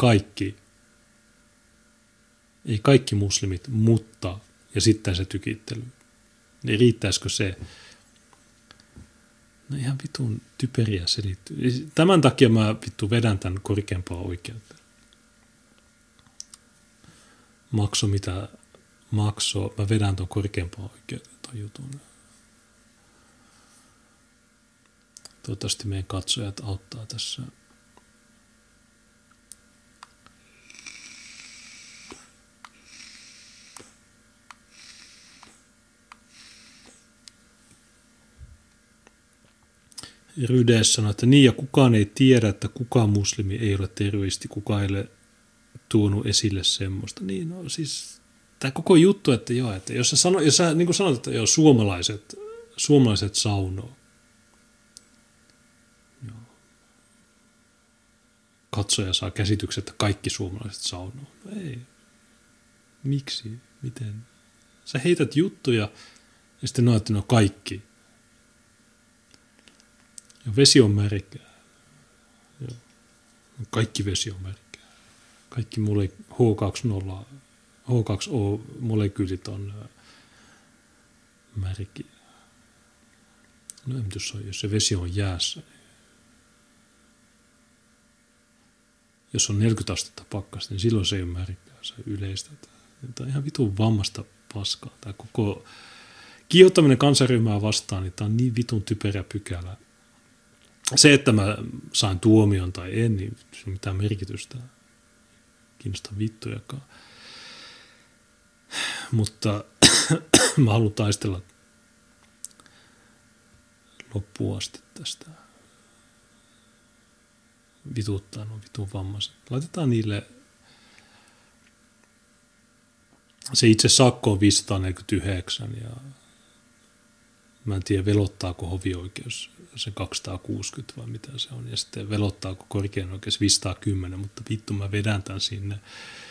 kaikki muslimit, mutta, ja sitten se tykittely, niin riittäisikö se? No ihan vitun typeriä selittyy. Tämän takia mä vittu vedän tämän korkeampaa oikeuteen. Makso mitä makso, mä vedän tuon korkeampaa oikeuteen ton jutun. Toivottavasti meidän katsojat auttaa tässä. Rydes sanoi, että niin ja kukaan ei tiedä, että kukaan muslimi ei ole terroristi, kukaan ei ole tuonut esille semmoista. Niin no siis tämä koko juttu, että joo, että jos sä niin kuin sanot, että joo, suomalaiset saunoo. Joo. Katsoja saa käsityksen, että kaikki suomalaiset saunoo. No ei. Miksi? Miten? Sä heität juttuja ja sitten no, että no kaikki. Ja vesi on märkää. Joo. Kaikki vesi on märkää. Kaikki H2O-molekyylit on märkiä. No en tiedä, jos se vesi on jäässä. Jos on 40 astetta pakkasta, niin silloin se ei ole märkää. Se yleistä. Tämä on ihan vitun vammasta paskaa. Tämä koko kiihottaminen kansanryhmää vastaan, niin tämä on niin vitun typerä pykälä. Se, että mä sain tuomion tai en, niin se on mitään merkitystä. Kiinnostaa vittujakaan. Mutta mä haluan taistella loppuun asti tästä. Vituttaa nuo vitun vammaiset. Laitetaan niille, se itse sakko on 549 ja mä en tiedä velottaako hovioikeus sen 260 vai mitä se on ja sitten velottaako korkein oikeus 510, mutta vittu mä vedän tämän sinne.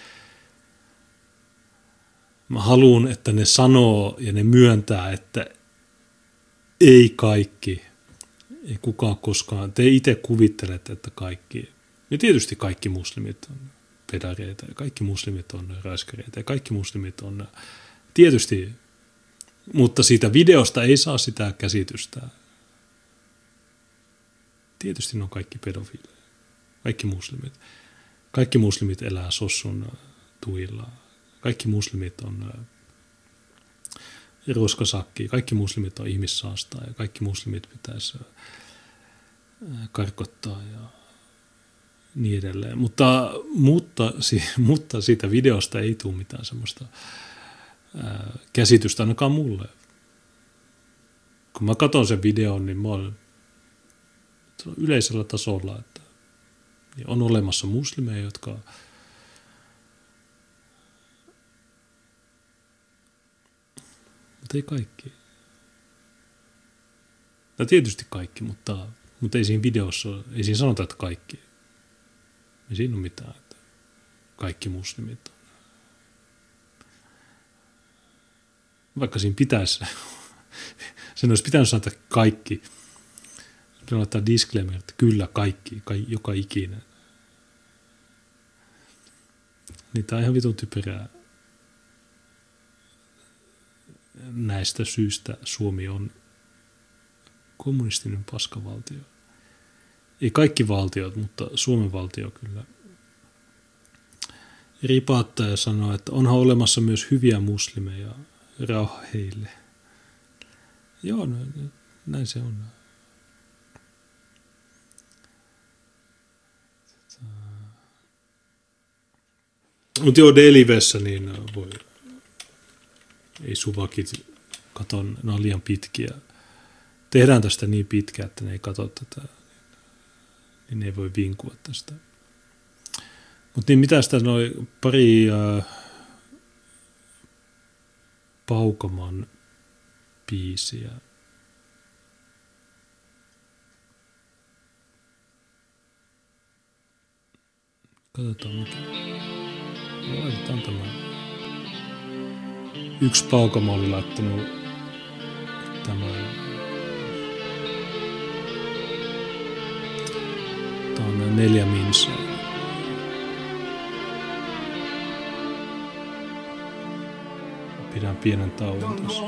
Mä haluan, että ne sanoo ja ne myöntää, että ei kaikki, ei kukaan koskaan, te itse kuvittelette, että kaikki, ja tietysti kaikki muslimit on pedareita ja kaikki muslimit on raiskareita ja kaikki muslimit on, tietysti, mutta siitä videosta ei saa sitä käsitystä. Tietysti ne on kaikki pedofiileja, kaikki muslimit. Kaikki muslimit elää sossun tuilla. kaikki muslimit on roskasakki, kaikki muslimit on ihmissaastaa ja kaikki muslimit pitäisi karkottaa ja niin edelleen. Mutta siitä videosta ei tule mitään semmoista käsitystä ainakaan mulle. Kun mä katson sen videon, niin mä olen yleisellä tasolla, että on olemassa muslimeja, jotka mutta ei kaikki. No tietysti kaikki, mutta ei siinä videossa, ei siinä sanota, että kaikki. Ei siinä ole mitään, että kaikki muslimit on. Vaikka siinä pitäisi, sen olisi pitänyt sanoa, että kaikki. Pitää laittaa disclaimer, että kyllä kaikki, joka ikinen. Niin tämä on ihan vitun typerää. Näistä syistä Suomi on kommunistinen paskavaltio. Ei kaikki valtiot, mutta Suomen valtio kyllä ripaattaa ja sanoo, että onhan olemassa myös hyviä muslimeja, rauha heille. Joo, no, näin se on. Mutta joo, Delivessä niin voi, ei suvakit katon, ne on liian pitkiä. Tehdään tästä niin pitkä, että ne ei katso tätä, niin ne ei voi vinkua tästä. Mutta niin mitä sitä noin pari Paukaman biisiä. Katsotaan mikä. Laitetaan tämä. Yksi Paukama oli laittanut tämän. Tää on 4 minsaa. Pidän pienen tauon tässä.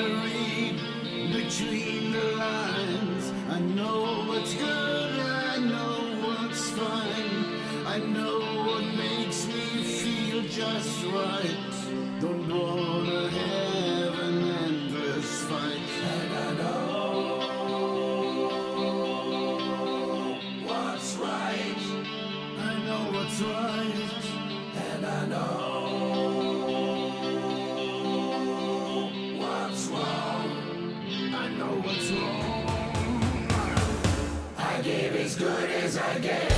Just right, don't wanna have an endless fight. And I know what's right. I know what's right. And I know what's wrong. I know what's wrong. I give as good as I get.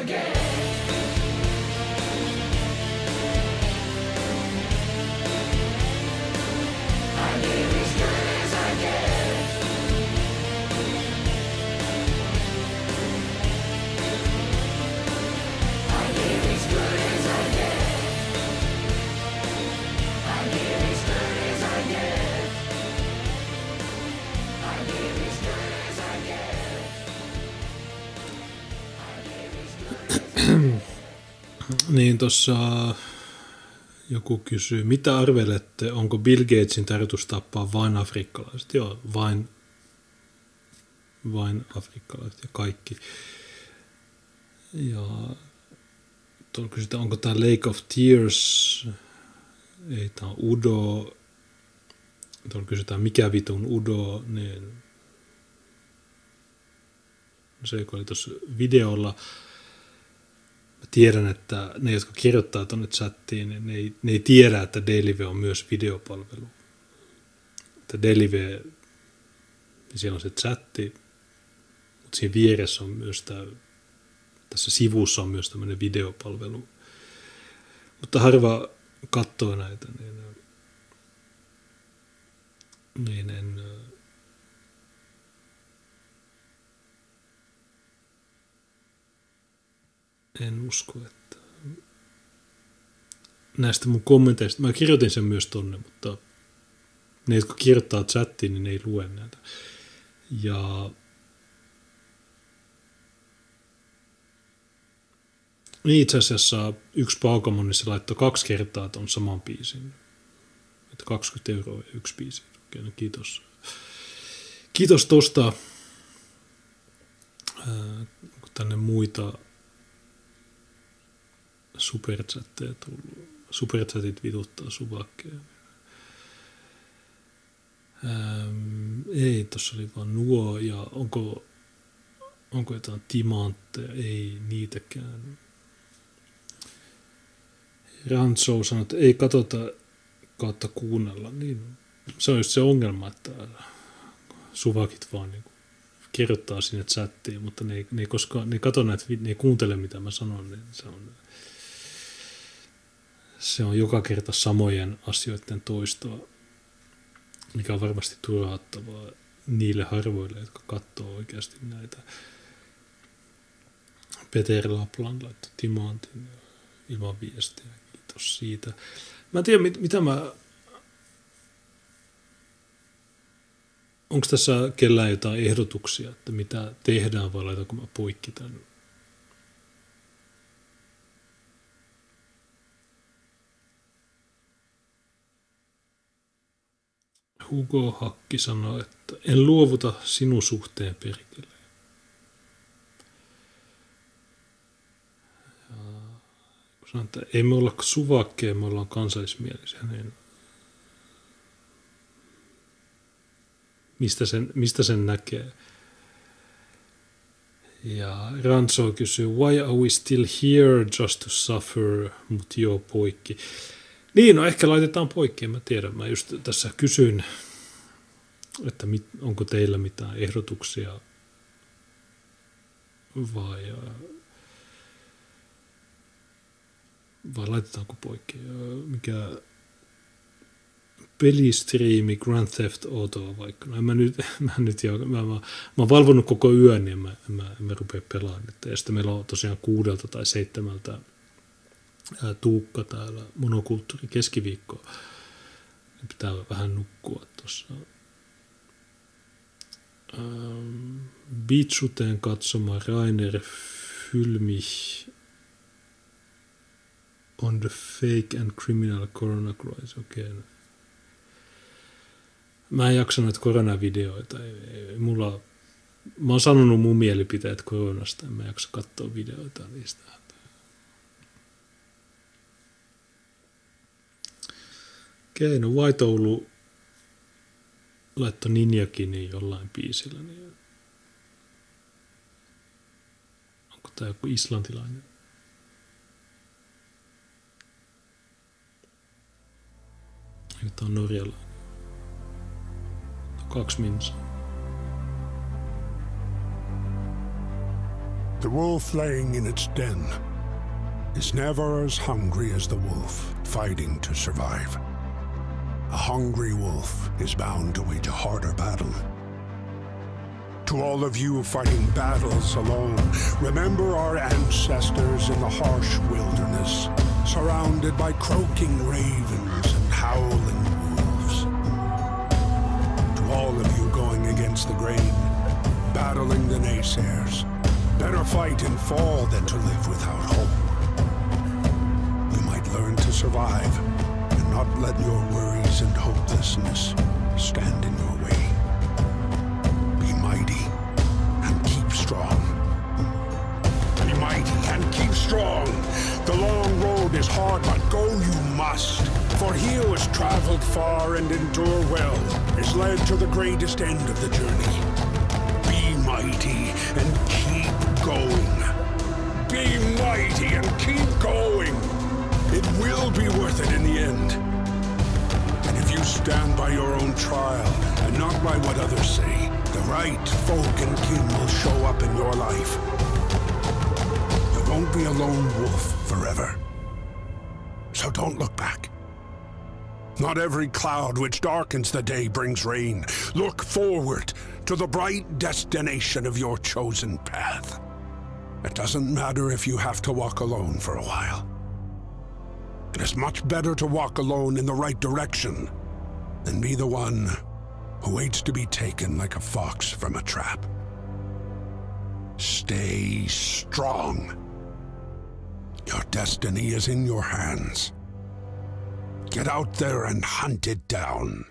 I get. I give as good as I get. I give as good as I get. I give as good as I get. I give as good as I get. I give as good as Niin tuossa joku kysyy, mitä arvelette, onko Bill Gatesin tarkoitus tappaa vain afrikkalaiset? Joo, vain afrikkalaiset ja kaikki. Ja tuolla kysytään, onko tämä Lake of Tears? Ei, tämä on Udo. Tuolla kysytään, mikä vitun Udo? Niin se, joka oli tuossa videolla. Mä tiedän, että ne, jotka kirjoittaa tuonne chattiin, niin ne ei tiedä, että Dailyve on myös videopalvelu. Että Dailyve, niin siellä on se chatti, mutta siinä vieressä on myös tässä sivussa on myös tämmöinen videopalvelu. Mutta harva katsoo näitä, niin en usko, että näistä mun kommenteista, mä kirjoitin sen myös tonne, mutta ne, jotka kirjoittaa chattiin, niin ne ei lue näitä. Ja niin itse asiassa yksi Paukamon, niin se laittoi 2 kertaa ton saman biisin. Että 20 € ja 1 biisi. Okei, no kiitos. Kiitos tosta. Onko tänne muita superchatteja tullut? Superchatit vituttaa suvakkeja. Ei, tossa oli vaan nuo. Ja onko jotain timantteja? Ei niitäkään. Ranso sanoi, että ei katsota kautta kuunnella. Niin se on just se ongelma, että suvakit vaan niin kirjoittaa sinne chattiin, mutta ne ei koskaan, ne katso näitä, ne ei kuuntele mitä mä sanon, niin se on joka kerta samojen asioiden toistoa, mikä on varmasti turhauttavaa niille harvoille, jotka katsoo oikeasti näitä. Peter Lapland laittoi timantin ilman viestiä. Kiitos siitä. Mä en tiedä, mitä mä... Onko tässä kellään jotain ehdotuksia, että mitä tehdään, vai laitanko mä poikki tämän? Hugo Hakki sanoi, että en luovuta sinun suhteen perkele. Sanoin, että ei me olla suvakkeja, me ollaan kansallismielisiä. Niin mistä sen näkee? Ja Ranso kysyy, why are we still here just to suffer? Mut joo, poikki. Niin, no ehkä laitetaan poikki, en mä tiedä. Mä just tässä kysyin, että onko teillä mitään ehdotuksia vai laitetaanko poikki? Mikä pelistriimi Grand Theft Autoa vaikka? No mä oon valvonnut koko yön, niin en mä rupea pelaamaan. Ja sitten meillä on tosiaan 6 tai 7 Tuukka täällä monokulttuuri keskiviikkoa. Pitää vähän nukkua tuossa. Beatsuteen katsoma Rainer Fülmich on the fake and criminal corona crisis. Okei. Mä en jaksa noita koronavideoita. Mä oon sanonut mun mielipiteet koronasta. En mä jaksa katsoa videoita niistä. Okei, no White Oulu laittoi Ninjakinin jollain biisillä. Niin onko tää joku islantilainen? Eikö tää on norjalainen? 2 minsaa. The wolf laying in its den is never as hungry as the wolf fighting to survive. A hungry wolf is bound to wage a harder battle. To all of you fighting battles alone, remember our ancestors in the harsh wilderness, surrounded by croaking ravens and howling wolves. To all of you going against the grain, battling the naysayers, better fight and fall than to live without hope. You might learn to survive and not let your worries and hopelessness stand in your way. Be mighty and keep strong. Be mighty and keep strong. The long road is hard, but go you must. For he who has traveled far and endure well is led to the greatest end of the journey. Be mighty and keep going. Be mighty and keep going. It will be worth it in the end. And if you stand by your own trial and not by what others say, the right folk and kin will show up in your life. You won't be a lone wolf forever. So don't look back. Not every cloud which darkens the day brings rain. Look forward to the bright destination of your chosen path. It doesn't matter if you have to walk alone for a while. It is much better to walk alone in the right direction than be the one who waits to be taken like a fox from a trap. Stay strong. Your destiny is in your hands. Get out there and hunt it down.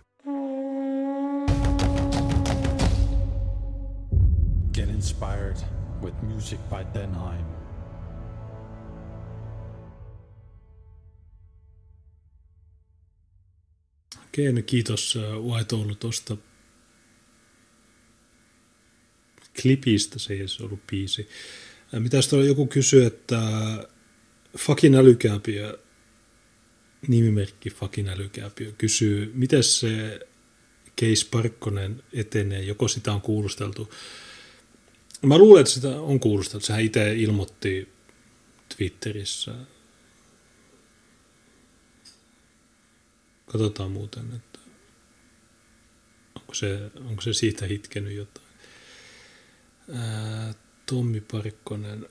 Get inspired with music by Denheim. Okei, no kiitos White Oulu tuosta klipistä, se ei edes ollut biisi. Mitäs tuolla joku kysyy, että Fucking Älykääpiö, nimimerkki Fucking Älykääpiö, kysyy, miten se Case Parkkonen etenee, joko sitä on kuulusteltu. Mä luulen, että sitä on kuulusteltu, sehän itse ilmoitti Twitterissä. Katsotaan muuten, että onko se siitä hitkenyt jotain. Tommi Parkkonen.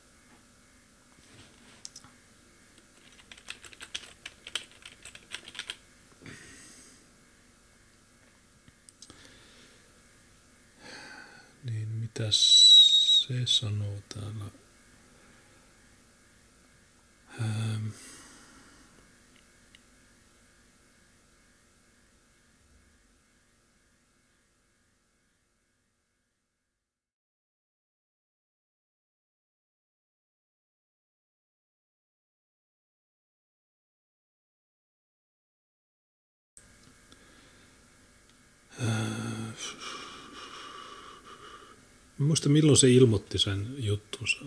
Niin mitäs se sanoo täällä? Mä muistan, milloin se ilmoitti sen juttunsa.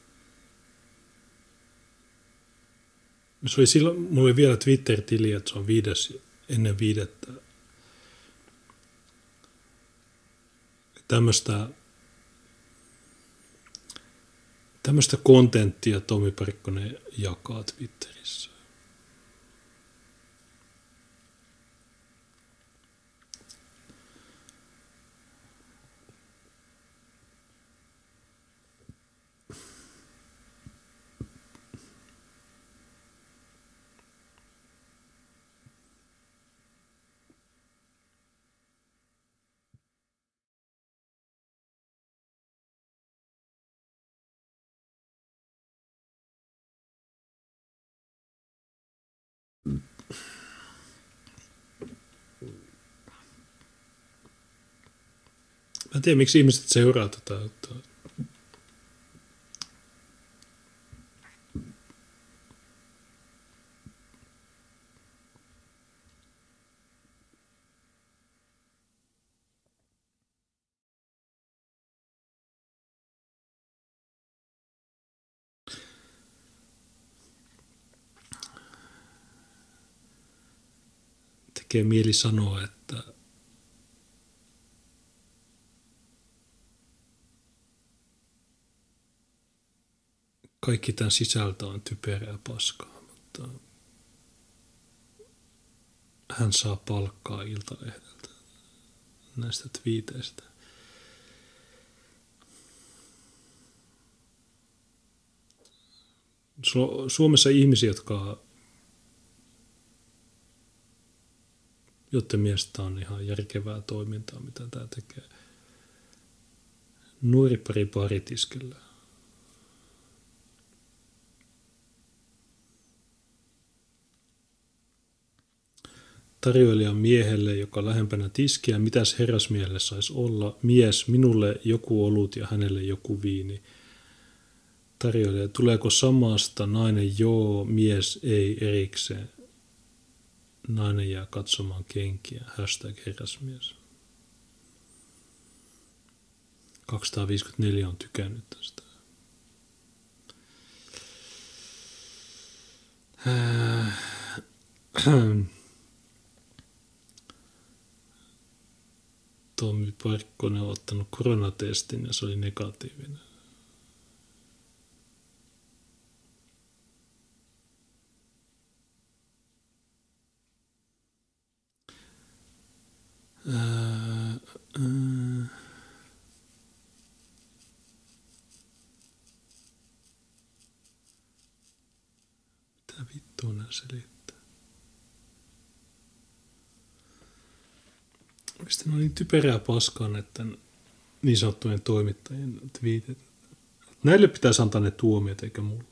Se oli silloin, mulla oli vielä Twitter-tili, että se on ennen 5. Tämmöistä kontenttia Tommi Parkkonen jakaa Twitterissä. Mä en tiedä, miksi ihmiset seuraa tätä. Tekee mieli sanoa, että kaikki tämän sisältö on typerää paskaa, mutta hän saa palkkaa Iltalehdeltä näistä twiiteistä. Suomessa ihmisiä, joiden mielestä on ihan järkevää toimintaa, mitä tämä tekee. Nuori pari paritiskellä. Tarjoilijan miehelle, joka lähempänä tiskiä, mitäs herrasmiehelle saisi olla? Mies, minulle joku olut ja hänelle joku viini. Tarjoilija, tuleeko samasta? Nainen, joo, mies, ei erikseen. Nainen jää katsomaan kenkiä. #herrasmies. 254 on tykännyt tästä. Tommi Parkkonen on ottanut koronatestin ja se oli negatiivinen. Mitä vittua nää selittää? Mistä ne on niin typerää paskaa näiden niin sanottujen toimittajien twiitit? Näille pitäisi antaa ne tuomiot eikä mulle.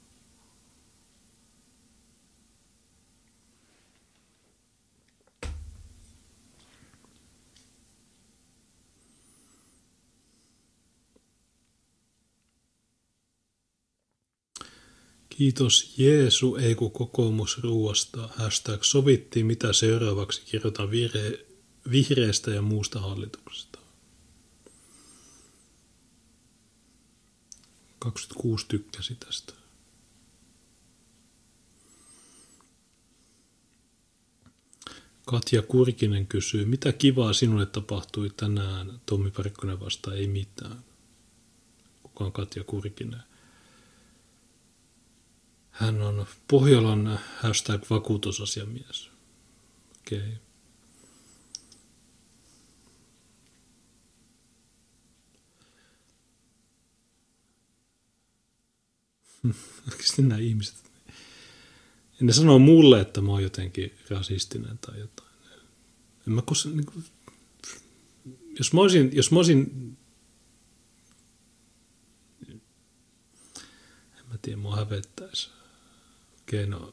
Kiitos Jeesu, ei kun kokoomus ruuasta. #sovittiin mitä seuraavaksi kirjoitan vihreästä ja muusta hallituksesta. 26 tykkäsi tästä. Katja Kurkinen kysyy, mitä kivaa sinulle tapahtui tänään? Tommi Parkkonen vastaa, ei mitään. Kuka on Katja Kurkinen? Hän on Pohjolan #vakuutusasiamies. Okei. Okay. Oikeasti nämä ihmiset. Ja ne sanoo mulle, että mä oon jotenkin rasistinen tai jotain. En mä koskaan, niin kuin, jos mä olisin en mä tiedä, mua hävettäisi. Okei, no.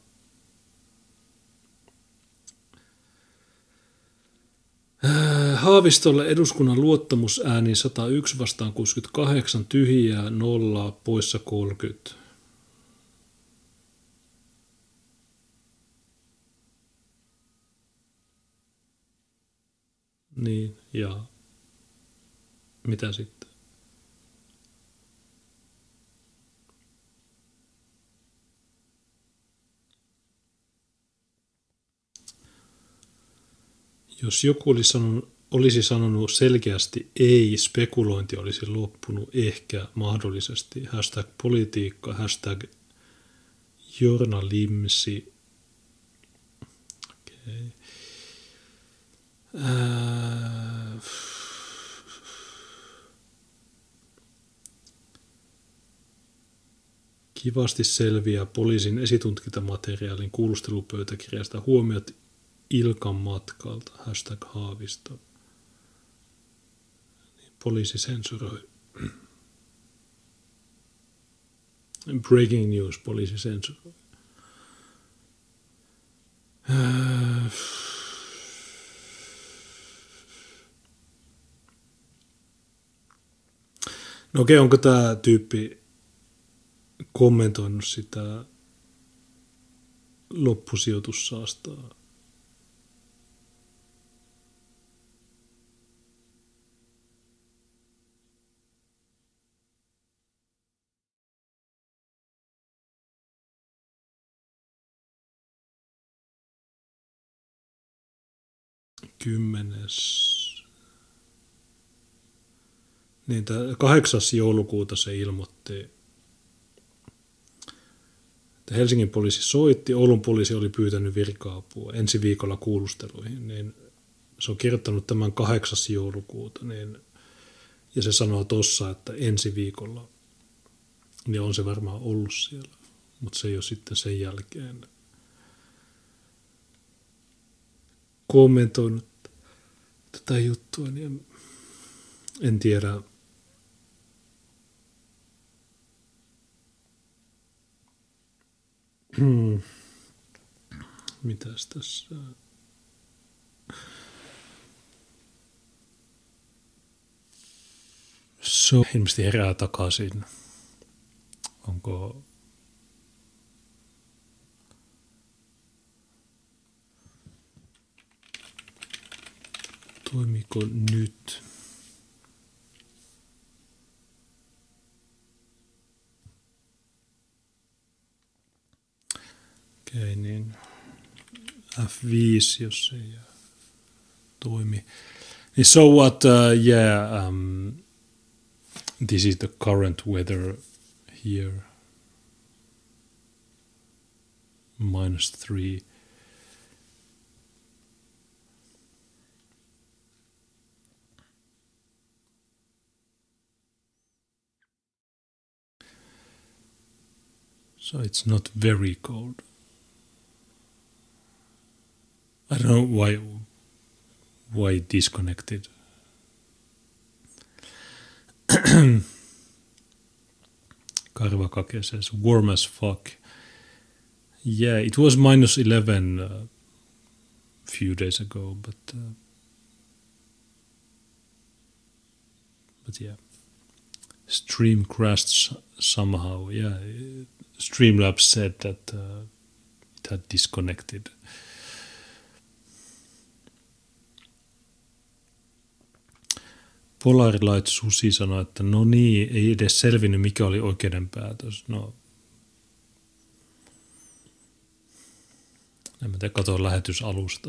Haavistolle eduskunnan luottamusääni 101 vastaan 68, tyhjää 0, poissa 30. Niin, ja mitä sitten? Jos joku olisi sanonut selkeästi ei, spekulointi olisi loppunut ehkä mahdollisesti. #politiikka, #journalismi. Okay. Kivasti selviää poliisin esitutkintamateriaalin kuulustelupöytäkirjasta huomiot Ilkan matkalta, #Haavisto. Poliisi sensuroi. Breaking news, poliisi sensuroi. No okei, onko tämä tyyppi kommentoinut sitä loppusijoitussaastaa? Niin 8. joulukuuta se ilmoitti Helsingin poliisi soitti, Oulun poliisi oli pyytänyt virka-apua ensi viikolla kuulusteluihin, niin se on kirjoittanut tämän 8. joulukuuta, niin, ja se sanoo tuossa, että ensi viikolla, niin on se varmaan ollut siellä, mutta se ei ole sitten sen jälkeen kommentoinut tätä juttua, niin en tiedä. Mitäs tässä? Ilmeisesti herää takaisin. Onko toimiko nyt? Okei, niin F5, jos ei toimi. So what, this is the current weather here. -3. So it's not very cold. I don't know why it disconnected. Karvakake says warm as fuck. Yeah, it was -11 a few days ago, but yeah, stream crashed somehow. Yeah, Streamlabs said that it had disconnected. Polarlight Susi sanoi, että no niin, ei edes selvinnyt, mikä oli oikeuden päätös. No, en mä tiedä, katsoin lähetysalusta.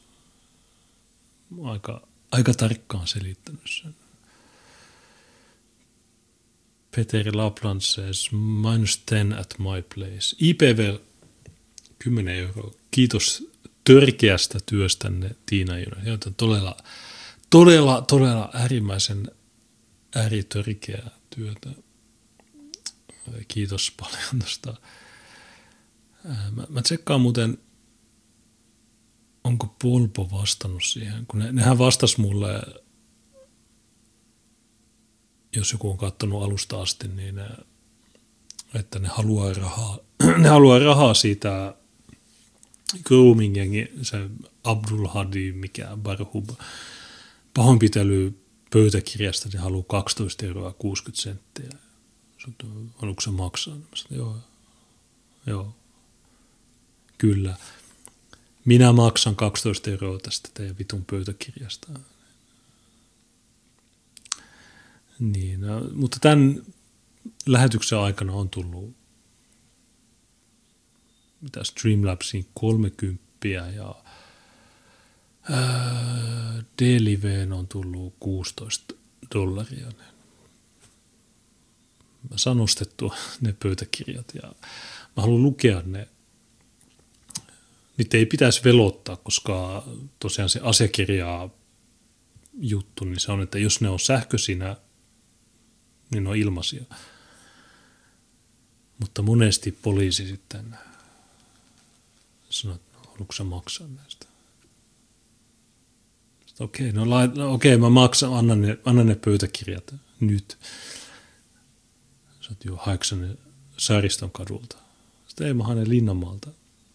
Aika tarkkaan selittänyt sen. Peteri Lapland says, -10 at my place. IPV 10 €. Kiitos törkeästä työstänne, Tiina Junen. Joten todella äärimmäisen ääritörkeää työtä. Kiitos paljon tuosta. Mä tsekkaan muuten, onko Polpo vastannut siihen, kun nehän vastas mulle, jos joku on katsonut alusta asti, niin että ne haluaa rahaa siitä grooming-jengi, se Abdul Hadi, mikä Barhub, pahoinpitely pöytäkirjasta, ne haluaa 12,60 €. Haluatko se maksaa? Mä sanoin, joo, kyllä. Minä maksan 12 € tästä teidän vitun pöytäkirjasta. Niin, mutta tämän lähetyksen aikana on tullut Streamlabsiin 30 ja D-liveen on tullut $16. Mä saan ostettua ne pöytäkirjat ja mä haluan lukea ne. Niitä ei pitäisi velottaa, koska tosiaan se asiakirjaa juttu, niin se on, että jos ne on sähköisinä, niin ne on ilmaisia. Mutta monesti poliisi sitten sanoo, että haluatko sä maksaa näistä? Okei, mä maksan, annan ne pöytäkirjat nyt. Sä oot jo Haiksanen Saariston kadulta. Sitten ei mä haen ne Linnanmaalta.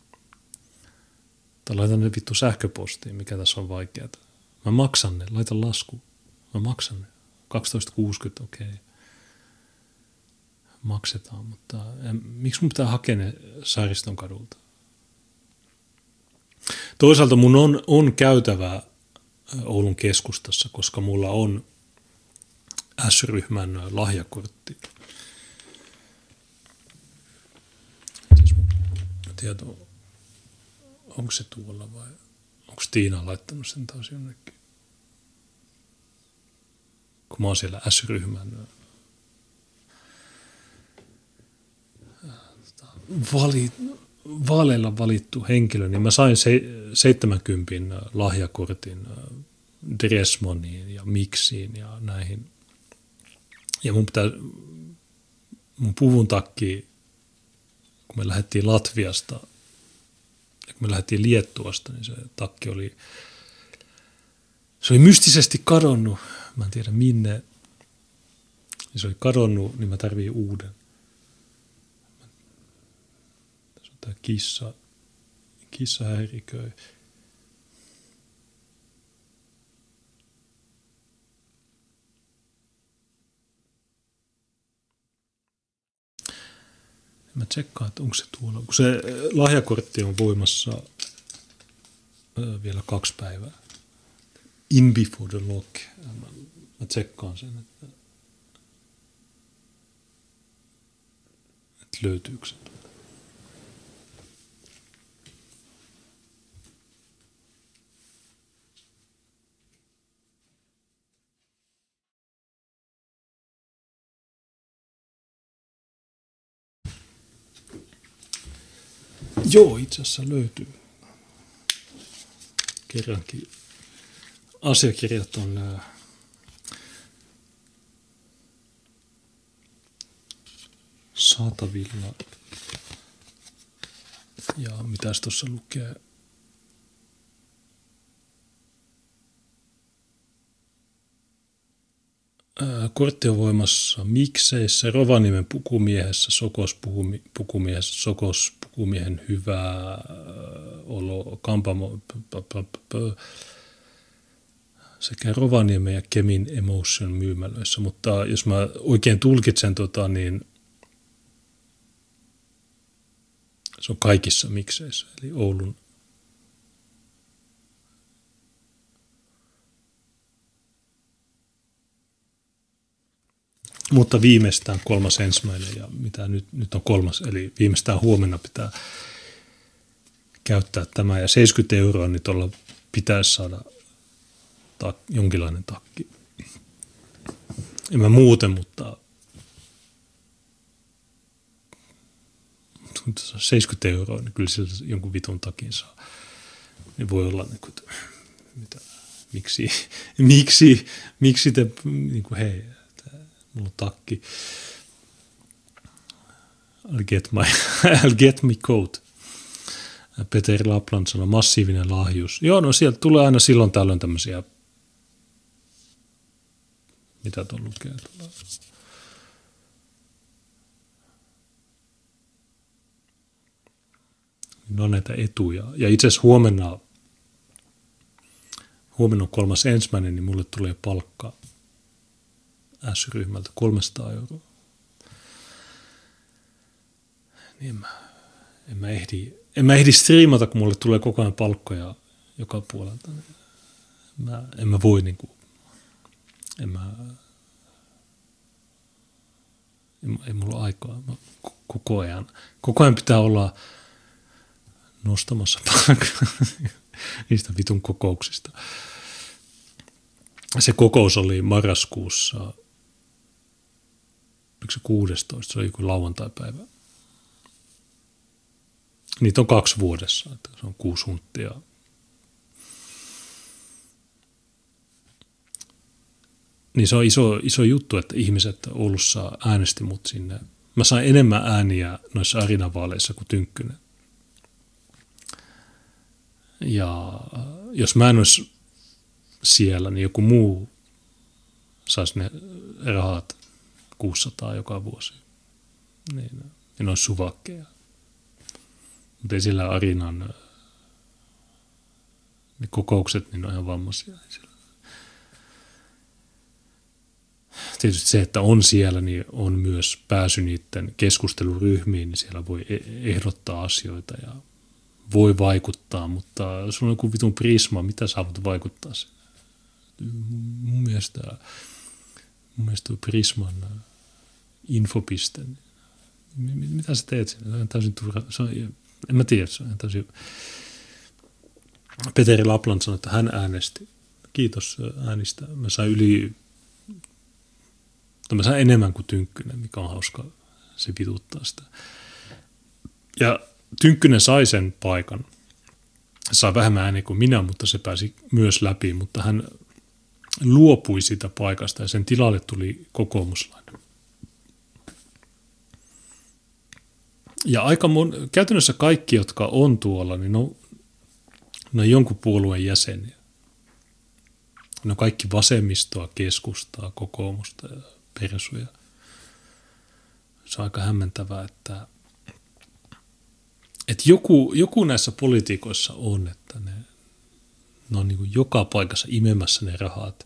Tai laitan ne vittu sähköpostiin, mikä tässä on vaikeaa. Mä maksan ne, laitan lasku. Mä maksan ne. 12,60, okei. Maksetaan, mutta miksi mun pitää hakea ne Saariston kadulta? Toisaalta mun on käytävä Oulun keskustassa, koska mulla on S-ryhmän lahjakortti. Mä tiedän, onko se tuolla vai onko Tiina laittanut sen taas jonnekin? Kun mä oon siellä S-ryhmän vaaleilla valittu henkilö, niin mä sain 70 lahjakortin Dressmoniin ja Mixiin ja näihin. Ja mun puvun takki, kun me lähdettiin Latviasta ja kun me lähdettiin Liettuasta, niin se takki oli mystisesti kadonnut. Mä en tiedä minne. Se oli kadonnut, niin mä tarviin uuden. Tässä on tää kissa häiriköi. Mä tsekkaan, että onko se tuolla. Kun se lahjakortti on voimassa vielä 2 päivää. In before the lock. Mä tsekkaan sen, että löytyykö se. Joo, itse asiassa löytyy. Kerrankin asiakirjat on saatavilla. Ja mitäs tuossa lukee? Kortti on voimassa Mikseissä, Rovaniemen pukumiehessä, Sokos-pukumiehessä, Sokos-pukumiehen hyvä olo, Kampamo sekä Rovaniemen ja Kemin Emotion myymälöissä. Mutta jos mä oikein tulkitsen, niin se on kaikissa Mikseissä, eli Oulun. Mutta viimeistään 3.1. ja mitä nyt on 3. eli viimeistään huomenna pitää käyttää tämä. Ja 70 €, niin tuolla pitäisi saada jonkinlainen takki. En mä muuten, mutta 70 €, niin kyllä sillä jonkun vitun takin saa. Niin voi olla, niin kuin, mitä, miksi te, niin kuin, hei, mulla on takki. I'll get my coat. Peter Lapland sanoi, massiivinen lahjus. Joo, no sieltä tulee aina silloin tällöin tämmöisiä, mitä tuon lukee. Ne on näitä etuja. Ja itse asiassa huomenna on 3.1., niin mulle tulee palkka S-ryhmältä 300 €. Niin en mä ehdi striimata, kun mulle tulee koko ajan palkkoja joka puolelta. En mä voi niinku, ei mulla aikaa. Koko ajan pitää olla nostamassa palkkaa niistä vitun kokouksista. Se kokous oli marraskuussa, oliko se 16, se oli joku lauantaipäivä. Niitä on 2 vuodessa, että se on 6 hunttia. Niin se on iso juttu, että ihmiset Oulussa äänesti mut sinne. Mä sain enemmän ääniä noissa arinavaaleissa kuin Tynkkynen. Ja jos mä en olisi siellä, niin joku muu saisi ne rahat 600 joka vuosi. Niin ne olisi suvakkeja. Mutta ei sillä Arinan ne kokoukset, niin ne on ihan vammaisia. Tietysti se, että on siellä, niin on myös pääsy niiden keskusteluryhmiin, niin siellä voi ehdottaa asioita ja voi vaikuttaa, mutta sulla on joku vitun prisma, mitä sä voit vaikuttaa siihen? Mun mielestä tuo Prisman infopiste, mitä sä teet siinä? Se on täysin turha. En mä tiedä, se on täysin. Peteri Lapland sanoi, että hän äänesti. Kiitos äänistä. Mä sain enemmän kuin Tynkkynen, mikä on hauska. Se vituttaa sitä. Ja Tynkkynen sai sen paikan. Sai vähemmän ääniä kuin minä, mutta se pääsi myös läpi, mutta hän luopui sitä paikasta ja sen tilalle tuli kokoomuslainen. Ja käytännössä kaikki, jotka on tuolla, niin ne on jonkun puolueen jäseniä. Ne on kaikki vasemmistoa, keskustaa, kokoomusta ja persuja. Se on aika hämmentävää, että joku näissä poliitikoissa on, että ne on niin kuin joka paikassa imemässä ne rahat.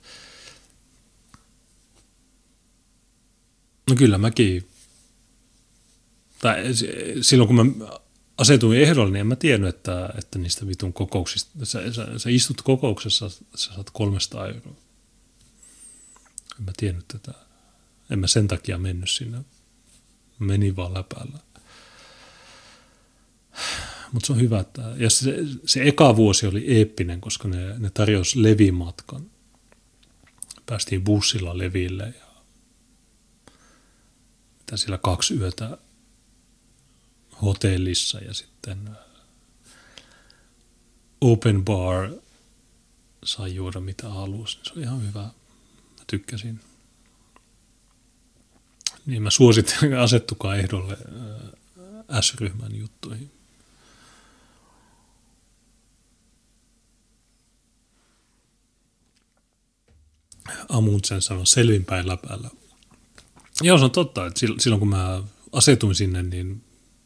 No kyllä mäkin, tai silloin kun mä asetuin ehdolle, niin en mä tiennyt, että niistä vitun kokouksista, sä istut kokouksessa, sä saat 300 €. En mä tiennyt tätä. En mä sen takia mennyt sinne. Menin vaan läpällä. Mutta se on hyvä, että ja se eka vuosi oli eeppinen, koska ne tarjosi levimatkan. Päästiin bussilla leville ja mitä siellä 2 yötä hotellissa ja sitten open bar sai juoda mitä halusi. Se oli ihan hyvä. Mä tykkäsin. Niin mä suosittelen, asettukaa ehdolle S-ryhmän juttuihin. Amundsen sanoi selvinpäin läpällä. Joo, se on totta, että silloin kun mä asetuin sinne niin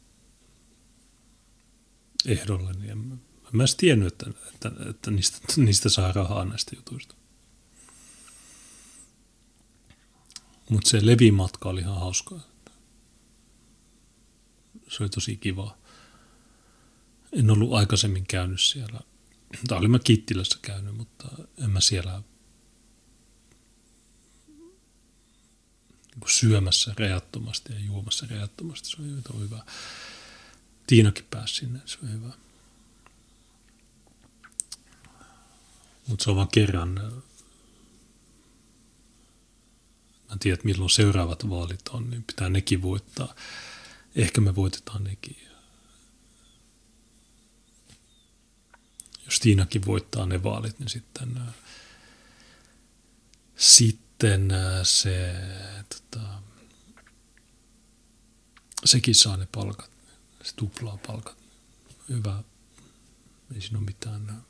ehdolle, niin en mä edes tiennyt, että niistä saa rahaa näistä jutuista. Mutta se levimatka oli ihan hauskaa. Se oli tosi kiva. En ollut aikaisemmin käynyt siellä. Tai olin mä Kittilässä käynyt, mutta en mä siellä syömässä rajattomasti ja juomassa rajattomasti. Se oli hyvä. Tiinakin pääsi sinne, se oli hyvä. Mutta se on vaan kerran. Mä en tiedä, milloin seuraavat vaalit on, niin pitää nekin voittaa. Ehkä me voitetaan nekin. Jos Tiinakin voittaa ne vaalit, niin sitten sekin saa ne palkat. Se tuplaa palkat. Hyvä. Ei siinä ole mitään.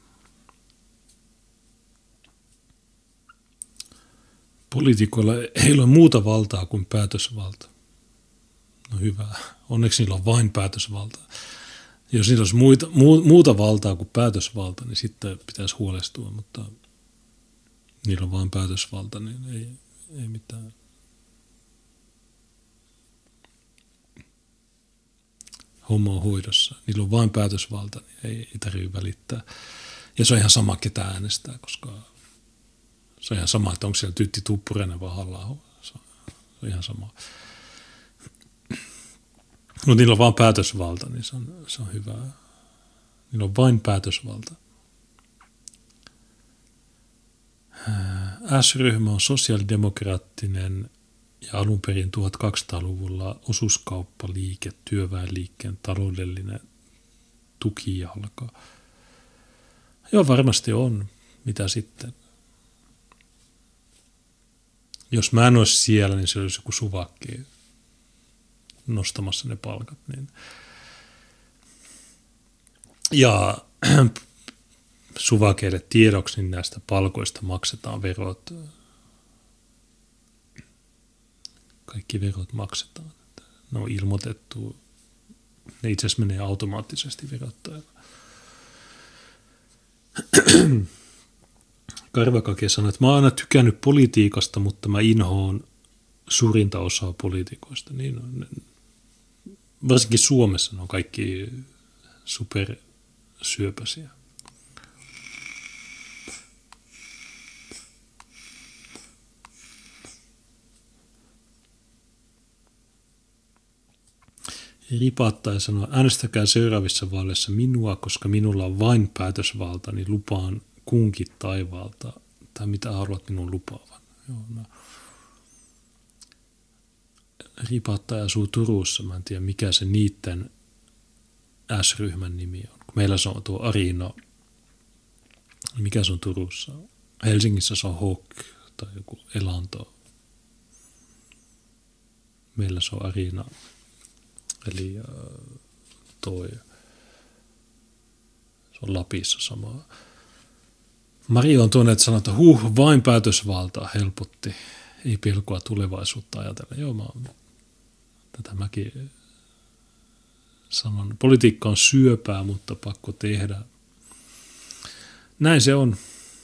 Poliitikoilla ei ole muuta valtaa kuin päätösvalta. No hyvä. Onneksi niillä on vain päätösvalta. Jos niillä olisi muuta valtaa kuin päätösvalta, niin sitten pitäisi huolestua, mutta niillä on vain päätösvalta, niin ei mitään. Homma on hoidossa. Niillä on vain päätösvalta, niin ei tarvitse välittää. Ja se on ihan sama, ketä äänestää, koska se on ihan sama, että onko siellä Tytti Tuppurainen vai Halla-aho. Se on ihan sama. Mutta niillä on vain päätösvalta, niin se on hyvä. Niillä on vain päätösvalta. S-ryhmä on sosiaalidemokraattinen ja alun perin 1200-luvulla osuuskauppaliike, työväenliikkeen taloudellinen tukijalka. Joo, varmasti on. Mitä sitten? Jos mä en olisi siellä, niin se olisi joku suvakki nostamassa ne palkat. Niin. Ja suvakeille tiedoksi, niin näistä palkoista maksetaan verot. Kaikki verot maksetaan. Ne on ilmoitettu. Ne itse asiassa menee automaattisesti verottajalle. Karvakake sanoi, että mä oon aina tykännyt politiikasta, mutta mä inhoon suurinta osaa poliitikoista. Niin on. Varsinkin Suomessa ne on kaikki supersyöpäisiä. Ripaattai sanoi, äänestäkää seuraavissa vaaleissa minua, koska minulla on vain päätösvalta, niin lupaan kunkin taivaalta, tai mitä haluat minun lupaavan. Joo, no. Ripaattai asuu Turussa, mä en tiedä mikä se niiden S-ryhmän nimi on. Kun meillä se on tuo Arina, mikä se on Turussa? Helsingissä se on Hawk tai joku Elanto. Meillä se on Arina, eli se on Lapissa sama. Mario on tuonne, että sanoo, että vain päätösvaltaa helpotti, ei pelkoa tulevaisuutta ajatella. Joo, tätä mäkin sanon. Politiikka on syöpää, mutta pakko tehdä. Näin se on.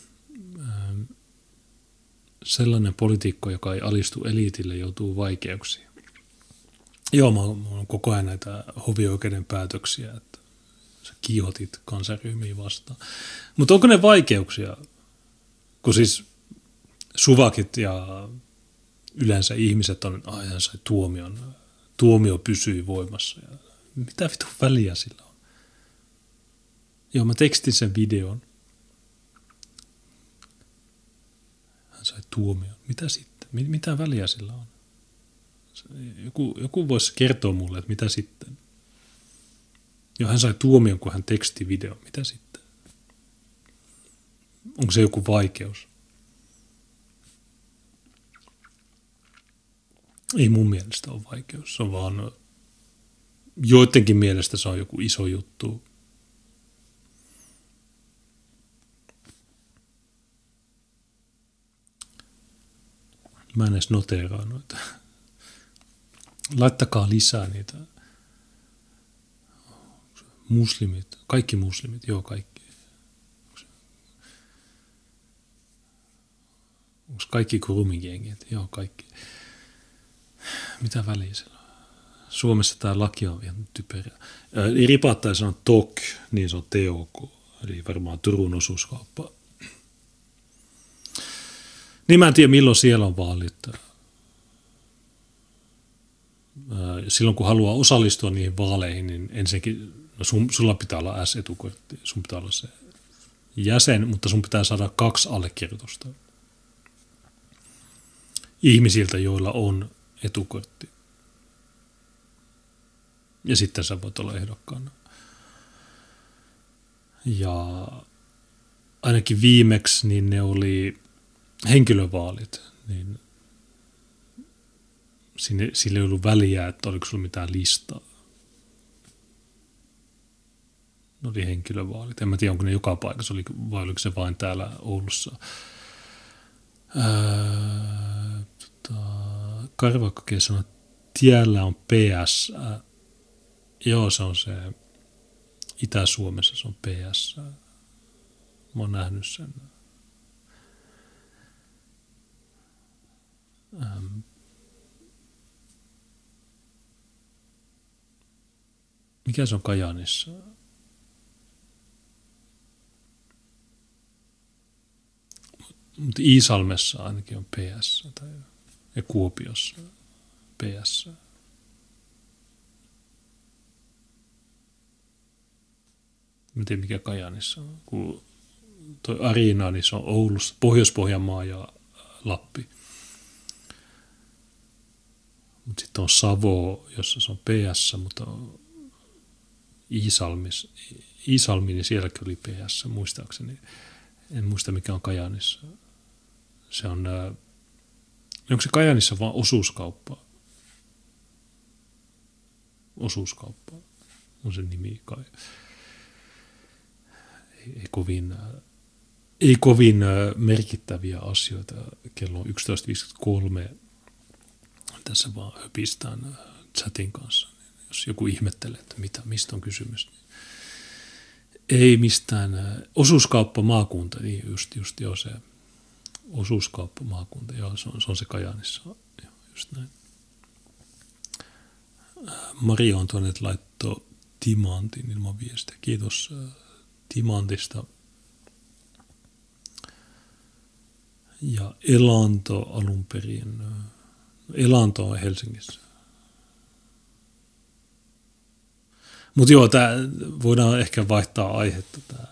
Sellainen poliitikko, joka ei alistu eliitille, joutuu vaikeuksiin. Joo, mä oon koko ajan näitä hovioikeuden päätöksiä, että sä kiihotit kansanryhmiä vastaan. Mutta onko ne vaikeuksia? Kun siis suvakit ja yleensä ihmiset on ajan sai tuomion. Tuomio pysyy voimassa. Ja mitä vittu väliä sillä on? Joo, mä tekstin sen videon. Hän sai tuomion. Mitä sitten? Mitä väliä sillä on? Joku voisi kertoa mulle, että mitä sitten? Joo, hän sai tuomion, kun hän teksti video. Mitä sitten? Onko se joku vaikeus? Ei mun mielestä ole vaikeus. Se on vaan joidenkin mielestä se on joku iso juttu. Mä en edes noteeraa noita. Laittakaa lisää niitä. Muslimit. Kaikki muslimit. Joo, kaikki. Onko kaikki kurumigengit? Joo, kaikki. Mitä väliä sillä on? Suomessa tämä laki on ihan typerä. Ripaattaa sanoa TOK, niin se on TOK. Eli varmaan Turun osuuskauppa. Niin mä en tiedä, milloin siellä on vaalit. Silloin kun haluaa osallistua niihin vaaleihin, niin ensinnäkin sulla pitää olla S-etukortti. Sun pitää olla se jäsen, mutta sun pitää saada 2 allekirjoitusta ihmisiltä, joilla on etukortti. Ja sitten sä voit olla ehdokkaana. Ja ainakin viimeksi niin ne oli henkilövaalit, niin sillä ei ollut väliä, että oliko sulla mitään listaa. Ne oli henkilövaalit. En mä tiedä, onko ne joka paikassa, vai oliko se vain täällä Oulussa. Karvakkokin sanoi, että tiellä on PS. Joo, se on se Itä-Suomessa, se on PS. Mä oon nähnyt sen. Mikä se on Kajaanissa? Mutta Iisalmessa ainakin on PS ja Kuopiossa PS. Mä en tiedä mikä Kajaanissa on. Kun toi Arina, niin se on Oulussa, Pohjois-Pohjanmaa ja Lappi. Mutta sitten on Savo, jossa se on PS, mutta Iisalmi, niin sielläkin oli PS, muistaakseni. En muista mikä on Kajaanissa. Se on, onko se Kajaanissa vaan osuuskauppa? Osuuskauppa on se nimi kai. Ei kovin merkittäviä asioita. Kello on 11.53. Tässä vaan höpistään chatin kanssa. Jos joku ihmettelee, että mistä on kysymys. Niin ei mistään. Osuuskauppa maakunta, niin just joo se. Osuuskauppa maakunta, joo se on se Kajaanissa. Joo, just näin. Mario on tuonne, että laittoi timantin ilman viestiä. Kiitos timantista. Ja Elanto alun perin. Elanto on Helsingissä. Mutta joo, voidaan ehkä vaihtaa aihetta. Tämä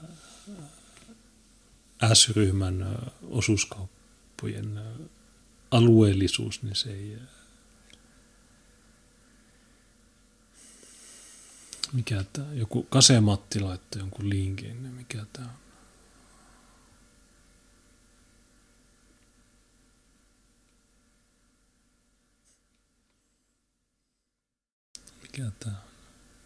S-ryhmän osuuskauppojen alueellisuus, niin se ei... Mikä tää? Joku Kase-Matti laittoi jonkun linkin. Mikä tää on? Mikä tää on?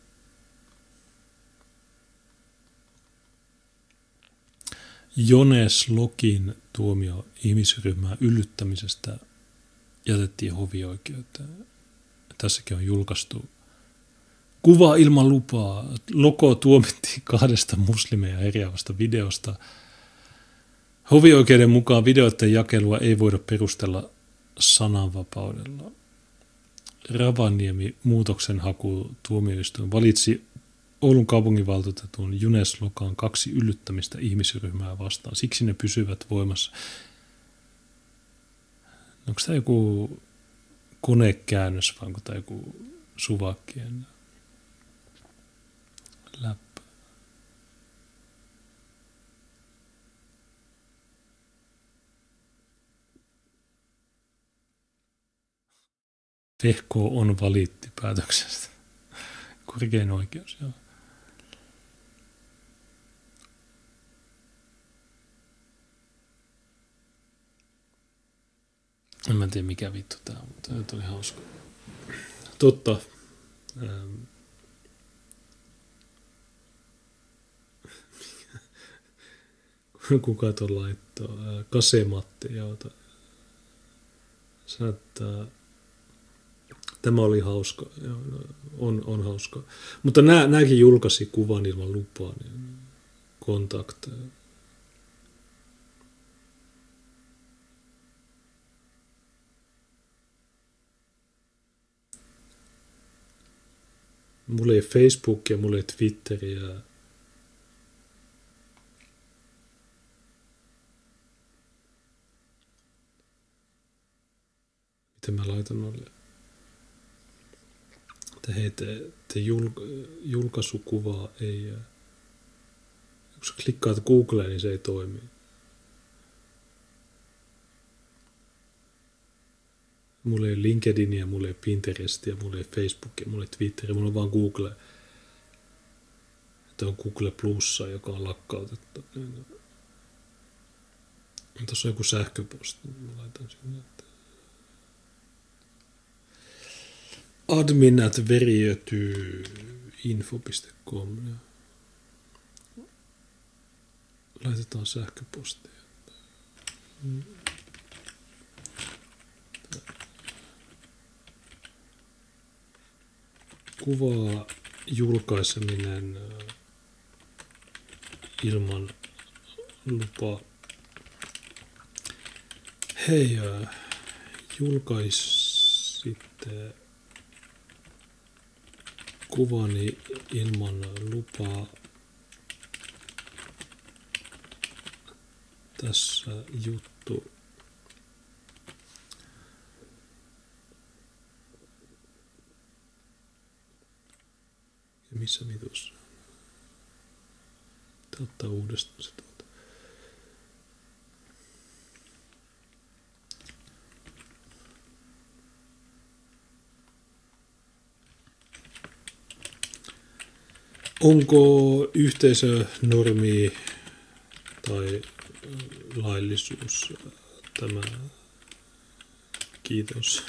Jones Lokin tuomio ihmisryhmää yllyttämisestä jätettiin hovioikeuteen. Tässäkin on julkaistu kuva ilman lupaa. Loko tuomittiin 2 muslimeja eriävästä videosta. Hovioikeuden mukaan videoiden jakelua ei voida perustella sananvapaudella. Ravaniemi muutoksenhaku tuomioistuin valitsi Oulun kaupunginvaltuutetun Jones Lokan 2 yllyttämistä ihmisryhmää vastaan. Siksi ne pysyvät voimassa. Onko tämä joku konekäännös vai onko tämä joku suvakkien läppä? Vehko on valitti päätöksestä. Korkein oikeus, joo. En mä tiedä mikä vittu tää on, mutta tämä oli hauska. Totta. Kuka tuon laittoi? Kase-Matti, joo. Tämä oli hauska. Joo, on hauska. Mutta nämäkin julkaisi kuvan ilman lupaa. Niin Kontakt. Mulla ei Facebookia, mulla ei Twitteriä. Miten mä laitan noille? Te julkaisukuvaa ei. Kun sä klikkaat Googleen, niin se ei toimi. Mulla ei LinkedInia, mulla ei Pinterestia, mulla ei Facebookia, mulla ei Twitteria, mulla on vaan Google. Tämä on Google Plussa, joka on lakkautettu. Tuossa on joku sähköposti, mä laitan sinne. admin@veriötyinfo.com. Laitetaan sähköpostia. Kuvaa julkaiseminen ilman lupaa. Hei, julkaisitte kuvani ilman lupaa. Tässä juttu. Ja missä vitussa? Tää ottaa uudestaan se tuolta. Onko yhteisönormi tai laillisuus tämä? Kiitos.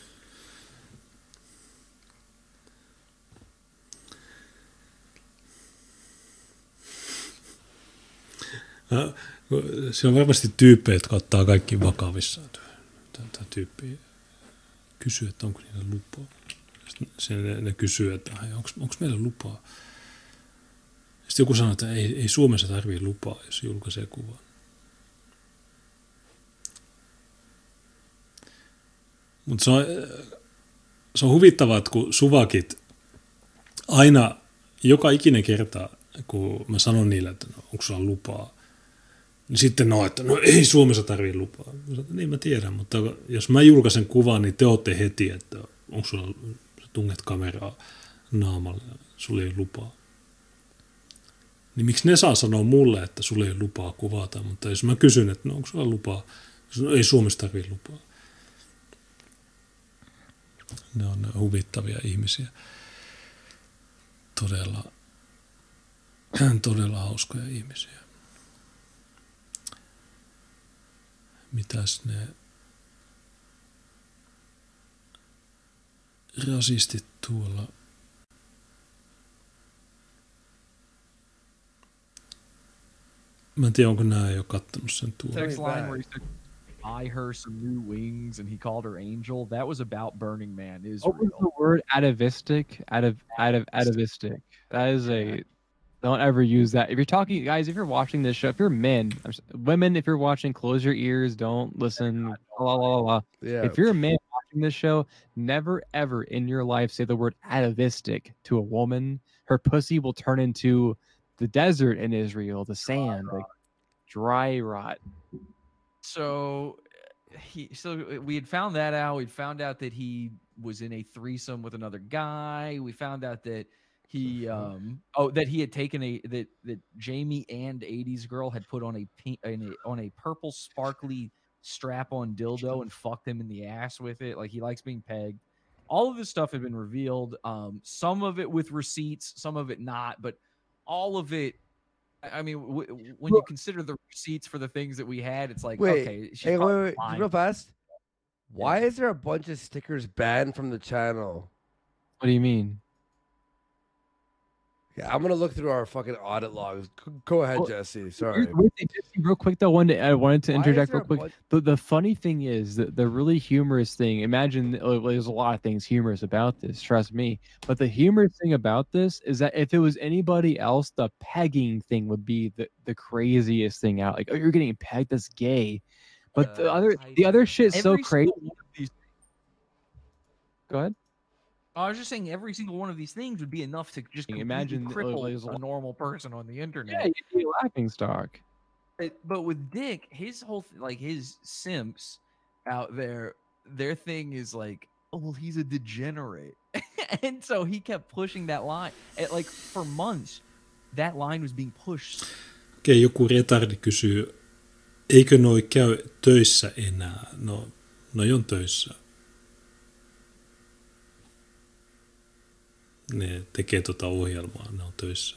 Se on varmasti tyyppejä, jotka ottaa kaikki vakavissaan. Tämä tyyppi kysyy, että onko niillä lupaa. Ne kysyy, että onko meillä lupaa. Sitten joku sanoo, että ei Suomessa tarvitse lupaa, jos julkaisee kuvan. Mutta se on huvittavaa, että kun suvakit aina, joka ikinen kerta, kun mä sanon niille, että no, onko sulla lupaa, niin sitten että ei Suomessa tarvitse lupaa. Mä sanon, että niin mä tiedän, mutta jos mä julkaisen kuvan, niin te ootte heti, että onko sulla, sä tunget kameraa naamalle, sulla ei lupaa. Niin miksi ne saa sanoa mulle, että sulla ei lupaa kuvata, mutta jos mä kysyn, että no, onko sulla lupaa, ei Suomessa tarvitse lupaa. Ne on huvittavia ihmisiä. todella hauskoja ihmisiä. Mitäs ne rasistit tuolla? Mä en tiedä, onko nää jo kattonut sen tuolla. Text line where he said, "Buy her some new wings," and he called her angel. That was about Burning Man, Israel. What was the word? Atavistic. Atavistic. That is a. Don't ever use that. If you're talking, guys, if you're watching this show, if you're men, women, if you're watching, close your ears. Don't listen. La, la, la, la. Yeah. If you're a man watching this show, never ever in your life say the word atavistic to a woman. Her pussy will turn into the desert in Israel, the sand, like dry rot. So we had found that out. We found out that he was in a threesome with another guy. We found out that he that he had taken that Jamie and 80s girl had put on a purple sparkly strap-on dildo and fucked him in the ass with it. Like, he likes being pegged. All of this stuff had been revealed. Some of it with receipts, some of it not, but all of it. I mean, when you consider the receipts for the things that we had, it's like, okay, she's wait, lying. real fast. Why is there a bunch of stickers banned from the channel? What do you mean? Yeah, I'm gonna look through our fucking audit logs. Go ahead, Jesse. Sorry. Real quick though, I wanted to Why is interject there real a quick. The funny thing is that the really humorous thing. Imagine there's a lot of things humorous about this. Trust me. But the humorous thing about this is that if it was anybody else, the pegging thing would be the craziest thing out. Like, oh, you're getting pegged. That's gay. But the other shit's so crazy. Go ahead. I was just saying every single one of these things would be enough to just imagine cripple a normal person on the internet. Yeah, you'd be a laughing stock. But with Dick, his whole his simps out there, their thing is like, oh well, he's a degenerate, and so he kept pushing that line. Like for months, that line was being pushed. Okei, joku retardi kysyy, eikö noi käy töissä enää? No, noi on töissä. Ne tekee tota ohjelmaa, ne on töissä.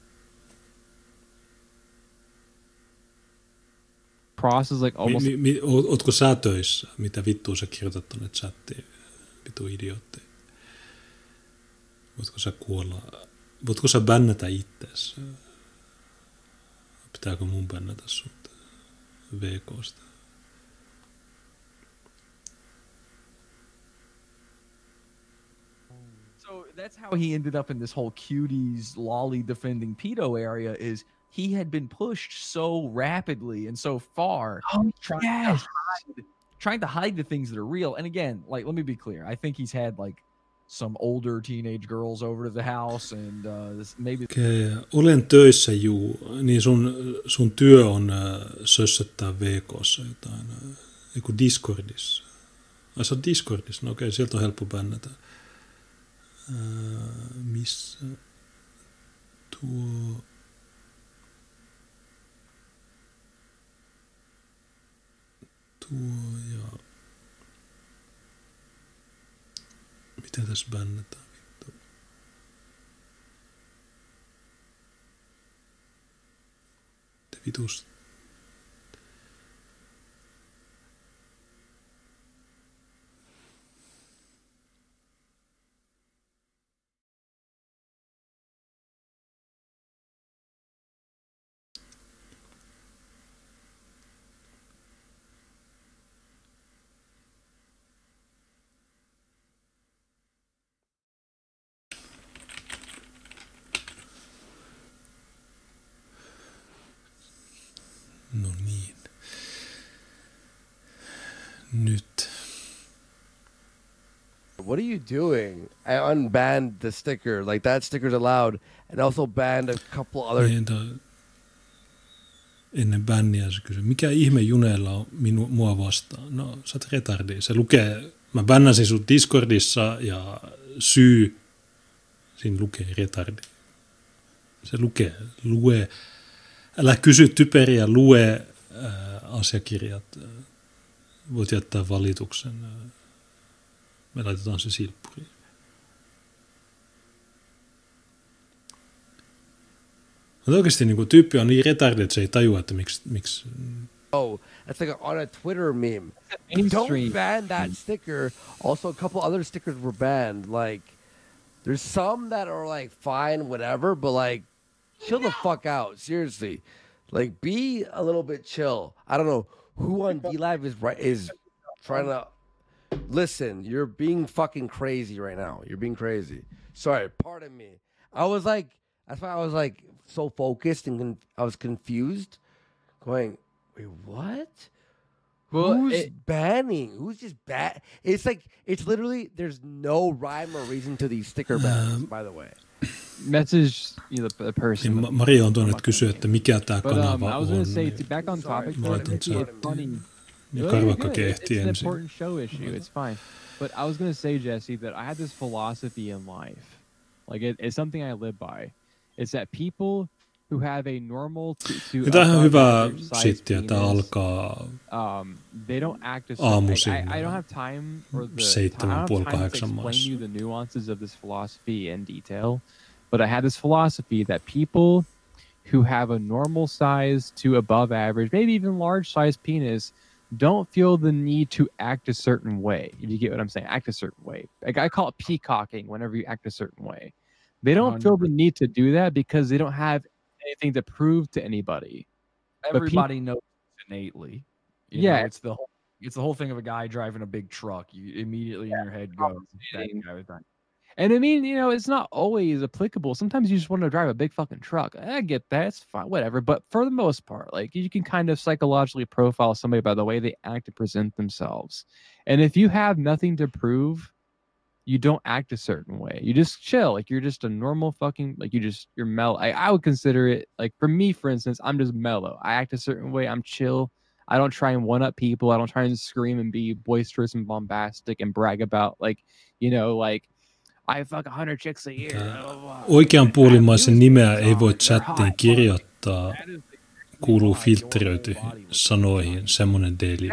Cross is like almost... Ootko sä töissä? Mitä vittua sä kirjoitat tonne chattiin? Vitu idiootti. Voitko sä kuolla? Voitko sä bännätä ittees? Pitääkö mun bännätä sut VK:sta? So that's how he ended up in this whole cuties lolly defending pedo area. Is he had been pushed so rapidly and so far, trying to hide the things that are real. And again, like, let me be clear. I think he's had like some older teenage girls over to the house, and maybe. Okay. Olen töissä, juu. Niin sun työ on sössöttää VK:ssa jotain. Eiku Discordissa. Ai sä oot Discordissa? No okei, sieltä on helppo bännätä. Missä tuo ja mitä tässä bännätään vittu? Te vitus. No niin. Nyt. What are you doing? I unbanned the sticker. Like, that sticker's allowed. And also banned a couple other... Ennen bänniä se kysyi, mikä ihme Juneella on mua vastaan? No, sä oot retardi. Se lukee, mä bännäsin sut Discordissa ja syy, siinä lukee retardi. Se lue. Älä kysy typeriä, lue asiakirjat. Voit jättää valituksen. Me laitetaan se silppuriin. Mutta oikeasti niin kuin, tyyppi on niin retarded, että se ei tajua, että miksi... Oh, that's like on a Twitter meme. Don't ban that sticker. Also, a couple other stickers were banned. Like, there's some that are like fine, whatever, but like, chill the fuck out. Seriously, like, be a little bit chill. I don't know who on DLive is trying to listen. You're being fucking crazy right now. You're being crazy. Sorry, pardon me. That's why I was like so focused and I was confused, going, wait, what? Well, Who's banning? Who's just ban? It's like, it's literally, there's no rhyme or reason to these sticker bans, by the way. Message the person. Niin Maria on tuonne, että kysyy, että mikä tämä kanava I was on. gonna say, back on topic, it's funny. Ja Karvakka ehti It's an ensin. important show issue. It's fine. But I was gonna say, Jesse, that I had this philosophy in life. Like it's something I live by. It's that people who have a normal to Tämä on ihan hyvä average size sittiä. Tämä penis, alkaa they don't act as aamuisin. I don't have time or the 7:30, to 8:30 explain maissa. you the nuances of this philosophy in detail. But I had this philosophy that people who have a normal size to above average, maybe even large size penis, don't feel the need to act a certain way. If you get what I'm saying, act a certain way. Like I call it peacocking whenever you act a certain way. They don't feel the need to do that because they don't have anything to prove to anybody. Everybody knows innately. You Yeah. know, it's the whole thing of a guy driving a big truck. You immediately in your head goes, that guy was done. And I mean, it's not always applicable. Sometimes you just want to drive a big fucking truck. I get that. It's fine, whatever. But for the most part, like you can kind of psychologically profile somebody by the way they act and present themselves. And if you have nothing to prove, you don't act a certain way. You just chill. Like you're just a normal fucking, like you're mellow. I would consider it, like for me, for instance, I'm just mellow. I act a certain way. I'm chill. I don't try and one up people. I don't try and scream and be boisterous and bombastic and brag about like, like I fuck 100 chicks a year. Oikeanpuolimaisen nimeä ei voi chattiin kirjoittaa. Kuuluu filtteröityihin sanoihin semmoinen daily.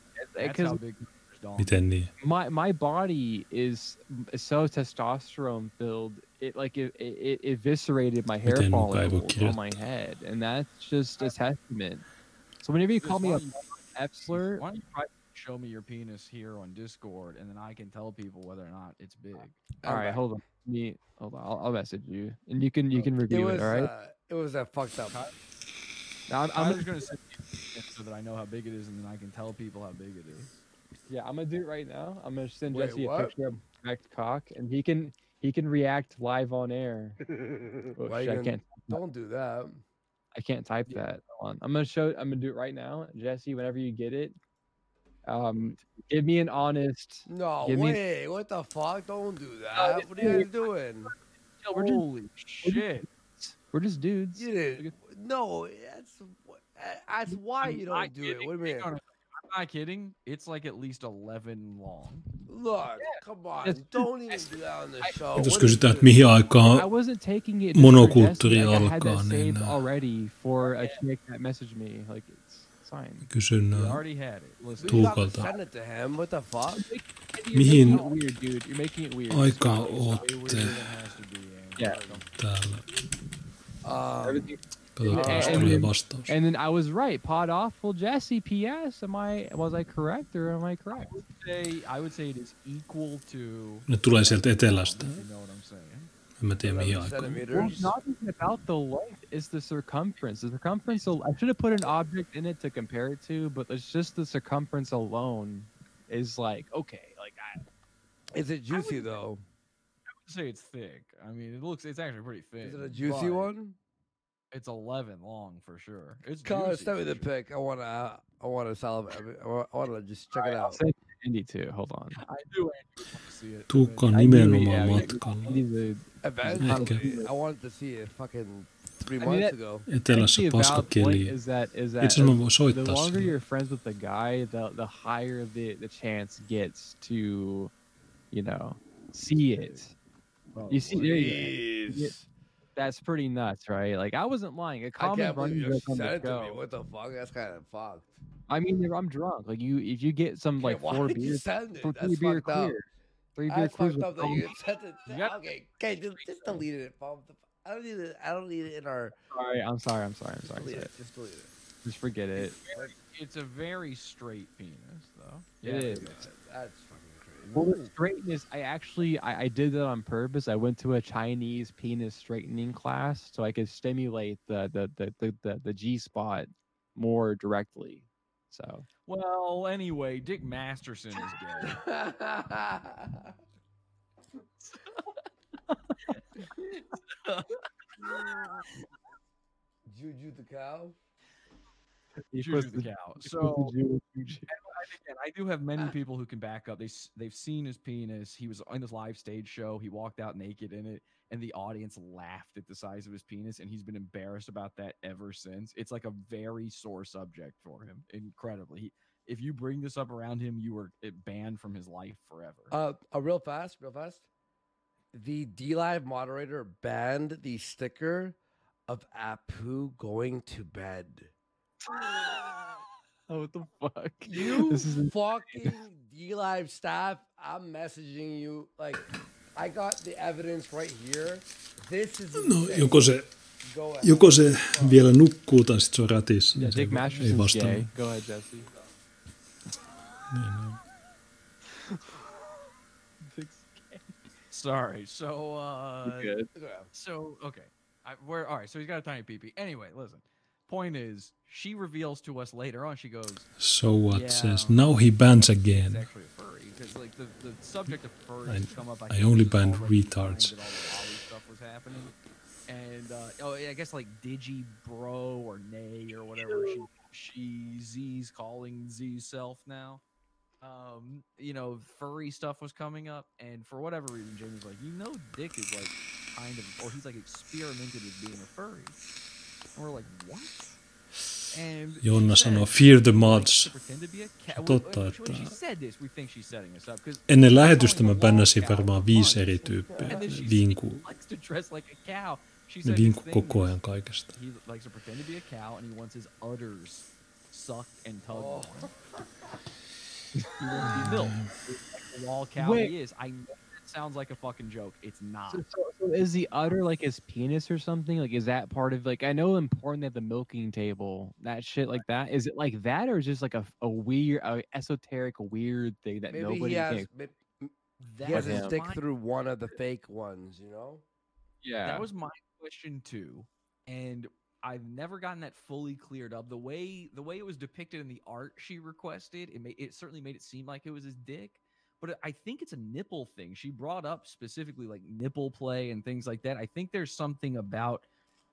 Miten niin? My body is so testosterone filled. It eviscerated my hair follicles on my head, and that's just a testament. So whenever you call me a F slur, why don't you try to show me your penis here on Discord, and then I can tell people whether or not it's big. All right, hold on. Hold on. I'll message you, and you can review it. All right. It was a fucked up. Now I'm just gonna send you so that I know how big it is, and then I can tell people how big it is. Yeah, I'm gonna do it right now. I'm gonna send Wait, Jesse what? a picture of Max cock, and he can react live on air. Oh, Why shit, you gonna- don't do that. I can't type that. Hold on. I'm gonna do it right now, Jesse. Whenever you get it, give me an honest. No give me- way. What the fuck? Don't do that. What are you guys doing? Holy shit! We're just dudes. No, that's why you don't do it. What do you mean? I'm not kidding. It's like at least 11 long. Look, come on. Don't even do that on the show. Jos kysytään, että mihin aikaan I wasn't taking it. monokulttuuri I had alkaa, that niin saved already for a chick that messaged me. Like it's fine. kysyn You already had it. Listen. Tuukalta. Send it to him. What the fuck? Mihin You're making it weird, dude. You're making it weird. aikaan ootte Yeah. täällä? Everything- Katsotaan, jos And tulee then- vastaus. And then I was right. Pod awful Jesse. P.S. Was I correct or am I correct? I would say it is equal to. Ne tulee sieltä etelästä. You know what I'm saying? En mä tiedä mihin aikaan. Well, it's not even about the length. It's the circumference. The circumference. I should have put an object in it to compare it to, but it's just the circumference alone is like okay. Like Is it juicy though? I would say it's thick. I mean, it's actually pretty thin. Is it a juicy but one? It's 11 long for sure. It's Colin, juicy send me for the sure. pic. I wanna salivate. I wanna just check it out. I'll send Andy too. Hold on. I do actually want to see it. Tuukka on I knew it, nimenomaan yeah, matkalla. Andy's Eventually, I wanted to see it fucking 3 I mean, months that- ago. Etelässä Actually, a valid paskakeli. point is that Itse asiassa mä voin the soittaa longer sille. you're friends with the guy, the higher the chance gets to, see it. You see, there you go. Jeez. That's pretty nuts, right? Like I wasn't lying. A I common can't believe running you joke on sent the it to me. show. What the fuck? That's kind of fucked. I mean, if I'm drunk. Like if you get some like why 4 did you beers, send it? for That's 3 beer fucked up. clear, 3 beer That's clears fucked with up that you sent it. Okay, just delete it, Bob. I don't need it. I don't need it in our. Sorry, I'm sorry. Delete it. Just delete it. Just forget it. It's a very straight penis, though. It is. That's fucking crazy. Well, the straightness, I did that on purpose. I went to a Chinese penis straightening class so I could stimulate the G spot more directly. So Well, anyway, Dick Masterson is gay. Juju the cow. Juju the cow. So again, I do have many people who can back up. They've seen his penis. He was on this live stage show. He walked out naked in it, and the audience laughed at the size of his penis, and he's been embarrassed about that ever since. It's like a very sore subject for him. Incredibly. If you bring this up around him, you are banned from his life forever. Real fast. The DLive moderator banned the sticker of Apu going to bed. Oh, what the fuck? You This is fucking DLive staff, I'm messaging you. Like, I got the evidence right here. This is No, insane. joko se vielä nukkuu tai sitten se on ratissa. Yeah, niin se Dick ei Masterson's vastaa. gay. Go ahead, Jesse. Sorry. So, You're good. So okay, we're all right. So he's got a tiny peepee. Anyway, listen. Point is, she reveals to us later on. She goes, So what yeah, says, now he bans He's again. actually a furry because like the subject of furries I- has come up. I think, only since banned already the retards. time that all the Wally stuff was happening. And oh, yeah, I guess like Digi Bro or Nay or whatever she Z's calling Z self now. You know, furry stuff was coming up, and for whatever reason, Jamie's like, you know, Dick is like kind of, or he's like experimented with being a furry. And we're like, what? And Jonna she sanoo, said, fear the "She mods. likes to pretend to be a cat." Totta, When että she said this, we think she's setting us up, 'cause ennen lähetystä calling mä a wall bännäsin cow varmaan for 5 fun. eri tyyppiä. And then she Vinku. likes to dress like a cow. She Ne said vinku his thing koko is ajan kaikesta. he likes to pretend to be a cow, and he wants his udders sucked and tugged on. He wants to be milked. Like the wall cow Wait. he is. I know that sounds like a fucking joke. It's not. So is the udder like his penis or something? Like, is that part of, like, I know important they have the milking table, that shit like that. Is it like that, or is just like a weird, esoteric, weird thing that Maybe nobody he has, can? he has his him. stick through one of the fake ones, you know? Yeah. That was my question too, and I've never gotten that fully cleared up. The way it was depicted in the art she requested, it certainly made it seem like it was his dick, but I think it's a nipple thing. She brought up specifically like nipple play and things like that. I think there's something about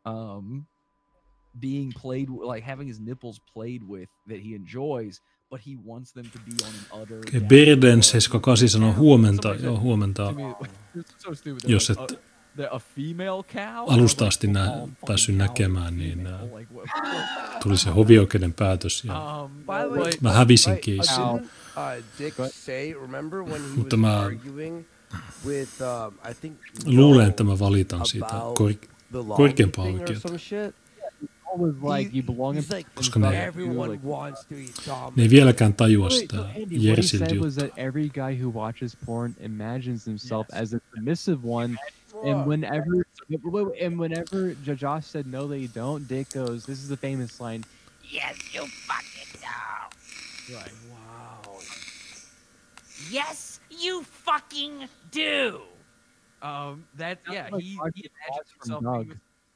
being played, like having his nipples played with, that he enjoys, but he wants them to be on an udder. Okei, Berden 78 sanoo huomenta. Joo, huomenta. To me, it's so stupid. Jos Like, et a female cow? alusta asti päässyt näkemään, niin tuli se hovioikeuden päätös ja By the way, mä hävisin keissin. didn't Dick say, remember when he was Mutta mä arguing with, I think, luulen, että mä valitan siitä the law korkeampaa thing or oikeutta. some shit? Was like you belong in. He's like, Koska ne- everyone wants to eat Dom. Ne ei vieläkään tajua Wait, sitä so Andy, what he Jersiltä said was juttua. that every guy who watches porn imagines himself as a submissive one, and whenever Josh said no, they don't. Dick goes, "This is the famous line." Yes, you fucking do. Right. Wow. Yes, you fucking do. That yeah, like he Mark imagined Watts from himself. Doug.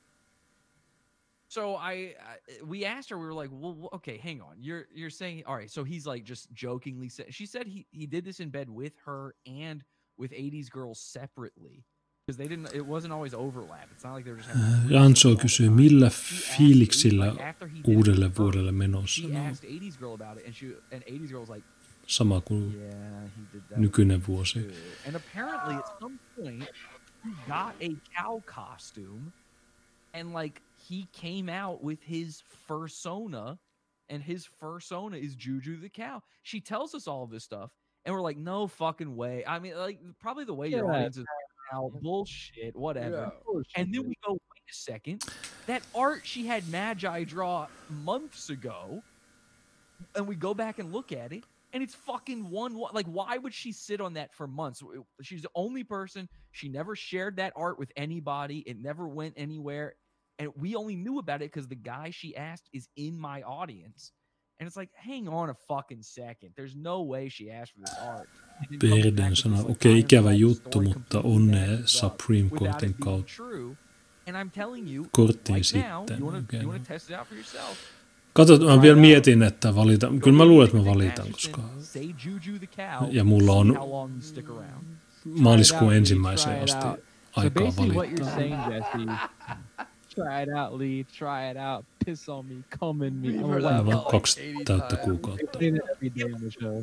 So we asked her. We were like, well, okay, hang on. You're saying, all right. So he's like just jokingly said. She said he did this in bed with her and with 80s girls separately because they didn't. It wasn't always overlap. It's not like they were just having. Ranso kysyy, millä fiiliksillä uudelle vuodelle menossa. She No, asked 80s girl about it, and 80s girl was like, sama kuin yeah, he did that. nykyinen vuosi. Good. And apparently, at some point, he got a cow costume, and like he came out with his fursona, and his fursona is Juju the cow. She tells us all of this stuff, and we're like, no fucking way. I mean, like probably the way your Yeah. audience is now, bullshit, whatever. Yeah. And then we go, wait a second, that art she had Magi draw months ago, and we go back and look at it, And it's fucking like, why would she sit on that for months? She's the only person. She never shared that art with anybody. It never went anywhere. And we only knew about it because the guy she asked is in my audience. And it's like, hang on a fucking second. There's no way she asked for this art. Perden sanoi, okei, ikävä juttu, mutta onnea Supreme Courtin kautta. And I'm telling you, Korttiin right sitten. now, you want to test it out for yourself? Katsotaan, mä vielä mietin, että valitan. Kyllä mä luulen, että mä valitan, koska... Ja mulla on maaliskuun ensimmäiseen asti aikaa valittaa. Try it out, Lee. Try it out. Piss on me. Come in me. Mulla on 2 täyttä kuukautta. Every day on the show.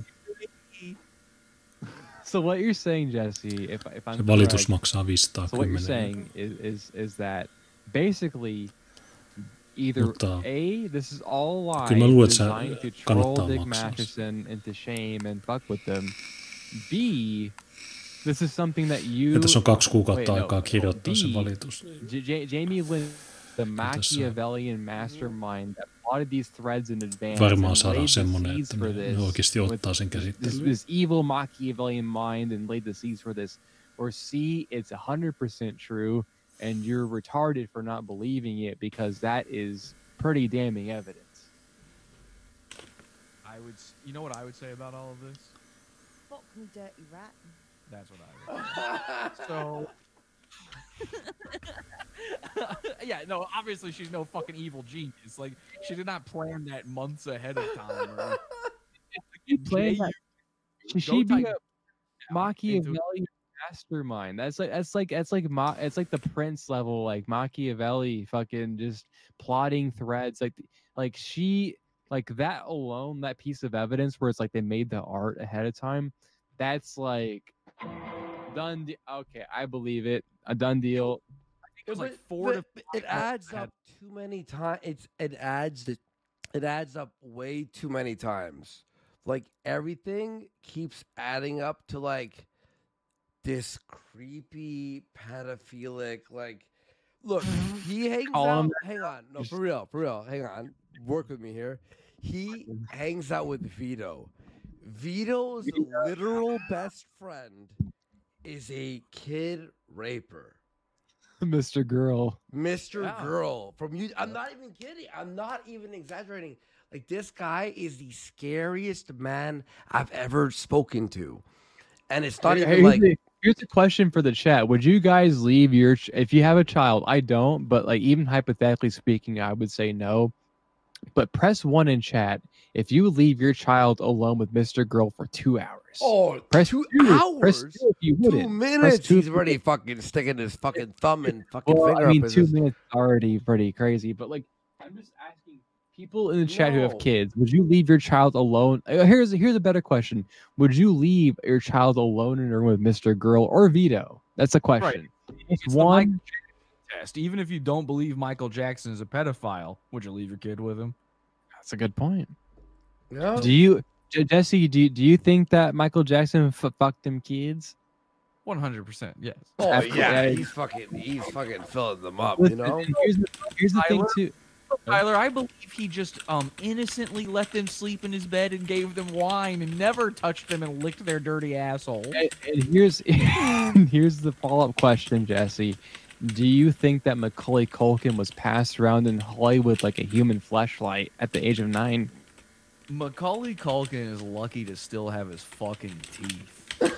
So what you're saying, Jesse, if I'm Se valitus correct, maksaa 510. so what you're saying is that basically either A, this is all a Kyllä mä lie luulen, että designed to se troll kannattaa Dick maksaa. Masterson into shame and fuck with them. B, this is something that you... Ja tässä on 2 kuukautta aikaa kirjoittaa se valitus. Jamie Lynn, the Machiavellian mastermind that plotted these threads in advance Varmaan and saadaan laid the semmoinen, seeds että for ne this oikeasti ottaa with sen käsittelyyn. this evil Machiavellian mind and laid the seeds for this. Or C, it's 100% true and you're retarded for not believing it because that is pretty damning evidence. You know what I would say about all of this? Fuck me, dirty rat. That's what I would say. So, yeah, no, obviously she's no fucking evil genius. Like, she did not plan that months ahead of time. Right? You play that. She be a Machiavellian mastermind. That's like the Prince level, like Machiavelli, fucking just plotting threads. Like she, like that alone, that piece of evidence where it's like they made the art ahead of time. That's like done. Okay, I believe it. A done deal. I think it was like 4 to 5. It adds up too many times. It adds up way too many times. Like everything keeps adding up to like this creepy pedophilic. Like, look, he hangs out. Hang on, no, for real. Hang on, work with me here. He hangs out with Vito. Vito's literal best friend is a kid raper. Mr. Girl. Girl from you. I'm not even kidding. I'm not even exaggerating. Like, this guy is the scariest man I've ever spoken to. And it's not even like... Here's a question for the chat. Would you guys leave your... If you have a child, I don't, but like even hypothetically speaking, I would say no. But press 1 in chat if you leave your child alone with Mr. Girl for 2 hours. Oh, press 2 2, hours? Press 2 if you wouldn't. 2 minutes? Press 2 He's already fucking sticking his fucking thumb and fucking finger I mean, up 2 his... minutes is already pretty crazy, but like, I'm just asking people in the chat who have kids, would you leave your child alone? Here's a better question. Would you leave your child alone in a room with Mr. Girl or Vito? That's a question. Right. It's It's one the Michael Jackson test. Even if you don't believe Michael Jackson is a pedophile, would you leave your kid with him? That's a good point. No. Do you, Jesse? Do you think that Michael Jackson fucked them kids? 100%, yes. Oh, After- yeah, yeah. he's fucking filling them up, Listen, you know? and here's the thing Tyler? too. Tyler, I believe he just innocently let them sleep in his bed and gave them wine and never touched them and licked their dirty asshole. And here's here's the follow-up question, Jesse. Do you think that Macaulay Culkin was passed around in Hollywood like a human fleshlight at the age of 9? Macaulay Culkin is lucky to still have his fucking teeth.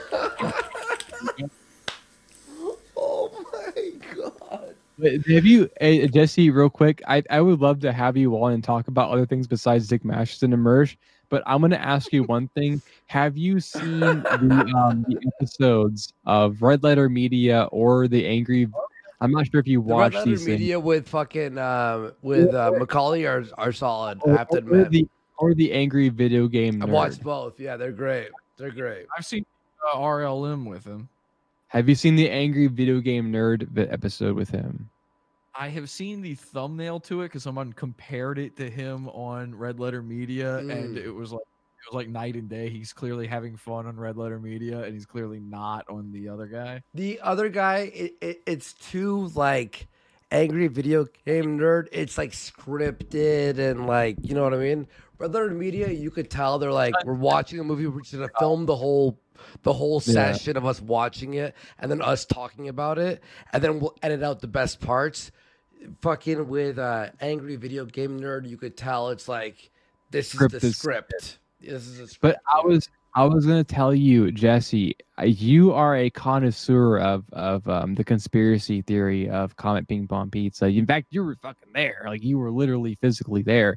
Oh my god. Have you, Jesse, real quick, I would love to have you on and talk about other things besides Dick Masterson and Mersh, but I'm going to ask you one thing. Have you seen the episodes of Red Letter Media or the Angry... I'm not sure if you The Red watched Letter these things. Media with fucking Macaulay are solid. I have to admit. Or the Angry Video Game Nerd. I've watched both. Yeah, they're great. They're great. I've seen RLM with him. Have you seen the Angry Video Game Nerd episode with him? I have seen the thumbnail to it because someone compared it to him on Red Letter Media, and it was like night and day. He's clearly having fun on Red Letter Media, and he's clearly not on the other guy. The other guy, it's too like Angry Video Game Nerd, it's like scripted and like, you know what I mean? Rather than media, you could tell they're like, we're watching a movie, we're just gonna film the whole session of us watching it and then us talking about it, and then we'll edit out the best parts. Fucking with Angry Video Game Nerd, you could tell it's like, this is the script. This is a script. But I was gonna tell you, Jesse, you are a connoisseur of the conspiracy theory of Comet Ping Pong Pizza. In fact, you were fucking there. Like you were literally physically there.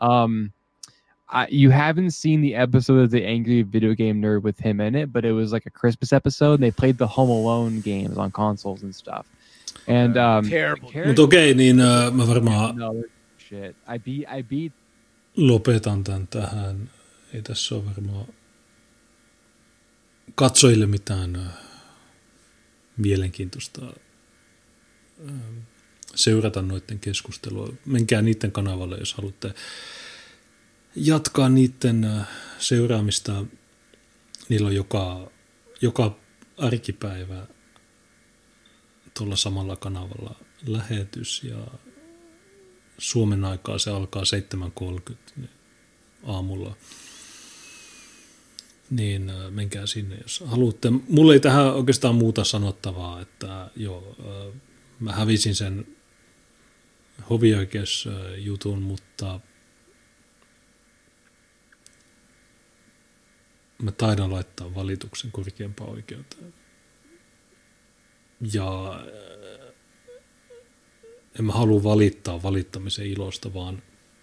You haven't seen the episode of the Angry Video Game Nerd with him in it, but it was like a Christmas episode. And they played the Home Alone games on consoles and stuff. And terrible. Mutta okei, niin mä varmaan shit. I beat lopetan tämän tähän. Ei tässä ole varmaan katsojille mitään mielenkiintoista seurata noiden keskustelua. Menkää niiden kanavalle, jos haluatte jatkaa niiden seuraamista. Niillä on joka arkipäivä tuolla samalla kanavalla lähetys ja Suomen aikaa se alkaa 7.30 aamulla. Niin menkää sinne, jos haluatte. Mulla ei tähän oikeastaan muuta sanottavaa, että joo, mä hävisin sen hovioikeusjutun, mutta mä taidan laittaa valituksen korkeampaan oikeuteen. Ja en mä halua valittaa valittamisen ilosta, vaan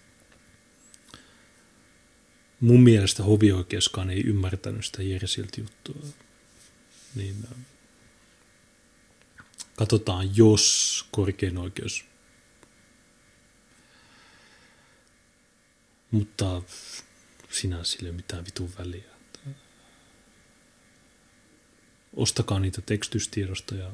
mun mielestä hovioikeuskaan ei ymmärtänyt sitä Jersiltä juttua. Niin katsotaan, jos korkein oikeus. Mutta sinänsä sillä ei ole mitään vitun väliä. Ostakaa niitä tekstystiedostoja.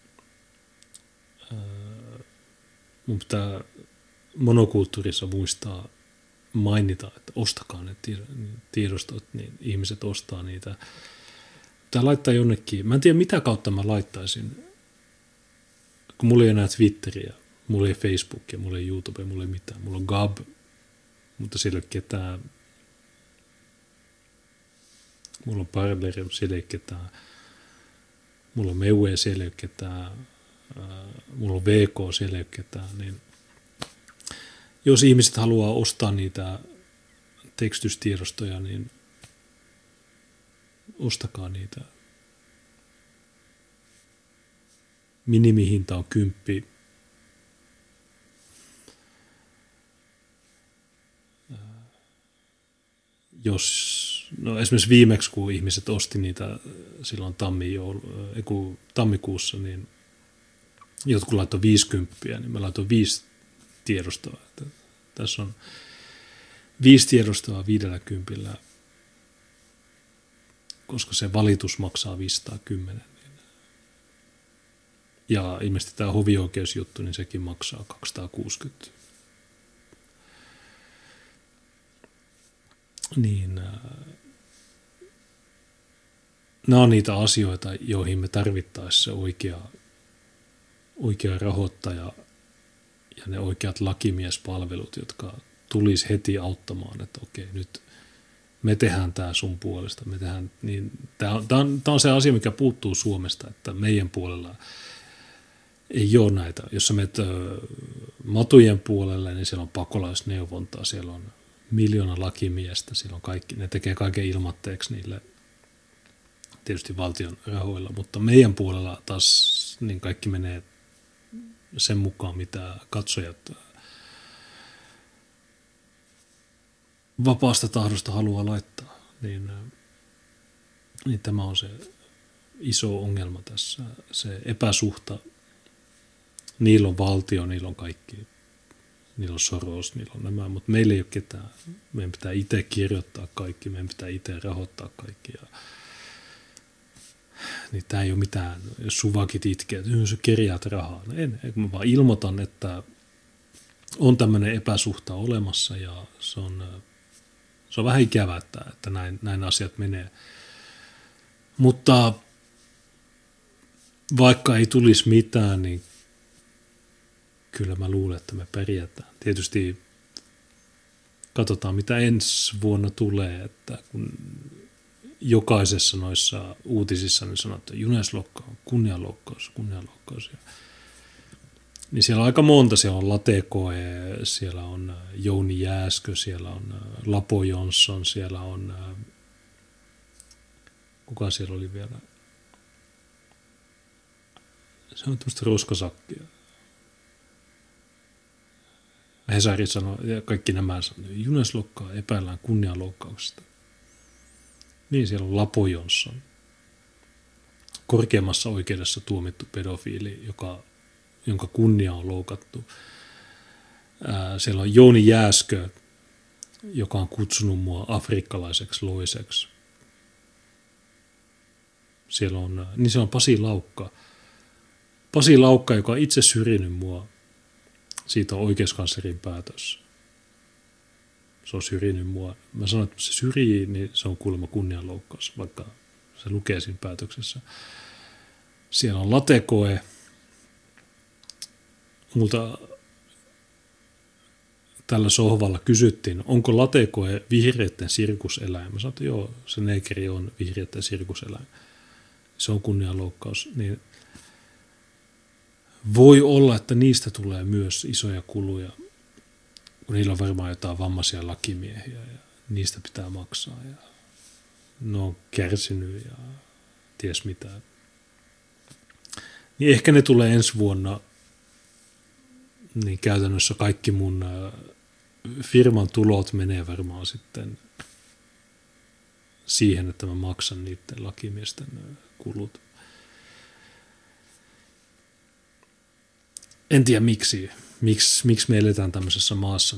Mun pitää monokulttuurissa muistaa mainita, että ostakaa ne tiedostot, niin ihmiset ostaa niitä. Pitää laittaa jonnekin. Mä en tiedä, mitä kautta mä laittaisin. Kun mulla ei enää Twitteriä, mulla ei Facebookia, mulla ei YouTubea, mulla ei mitään. Mulla on Gab, mutta siellä ei ole ketään. Mulla on Parler, siellä ei ole ketään. Mulla on Meue, siellä ei ole ketään. Mulla on VK, siellä ei ole ketään. Niin jos ihmiset haluaa ostaa niitä tekstystiedostoja, niin ostakaa niitä. Minimihinta on 10. Esimerkiksi viimeksi, kun ihmiset osti niitä silloin tammikuussa, niin jotkut laittoi 50, niin mä laitoin 5 tiedostoa. Tässä on 5 tiedostoa 50, koska se valitus maksaa 510. Ja ilmeisesti tämä hovioikeusjuttu, niin sekin maksaa 260. Niin nämä on niitä asioita, joihin me tarvittaisiin se oikea rahoittaja ja ne oikeat lakimiespalvelut, jotka tulisi heti auttamaan, että okei, nyt me tehdään tämä sun puolesta. Tämä on se asia, mikä puuttuu Suomesta, että meidän puolella ei ole näitä. Jos sä menet matujen puolelle, niin siellä on pakolaisneuvontaa, siellä on 1 000 000 lakimiestä, siellä on kaikki, ne tekee kaiken ilmatteeksi niille tietysti valtion rahoilla, mutta meidän puolella taas niin kaikki menee sen mukaan, mitä katsojat vapaasta tahdosta haluaa laittaa. Niin tämä on se iso ongelma tässä, se epäsuhta. Niillä on valtio, niillä on kaikki. Niillä on Soros, niillä on nämä, mutta meillä ei ole ketään. Meidän pitää itse kirjoittaa kaikki, meidän pitää itse rahoittaa kaikki. Niin tämä ei ole mitään, jos suvakit itkee, että sä kerjäät rahaa. No mä vaan ilmoitan, että on tämmöinen epäsuhta olemassa ja se on vähän ikävää, että näin asiat menee. Mutta vaikka ei tulisi mitään, niin kyllä mä luulen, että me pärjätään. Tietysti katsotaan, mitä ensi vuonna tulee, että kun jokaisessa noissa uutisissa niin sanoo, että Juneslokka on kunnianloukkaus. Niin siellä on aika monta. Siellä on Latekoe, siellä on Jouni Jääskö, siellä on Lapo Jonsson, siellä on... Kuka siellä oli vielä? Se on tämmöistä roskasakkia. Hesari sanoi, ja kaikki nämä sanoi, Juneslokkaa epäillään kunnianloukkauksesta. Niin, siellä on Lapo Jonsson. Korkeimmassa oikeudessa tuomittu pedofiili, jonka kunnia on loukattu. Siellä on Jouni Jääskö, joka on kutsunut mua afrikkalaiseksi loiseksi. Siellä on Pasi Laukka. Pasi Laukka, joka on itse syrjinyt mua. Siitä on oikeuskanslerin päätös. Se on syrjinyt mua. Mä sanoin, että se syrjii, niin se on kuulemma kunnianloukkaus, vaikka se lukee siinä päätöksessä. Siellä on Latekoe. Multa tällä sohvalla kysyttiin, onko Latekoe vihreitten sirkuseläin. Mä sanoin, että joo, se negeri on vihreitten sirkuseläin. Se on kunnianloukkaus. Niin voi olla, että niistä tulee myös isoja kuluja, kun niillä on varmaan jotain vammaisia lakimiehiä ja niistä pitää maksaa. Ja ne on kärsinyt ja ties mitä. Niin ehkä ne tulee ensi vuonna, niin käytännössä kaikki mun firman tulot menee varmaan sitten siihen, että mä maksan niiden lakimiesten kulut. En tiedä miksi me eletään tämmöisessä maassa,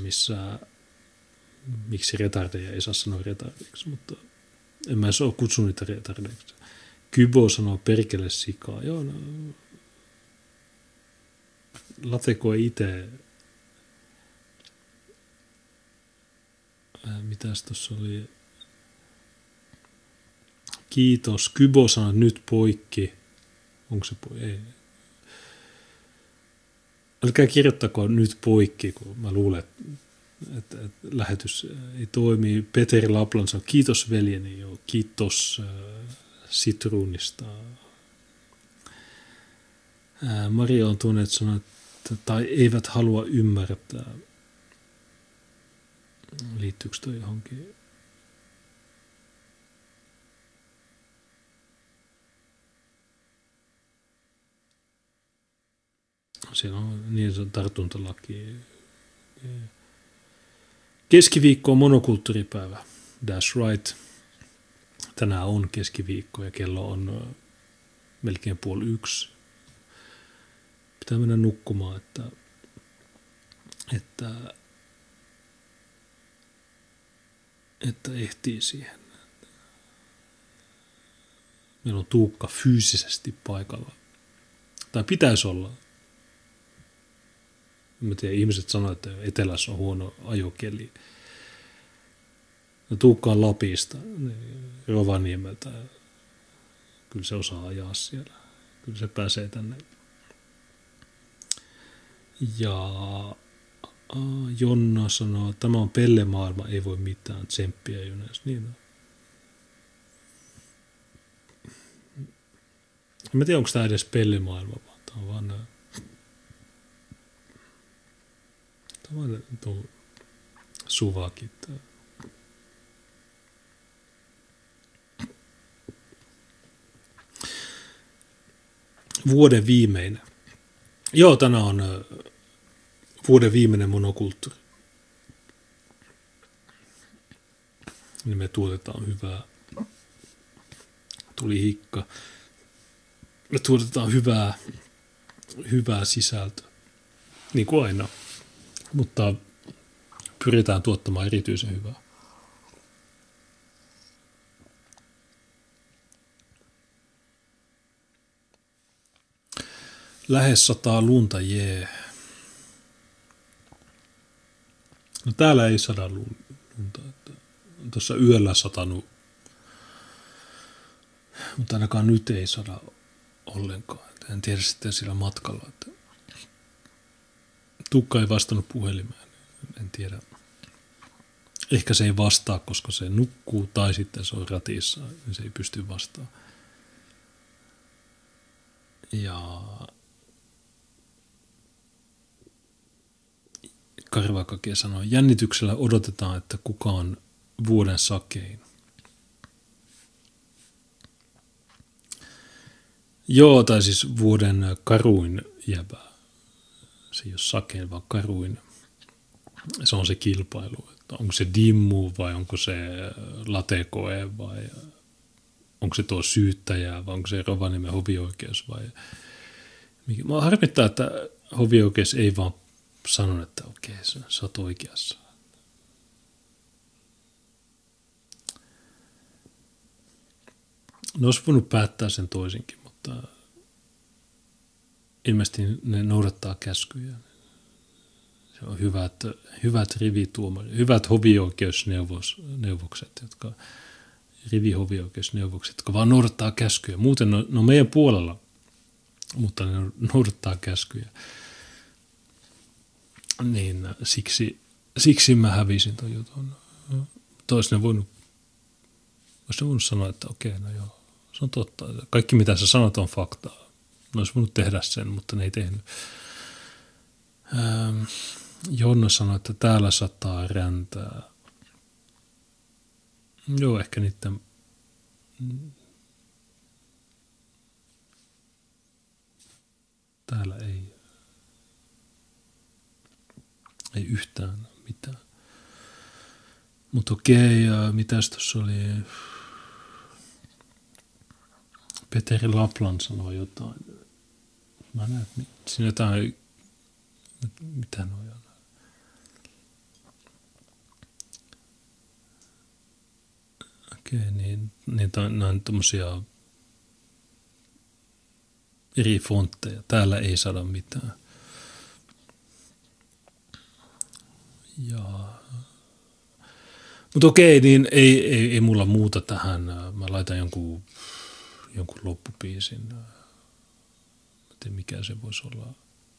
miksi retardeja ei saa sanoa retardeiksi, mutta en mä ole kutsunut niitä retardeiksi. Kybo sanoo perkele sikaa. Joo, no, Latekoe itse, mitäs tuossa oli, kiitos, Kybo sanoo nyt poikki, onko se poikki, ei. Älkää kirjoittako nyt poikki, kun mä luulen, että lähetys ei toimi. Peteri Laplan sanoo, kiitos veljeni, joo, kiitos sitruunista. Maria on tuonne, että sanoo, että tai eivät halua ymmärtää. Liittyykö toi johonkin? Siellä on niin se on tartuntalaki. Keskiviikko on monokulttuuripäivä. That's right. Tänään on keskiviikko ja kello on melkein 12:30. Pitää mennä nukkumaan, että ehtii siihen. Meillä on Tuukka fyysisesti paikalla. Tai pitäisi olla. Mä tiedän, ihmiset sanoo, että etelässä on huono ajokeli. No, Tuukka on Lapista, Rovaniemeltä. Kyllä se osaa ajaa siellä. Kyllä se pääsee tänne. Ja Jonna sanoo, että tämä on pellemaailma, ei voi mitään, tsemppiä Junes. Niin on. En tiedä, onko tämä edes pellemaailma, vaan tämä on vaan tuo suvakit. Vuoden viimeinen. Joo, tänään on vuoden viimeinen monokulttuuri. Niin me tuotetaan hyvää. Tuli hikka. Me tuotetaan hyvää sisältöä. Niin kuin aina. Mutta pyritään tuottamaan erityisen hyvää. Lähes 100 lunta, jee. No täällä ei 100 lunta. Tuossa yöllä satanut. Mutta ainakaan nyt ei 100 ollenkaan. En tiedä sitten sillä matkalla, että Tuukka ei vastannut puhelimeen. En tiedä. Ehkä se ei vastaa, koska se nukkuu tai sitten se on ratissa, niin se ei pysty vastaamaan. Ja Karvakake sanoi, jännityksellä odotetaan, että kuka on vuoden sakein. Joo, tai siis vuoden karuin jäbä. Se ei ole sakein, vaan karuin. Se on se kilpailu. Että onko se Dimmu vai onko se Latekoe vai onko se tuo syyttäjä vai onko se Rovaniemen hovioikeus vai mikä. Mä harmittaa, että hovioikeus ei vaan sanonut, että okei, sä oot oikeassa. Ne olisi voinut päättää sen toisinkin, mutta ilmeisesti ne noudattaa käskyjä. Se on hyvät rivituomarit, hyvät hovioikeusneuvokset, rivihovioikeusneuvokset, jotka vaan noudattaa käskyjä. Muuten ne on meidän puolella, mutta ne noudattaa käskyjä. Niin siksi mä hävisin ton jutun. Olisi ne voinut sanoa, että okei, no joo, se on totta. Kaikki mitä sä sanot on faktaa. Ne olisi voinut tehdä sen, mutta ne ei tehnyt. Jonna sanoi, että täällä sataa räntää. Joo, ehkä niiden täällä ei yhtään mitään. Mutta okei, mitäs tuossa oli? Peteri Laplan sanoi jotain. Mä näen, siinä jotain, mitä noja on? Okei, niin nämä on tommosia eri fontteja. Täällä ei saada mitään. Mutta okei, niin ei mulla muuta tähän. Mä laitan jonkun loppupiisin. Mä tiedän, mikä se voisi olla.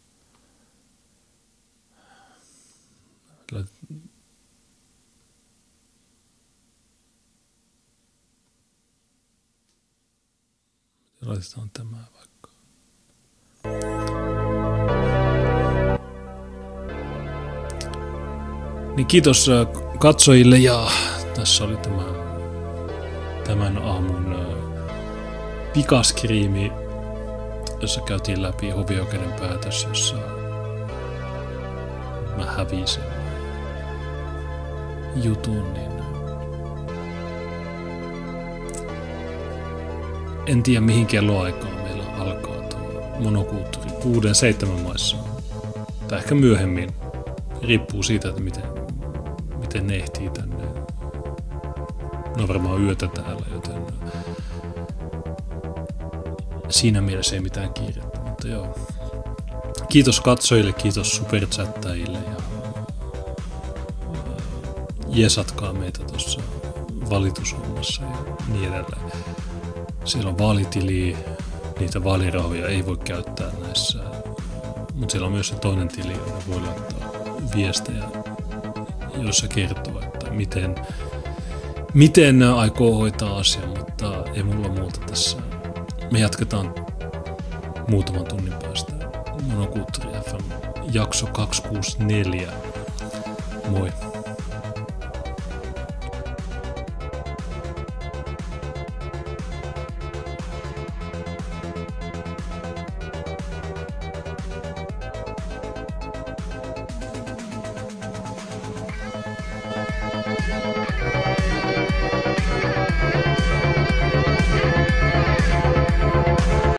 Laitetaan tämä vaikka. Niin kiitos katsojille ja tässä oli tämän aamun pikaskriimi, jossa käytiin läpi hovioikeuden päätös, jossa mä hävisin jutun, niin en tiedä mihin kelloaikaan meillä alkaa tuo monokulttuuri 6-7 maissa. Tai ehkä myöhemmin. Riippuu siitä, että miten ne ehtii tänne. Ne on varmaan yötä täällä, joten siinä mielessä ei mitään kiirettä. Mutta joo. Kiitos katsojille, kiitos superchattajille ja jesatkaa meitä tuossa valitushommassa ja niin edelleen. Siellä on vaalitili, niitä vaalirahoja ei voi käyttää näissä, mutta siellä on myös se toinen tili, jonne voi laittaa viestejä, jossa kertoo, että miten aikoo hoitaa asian, mutta ei mulla muuta tässä. Me jatketaan muutaman tunnin päästä. Monokulttuuri FM jakso 264. Moi. Yeah.